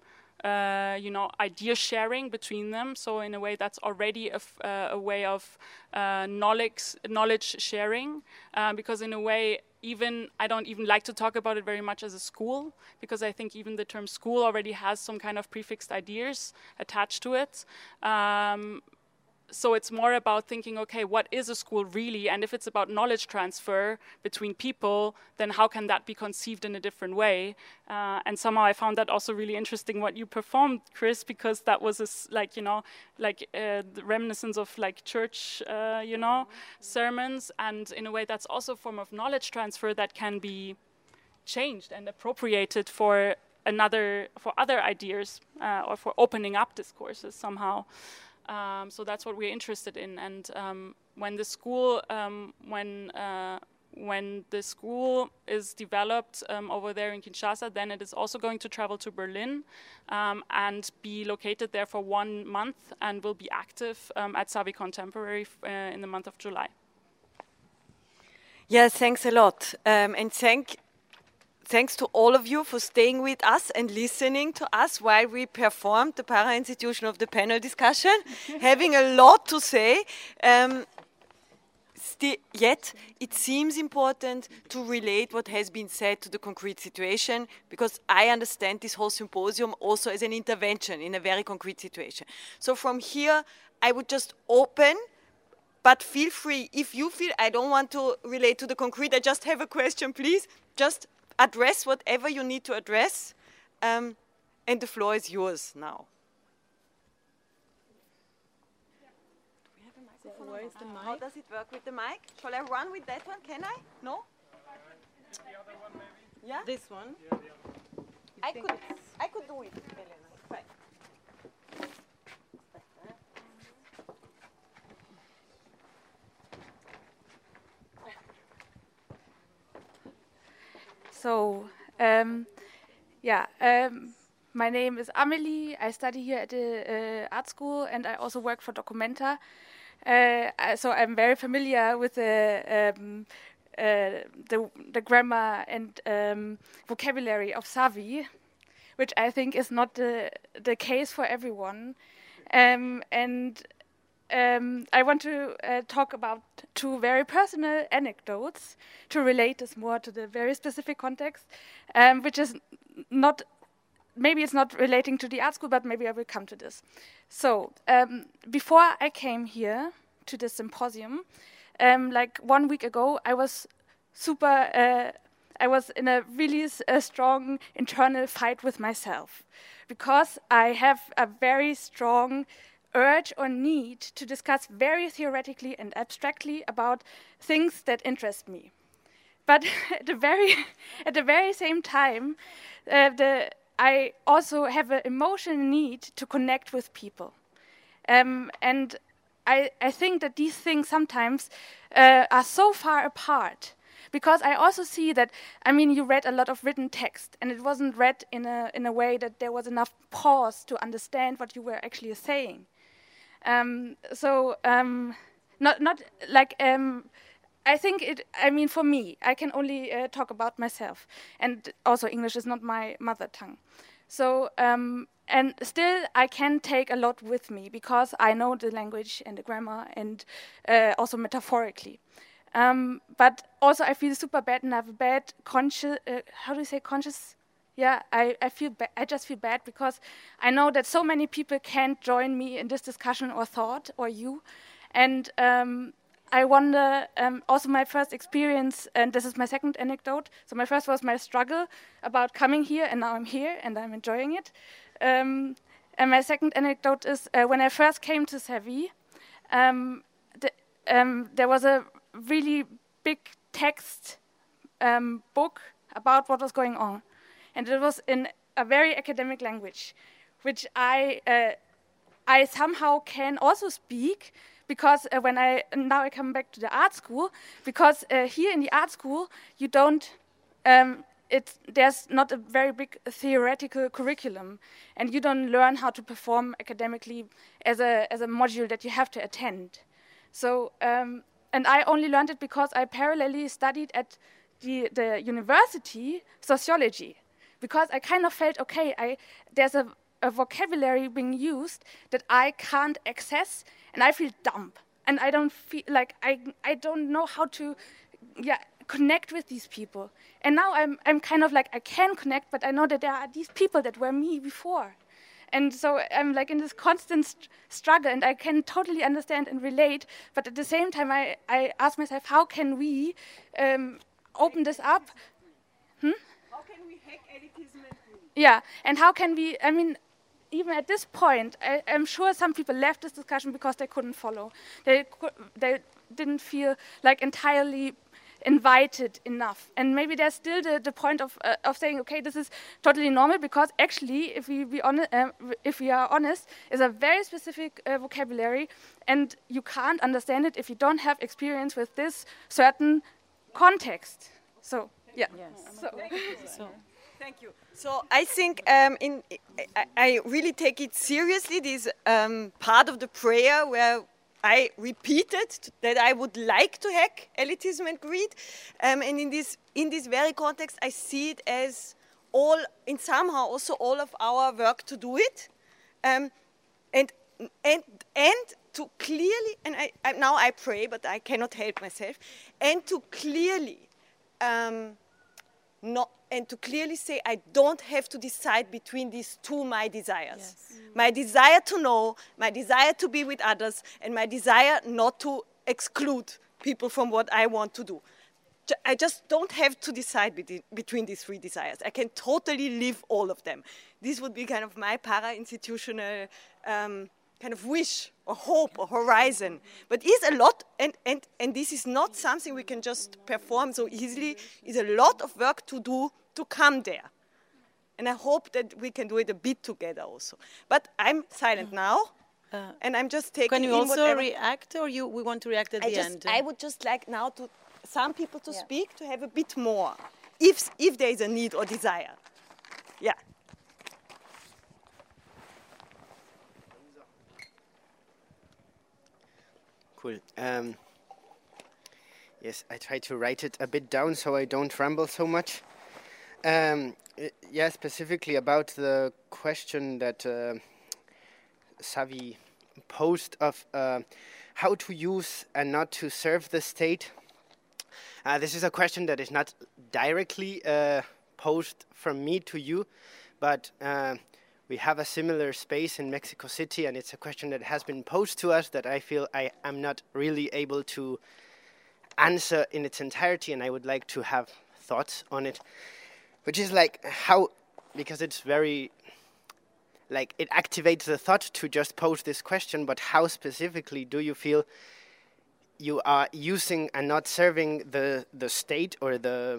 idea sharing between them. So in a way, that's already a way of knowledge sharing, because in a way, I don't even like to talk about it very much as a school, because I think even the term school already has some kind of prefixed ideas attached to it. So it's more about thinking, okay, what is a school really? And if it's about knowledge transfer between people, then how can that be conceived in a different way? And somehow I found that also really interesting what you performed, Chris, because that was the reminiscence of like church, sermons. And in a way, that's also a form of knowledge transfer that can be changed and appropriated for other ideas or for opening up discourses somehow. So that's what we're interested in, and when the school is developed over there in Kinshasa, then it is also going to travel to Berlin and be located there for 1 month, and will be active at Savvy Contemporary in the month of July. Yeah, thanks a lot, and thank thanks to all of you for staying with us and listening to us while we performed the para-institution of the panel discussion, having a lot to say. Yet, it seems important to relate what has been said to the concrete situation, because I understand this whole symposium also as an intervention in a very concrete situation. So from here, I would just open, but feel free. If you feel I don't want to relate to the concrete, I just have a question, please, just address whatever you need to address, and the floor is yours now. Where is the mic? How does it work with the mic? Shall I run with that one? Can I? No? The other one maybe? Yeah? This one? Yeah, the other one. I could do it, Elena. Fine. So, my name is Amelie. I study here at the art school, and I also work for Documenta. So I'm very familiar with the grammar and vocabulary of Savi, which I think is not the case for everyone. I want to talk about two very personal anecdotes to relate this more to the very specific context, which is not, maybe it's not relating to the art school, but maybe I will come to this. So, before I came here to this symposium, like 1 week ago, I was I was in a really strong internal fight with myself, because I have a very strong urge or need to discuss very theoretically and abstractly about things that interest me. But at the very same time, I also have an emotional need to connect with people. And I think that these things sometimes are so far apart, because I also see that, I mean, you read a lot of written text, and it wasn't read in a way that there was enough pause to understand what you were actually saying. Not like, I think I mean, for me, I can only talk about myself, and also English is not my mother tongue. So, and still I can take a lot with me, because I know the language and the grammar, and also metaphorically. But also I feel super bad, and I have a bad conscious, how do you say conscious? Yeah, I feel I just feel bad, because I know that so many people can't join me in this discussion or thought, or you. And I wonder, also my first experience, and this is my second anecdote. So my first was my struggle about coming here, and now I'm here, and I'm enjoying it. And my second anecdote is when I first came to Savi, there was a really big text book about what was going on. And it was in a very academic language, which I somehow can also speak, because now I come back to the art school, because here in the art school you don't, there's not a very big theoretical curriculum, and you don't learn how to perform academically as a module that you have to attend. So, and I only learned it because I parallelly studied at the university sociology. Because I kind of felt, okay, there's a vocabulary being used that I can't access, and I feel dumb. And I don't feel like, I don't know how to connect with these people. And now I'm kind of like, I can connect, but I know that there are these people that were me before. And so I'm like in this constant struggle, and I can totally understand and relate, but at the same time I ask myself, how can we open this up? How can we hack elitism? Yeah, and how can we, I mean, even at this point, I'm sure some people left this discussion because they couldn't follow. They didn't feel like entirely invited enough. And maybe there's still the point of saying, okay, this is totally normal, because actually, if we are honest, it's a very specific vocabulary, and you can't understand it if you don't have experience with this certain context. So, yeah. Yes. Thank you. So I think I really take it seriously, this part of the prayer where I repeated that I would like to hack elitism and greed, and in this very context, I see it as somehow also all of our work to do it, and to clearly, and now I pray, but I cannot help myself, and to clearly say I don't have to decide between these two my desires. Yes. My desire to know, my desire to be with others, and my desire not to exclude people from what I want to do. I just don't have to decide between these three desires. I can totally live all of them. This would be kind of my para-institutional kind of wish or hope or horizon. But it's a lot, and this is not something we can just perform so easily. It's a lot of work to do to come there. And I hope that we can do it a bit together also. But I'm silent now, and I'm just taking Can you in also react, or we want to react at the end? I would just like now to some people to speak, to have a bit more, if there is a need or desire. Yeah. Cool. Yes, I try to write it a bit down so I don't ramble so much. Yeah, specifically about the question that Savi posed of how to use and not to serve the state. This is a question that is not directly posed from me to you, but we have a similar space in Mexico City, and it's a question that has been posed to us that I feel I am not really able to answer in its entirety, and I would like to have thoughts on it, which is like how, because it's very, like it activates the thought to just pose this question, but how specifically do you feel you are using and not serving the state or the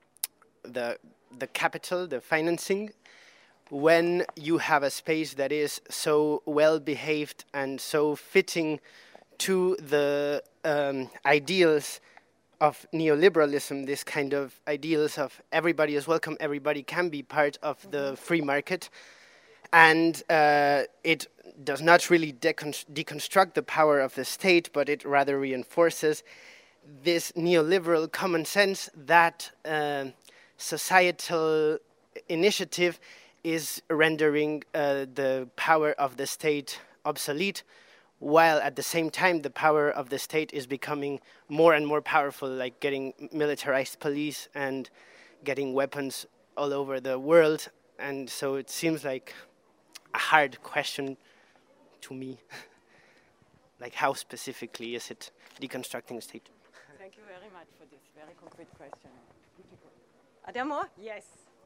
capital, the financing, when you have a space that is so well behaved and so fitting to the ideals of neoliberalism, this kind of ideals of everybody is welcome, everybody can be part of the free market, and it does not really deconstruct the power of the state, but it rather reinforces this neoliberal common sense that societal initiative is rendering the power of the state obsolete, while at the same time the power of the state is becoming more and more powerful, like getting militarized police and getting weapons all over the world. And so it seems like a hard question to me. Like, how specifically is it deconstructing the state? Thank you very much for this very concrete question. Are there more? Yes.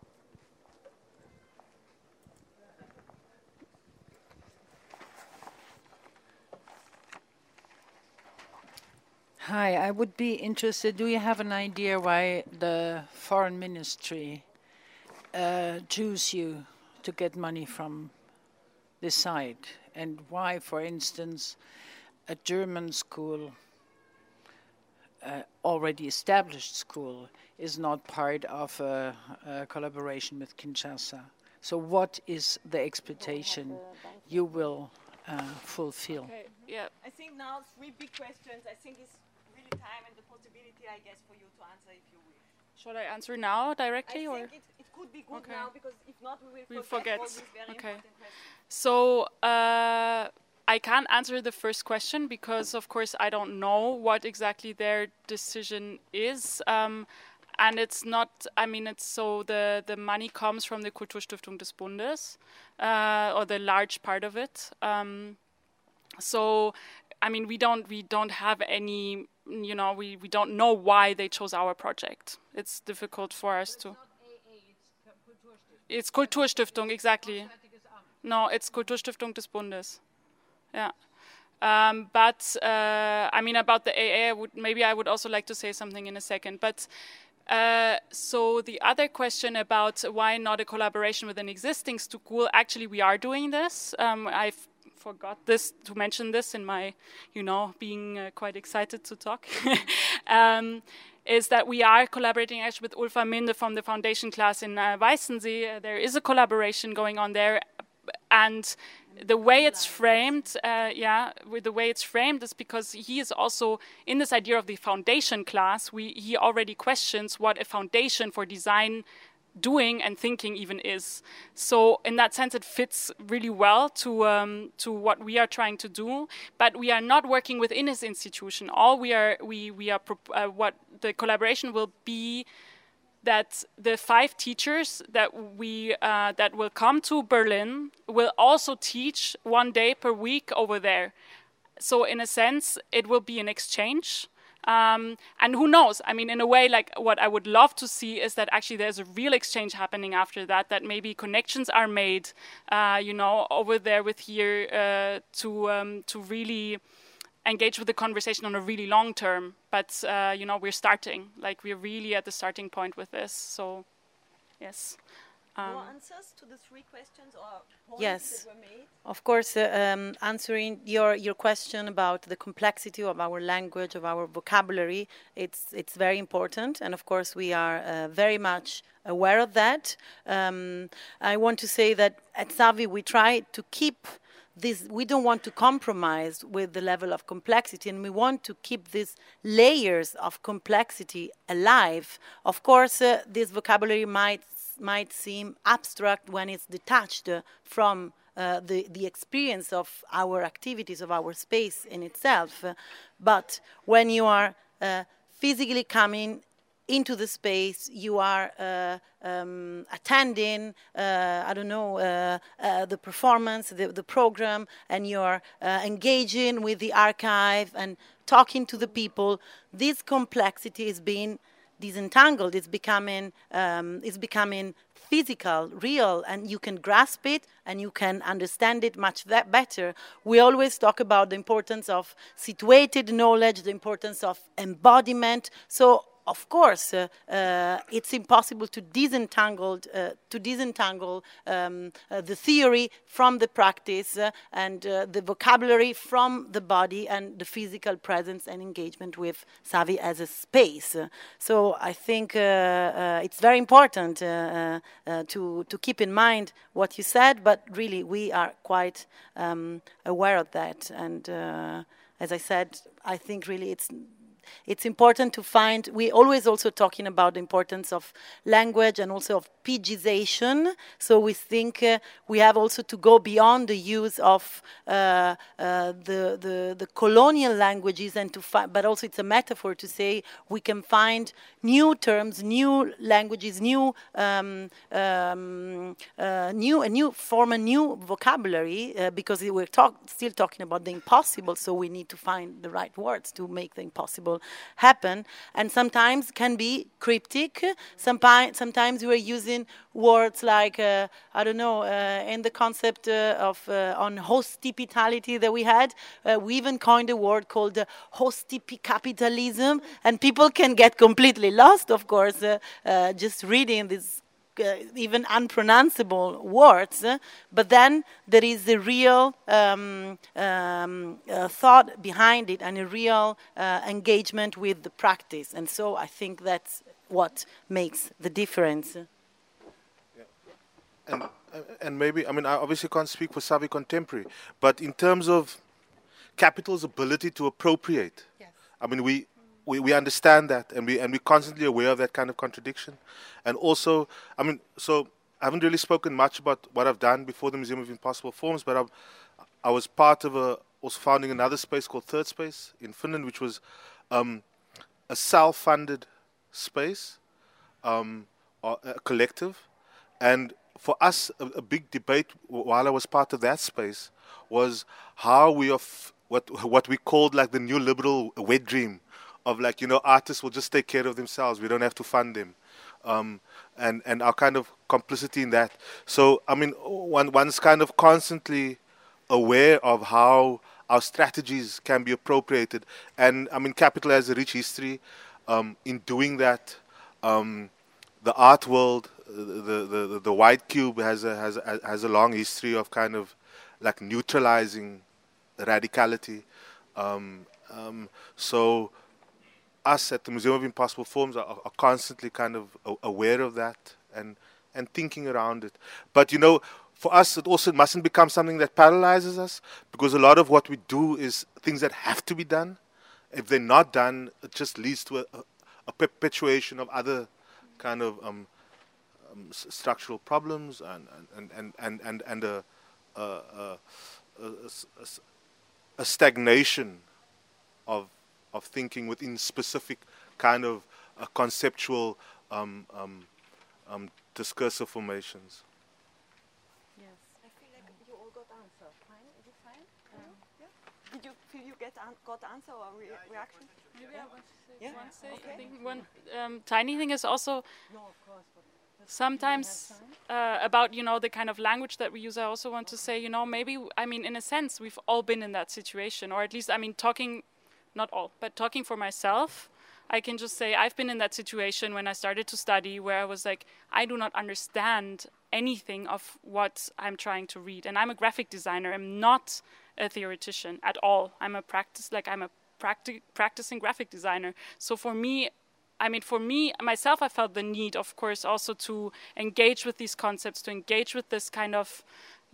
Hi, I would be interested, do you have an idea why the foreign ministry choose you to get money from this side? And why, for instance, a German school, already established school, is not part of a collaboration with Kinshasa? So what is the expectation you will fulfill? Okay, yeah. I think now 3 big questions. I think it's really time and the possibility, I guess, for you to answer if you wish. Should I answer now directly? I think it could be good now, because if not, we will forget. all these very important questions. So I can't answer the first question because, of course, I don't know what exactly their decision is. And it's not, I mean, it's so the money comes from the Kulturstiftung des Bundes, or the large part of it. So, I mean, we don't have any, you know, we don't know why they chose our project. It's difficult for us to. It's Kulturstiftung, exactly. No, it's Kulturstiftung des Bundes. Yeah. But, I mean, about the AA, I would also like to say something in a second. But, so the other question about why not a collaboration with an existing school, actually we are doing this. I've forgot to mention this in my, you know, being quite excited to talk. Is that we are collaborating actually with Ulfa Minde from the foundation class in Weißensee. There is a collaboration going on there. And the way it's framed, with the way it's framed is because he is also in this idea of the foundation class. He already questions what a foundation for design doing and thinking even is. So in that sense, it fits really well to what we are trying to do. But we are not working within his institution. All what the collaboration will be, that the 5 teachers that will come to Berlin will also teach 1 day per week over there. So in a sense, it will be an exchange. And who knows? I mean, in a way, like what I would love to see is that actually there's a real exchange happening after that. That maybe connections are made, over there with here to really engage with the conversation on a really long term. But we're starting. Like we're really at the starting point with this. So, yes. More answers to the 3 questions or points Yes. that were made? Of course, answering your question about the complexity of our language, of our vocabulary, it's very important, and of course we are very much aware of that. I want to say that at Savi we try to keep this. We don't want to compromise with the level of complexity, and we want to keep these layers of complexity alive. Of course, this vocabulary might seem abstract when it's detached from the experience of our activities, of our space in itself. But when you are physically coming into the space, you are attending, the performance, the program, and you're engaging with the archive and talking to the people. This complexity is being disentangled. It's becoming physical, real, and you can grasp it and you can understand it much better. We always talk about the importance of situated knowledge, the importance of embodiment. So of course, it's impossible to disentangle the theory from the practice and the vocabulary from the body and the physical presence and engagement with Savi as a space. So I think it's very important to keep in mind what you said, but really we are quite aware of that. And as I said, I think really it's important to find. We always also talking about the importance of language and also of Pidgization. So we think we have also to go beyond the use of the colonial languages and to find, but also it's a metaphor to say we can find new terms, new languages, new form, a new vocabulary because we're still talking about the impossible. So we need to find the right words to make the impossible happen, and sometimes can be cryptic. Sometimes we are using words like in the concept of on hospitality that we had, we even coined a word called hostipicapitalism, and people can get completely lost, of course, just reading these even unpronounceable words, but then there is a real thought behind it and a real engagement with the practice, and so I think that's what makes the difference. And maybe, I mean, I obviously can't speak for Savi Contemporary, but in terms of capital's ability to appropriate, yes. I mean, we understand that, and we're constantly aware of that kind of contradiction. And also, I mean, so I haven't really spoken much about what I've done before the Museum of Impossible Forms, but I was part of also founding another space called Third Space in Finland, which was a self-funded space, or a collective. And for us, a big debate while I was part of that space was how we what we called like the new liberal wet dream of like, artists will just take care of themselves. We don't have to fund them. And our kind of complicity in that. So, I mean, one's kind of constantly aware of how our strategies can be appropriated. And, I mean, Capital has a rich history in doing that. The art world, the White Cube has a long history of kind of like neutralizing radicality. So us at the Museum of Impossible Forms are constantly kind of aware of that and thinking around it. But for us, it also mustn't become something that paralyzes us, because a lot of what we do is things that have to be done. If they're not done, it just leads to a perpetuation of other kind of structural problems and a stagnation of thinking within specific kind of conceptual discursive formations. Yes. I feel like you all got answer. Fine? Is it fine? Yeah. Did you feel you got answer or reaction? Maybe I want to say Yeah. one thing. Okay. I think one tiny thing is also sometimes about the kind of language that we use. I also want to say maybe in a sense we've all been in that situation, or at least talking, not all, but talking for myself. I can just say I've been in that situation when I started to study, where I was like, I do not understand anything of what I'm trying to read, and I'm a graphic designer. I'm not a theoretician at all. I'm a practicing graphic designer. So for me, myself, I felt the need, of course, also to engage with these concepts, to engage with this kind of,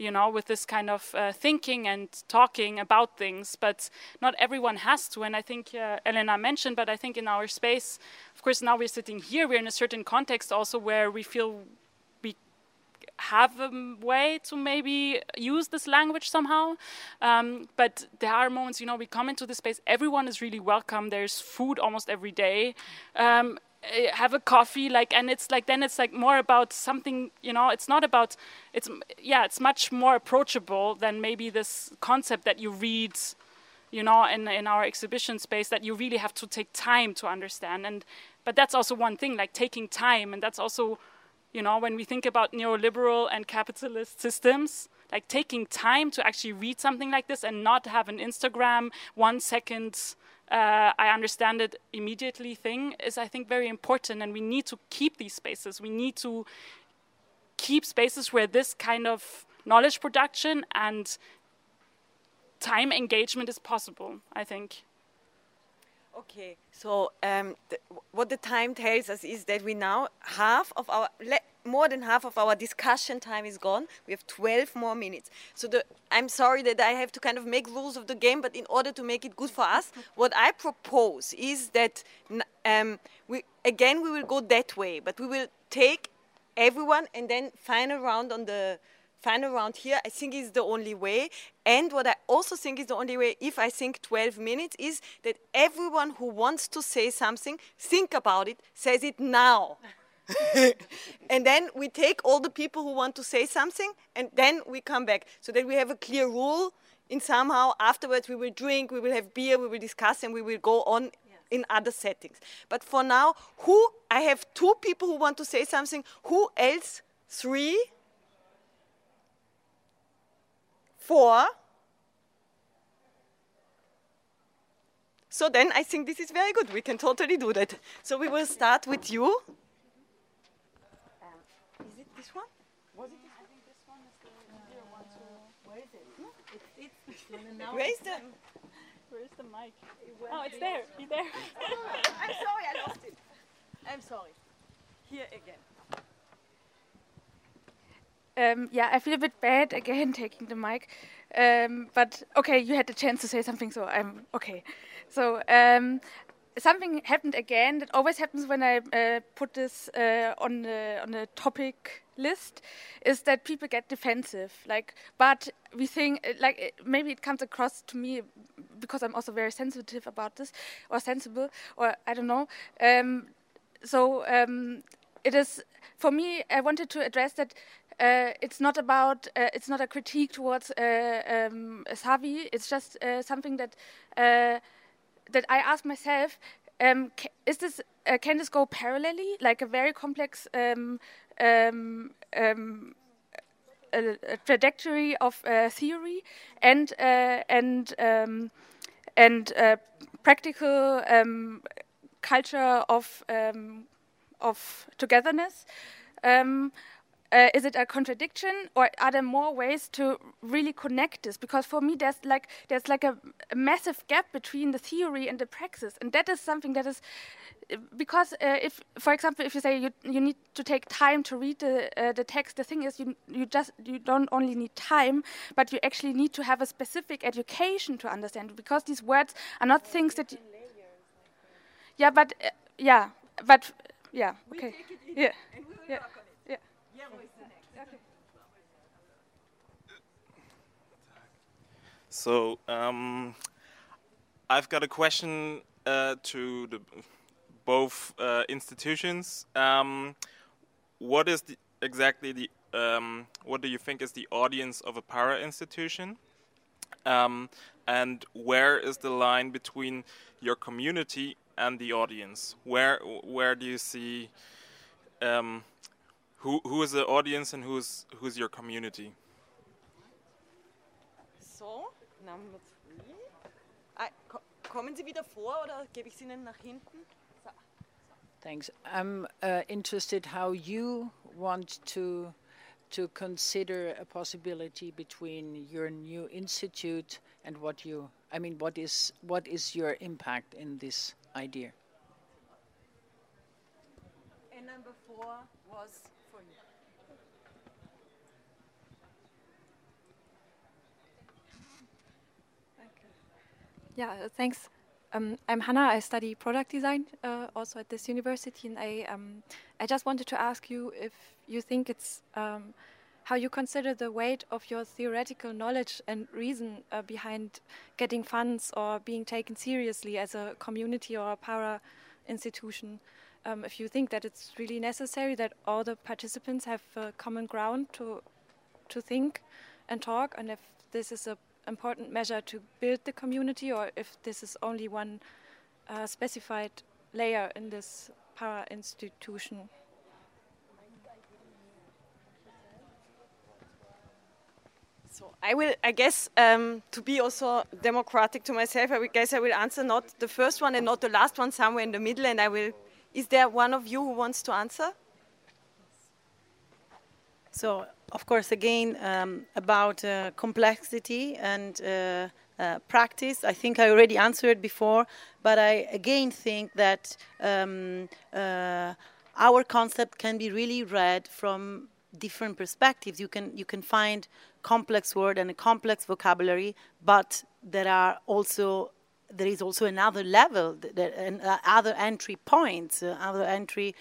thinking and talking about things. But not everyone has to. And I think Elena mentioned, but I think in our space, of course, now we're sitting here, we're in a certain context also where we feel we have a way to maybe use this language somehow. But there are moments, we come into the space, everyone is really welcome. There's food almost every day. Have a coffee, and it's then it's more about something, it's not about, it's much more approachable than maybe this concept that you read, in our exhibition space, that you really have to take time to understand. But that's also one thing, taking time, and that's also, when we think about neoliberal and capitalist systems, taking time to actually read something like this and not have an Instagram 1 second I understand it immediately thing is, I think, very important, and we need to keep these spaces. We need to keep spaces where this kind of knowledge production and time engagement is possible, I think. Okay, so what the time tells us is that we now more than half of our discussion time is gone. We have 12 more minutes. So I'm sorry that I have to kind of make rules of the game, but in order to make it good for us, what I propose is that we will go that way, but we will take everyone and then final round here, I think is the only way. And what I also think is the only way, if I think 12 minutes, is that everyone who wants to say something, think about it, says it now. And then we take all the people who want to say something, and then we come back, so that we have a clear rule. And somehow afterwards we will drink, we will have beer, we will discuss, and we will go on in other settings. But for now, I have 2 people who want to say something. Who else? 3? 4? So then I think this is very good. We can totally do that. So we will start with you. Is it this one? Was it this one? I think this one is the easier one to... Where is it? No, Where is the mic? Oh, it's there. He's there. I'm sorry, I lost it. I'm sorry. Here again. I feel a bit bad again taking the mic, but okay, you had the chance to say something, so I'm okay. So something happened again that always happens when I put this on the topic list, is that people get defensive. But we think maybe it comes across to me because I'm also very sensitive about this, or sensible, or I don't know. It is for me. I wanted to address that. It's not about. It's not a critique towards Savi. It's just something that that I ask myself: is this? Can this go parallelly, like a very complex a trajectory of theory and practical culture of togetherness? is it a contradiction, or are there more ways to really connect this? Because for me, there's like a massive gap between the theory and the praxis, and that is something that is because if, for example, if you say you need to take time to read the text, the thing is you don't only need time, but you actually need to have a specific education to understand it, because these words are not things that. Okay. Yeah. So I've got a question to both institutions. What is exactly the what do you think is the audience of a para institution? And where is the line between your community and the audience? Where do you see who is the audience and who's your community? So, Number 3. Kommen Sie wieder vor oder gebe ich es Ihnen nach hinten? So. Thanks. I'm interested how you want to consider a possibility between your new institute and what is your impact in this idea? And number 4 was for you. Yeah, thanks. I'm Hannah. I study product design also at this university, and I just wanted to ask you if you think it's how you consider the weight of your theoretical knowledge and reason behind getting funds or being taken seriously as a community or a para institution. If you think that it's really necessary that all the participants have common ground to think and talk, and if this is a important measure to build the community, or if this is only one specified layer in this para institution. So I guess to be also democratic to myself, I will answer not the first one and not the last one, somewhere in the middle, and is there one of you who wants to answer? So, of course, again, about complexity and practice, I think I already answered before, but I again think that our concept can be really read from different perspectives. You can find complex word and a complex vocabulary, but there is also another level, other entry points, other entry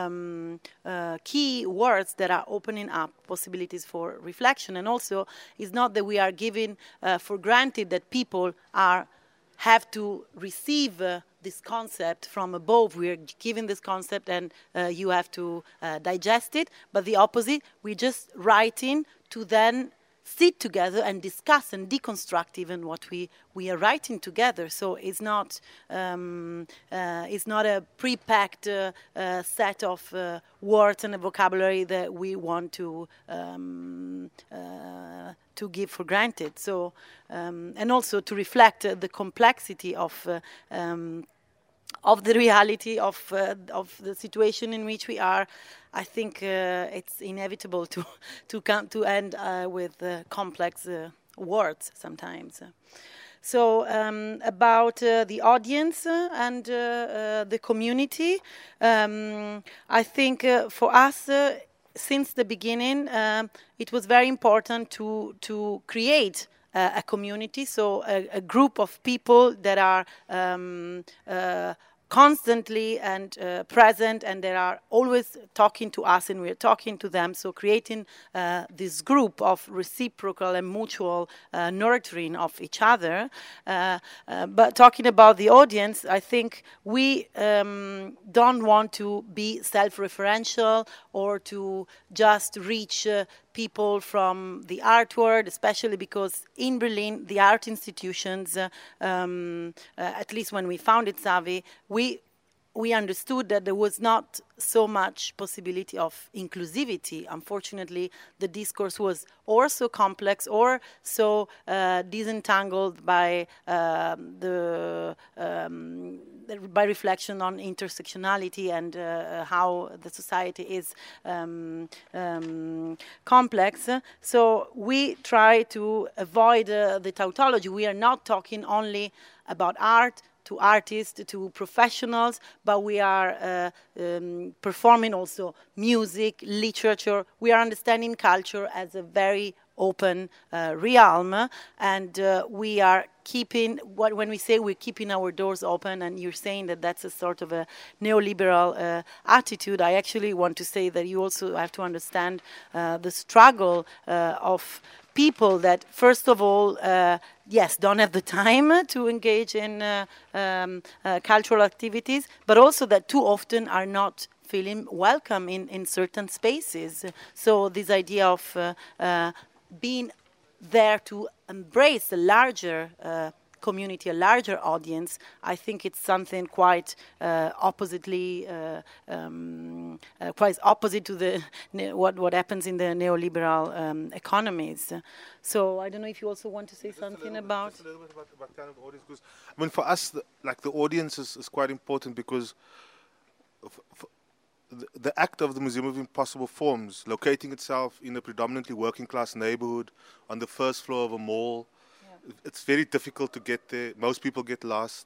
key words that are opening up possibilities for reflection. And also, it's not that we are giving for granted that people have to receive this concept from above. We are giving this concept and you have to digest it, but the opposite, we're just writing to then sit together and discuss and deconstruct even what we are writing together. So it's not a pre-packed set of words and a vocabulary that we want to give for granted. So and also to reflect the complexity of the reality of the situation in which we are. I think it's inevitable to come to end with complex words sometimes. So about the audience and the community, I think for us, since the beginning, it was very important to create a community, so a group of people that are constantly and present, and they are always talking to us and we're talking to them, so creating this group of reciprocal and mutual nurturing of each other. But talking about the audience, I think we don't want to be self-referential or to just reach people from the art world, especially because in Berlin, the art institutions, at least when we founded Savi, we we understood that there was not so much possibility of inclusivity. Unfortunately, the discourse was or so complex or so disentangled by by reflection on intersectionality and how the society is complex. So we try to avoid the tautology. We are not talking only about art, to artists, to professionals, but we are performing also music, literature. We are understanding culture as a very open realm, and we are keeping, when we say we're keeping our doors open, and you're saying that that's a sort of a neoliberal attitude, I actually want to say that you also have to understand the struggle of people that, first of all, yes, don't have the time to engage in cultural activities, but also that too often are not feeling welcome in certain spaces. So this idea of being there to embrace a larger community, a larger audience, I think it's something quite oppositely, quite opposite to the what happens in the neoliberal economies. So I don't know if you also want to say something about. Just a little bit about kind of audience, because I mean, for us, the audience is quite important, because the act of the Museum of Impossible Forms, locating itself in a predominantly working class neighborhood on the first floor of a mall. It's very difficult to get there. Most people get lost,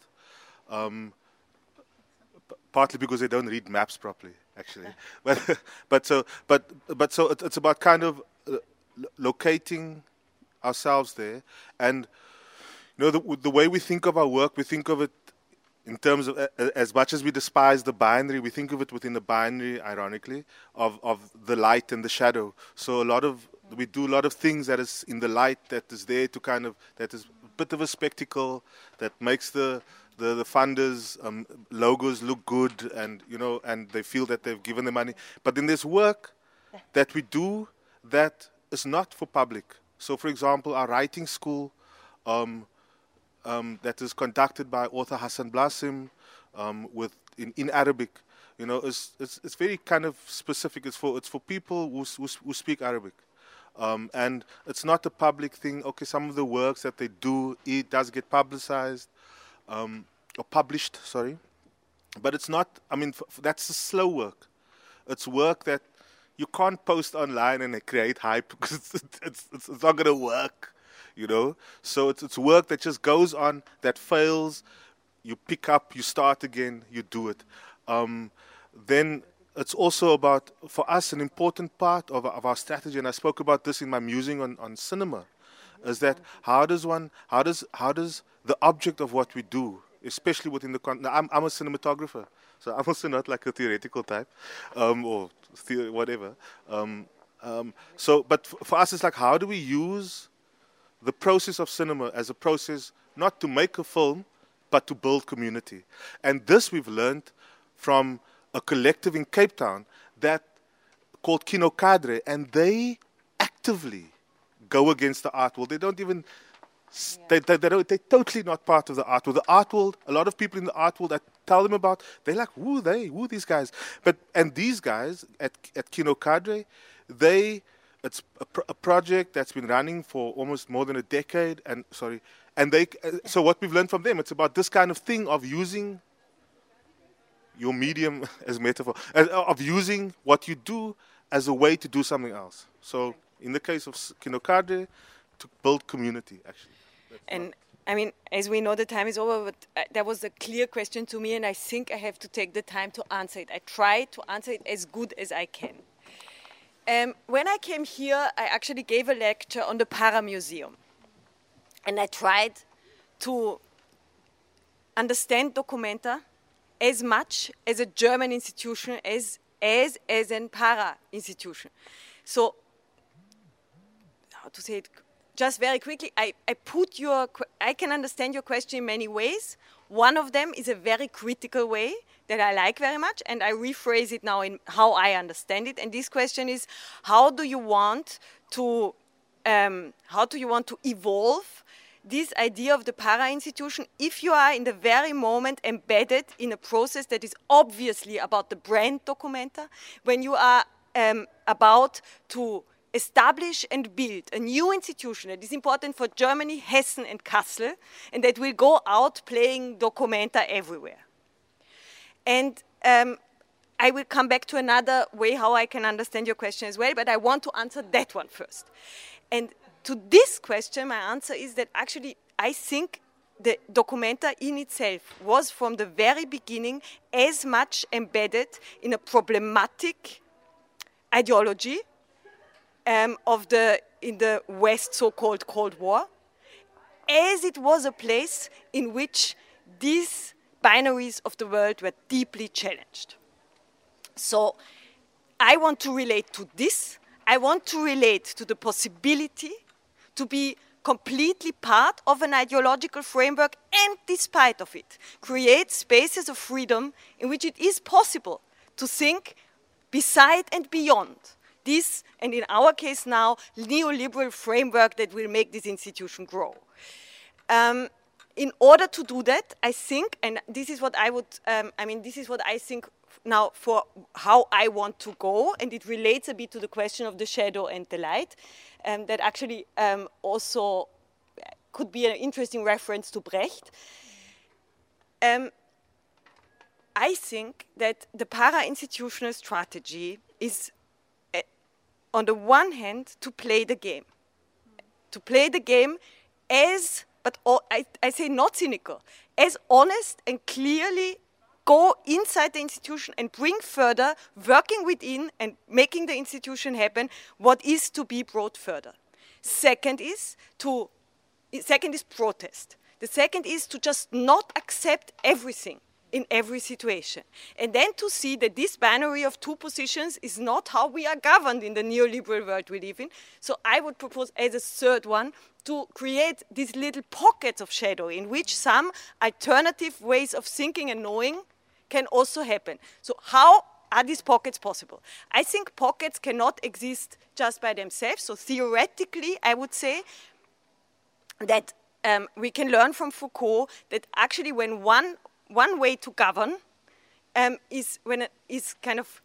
partly because they don't read maps properly, actually. but so it's about kind of locating ourselves there, and you know the way we think of our work, we think of it in terms of as much as we despise the binary, we think of it within the binary, ironically, of the light and the shadow. So we do a lot of things that is in the light, that is there to kind of, that is a bit of a spectacle, that makes the funders' logos look good, and you know, and they feel that they've given the money. But then there's work that we do that is not for public. So, for example, our writing school, that is conducted by author Hassan Blasim, in Arabic, you know, it's very kind of specific. It's for people who speak Arabic. And it's not a public thing. Okay, some of the works that they do, it does get publicized, or published, sorry. But it's not, I mean, that's the slow work. It's work that you can't post online and create hype, because it's not going to work, you know. So it's work that just goes on, that fails, you pick up, you start again, you do it. Then it's also about, for us, an important part of our strategy, and I spoke about this in my musing on cinema, is that how does the object of what we do, especially within the I'm a cinematographer, so I'm also not like a theoretical type, or whatever. But for us, it's like, how do we use the process of cinema as a process not to make a film, but to build community? And this we've learned from a collective in Cape Town called Kino Cadre, and they actively go against the art world. They don't even, they're totally not part of the art world. The art world, a lot of people in the art world that tell them about, they're like, who these guys? And these guys at Kino Cadre, it's a project that's been running for almost more than a decade, so what we've learned from them, it's about this kind of thing of using your medium as metaphor, of using what you do as a way to do something else. So in the case of Kino Cadre, to build community, actually. And I mean, as we know, the time is over, but that was a clear question to me, and I think I have to take the time to answer it. I try to answer it as good as I can. When I came here, I actually gave a lecture on the Para Museum, and I tried to understand Documenta as much as a German institution as an Para institution. So, how to say it? Just very quickly, I can understand your question in many ways. One of them is a very critical way that I like very much, and I rephrase it now in how I understand it. And this question is, how do you want to evolve this idea of the para-institution if you are in the very moment embedded in a process that is obviously about the brand Documenta, when you are about to establish and build a new institution that is important for Germany, Hessen and Kassel, and that will go out playing Documenta everywhere. And I will come back to another way how I can understand your question as well, but I want to answer that one first. And to this question, my answer is that actually I think the Documenta in itself was from the very beginning as much embedded in a problematic ideology in the West so-called Cold War, as it was a place in which these binaries of the world were deeply challenged. So I want to relate to this. I want to relate to the possibility to be completely part of an ideological framework and, despite of it, create spaces of freedom in which it is possible to think beside and beyond this, and in our case now, neoliberal framework that will make this institution grow. In order to do that, I think, and this is what I would, this is what I think now for how I want to go, and it relates a bit to the question of the shadow and the light, that actually also could be an interesting reference to Brecht. I think that the para-institutional strategy is, on the one hand, to play the game. To play the game as, but I say not cynical, as honest and clearly go inside the institution and bring further, working within and making the institution happen, what is to be brought further. Second is protest. The second is to just not accept everything in every situation. And then to see that this binary of two positions is not how we are governed in the neoliberal world we live in. So I would propose as a third one to create these little pockets of shadow in which some alternative ways of thinking and knowing can also happen. So how are these pockets possible? I think pockets cannot exist just by themselves. So theoretically, I would say that we can learn from Foucault that actually when one way to govern is kind of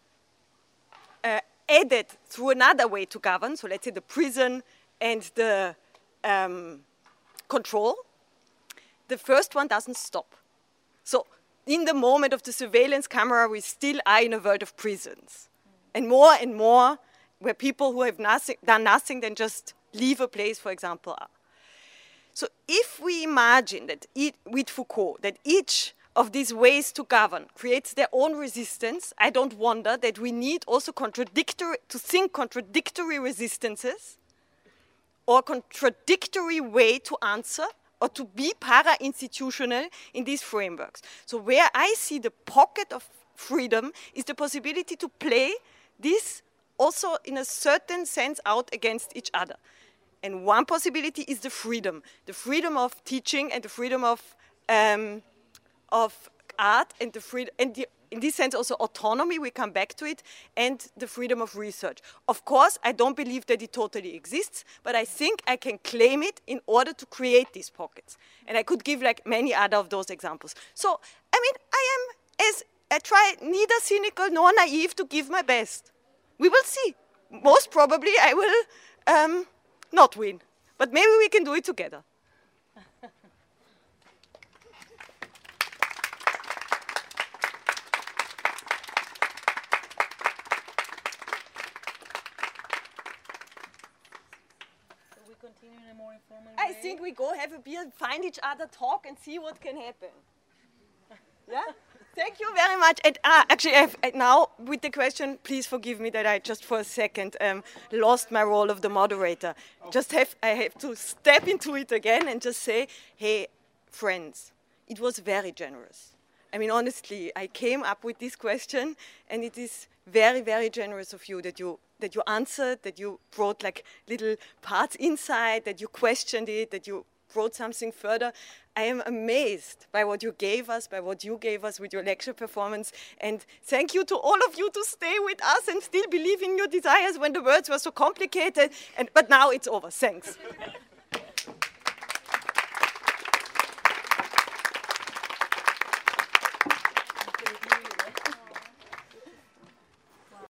added through another way to govern, so let's say the prison and the control, the first one doesn't stop. So in the moment of the surveillance camera, we still are in a world of prisons. And more where people who have done nothing than just leave a place, for example, are. So if we imagine that with Foucault, that each of these ways to govern creates their own resistance, I don't wonder that we need also contradictory resistances or contradictory way to answer or to be para-institutional in these frameworks. So where I see the pocket of freedom is the possibility to play this also in a certain sense out against each other. And one possibility is the freedom of teaching and the freedom of art and the freedom, and in this sense also autonomy, we come back to it, and the freedom of research. Of course, I don't believe that it totally exists, but I think I can claim it in order to create these pockets. And I could give like many other of those examples. So, I mean, I try neither cynical nor naive to give my best. We will see. Most probably I will not win, but maybe we can do it together. I think we go have a beer, find each other, talk, and see what can happen. Yeah? Thank you very much. And actually, now with the question, please forgive me that I just for a second lost my role of the moderator. I have to step into it again and just say, hey, friends, it was very generous. I mean, honestly, I came up with this question, and it is very, very generous of you that you answered, that you brought like little parts inside, that you questioned it, that you brought something further. I am amazed by what you gave us, with your lecture performance. And thank you to all of you to stay with us and still believe in your desires when the words were so complicated. But now it's over. Thanks.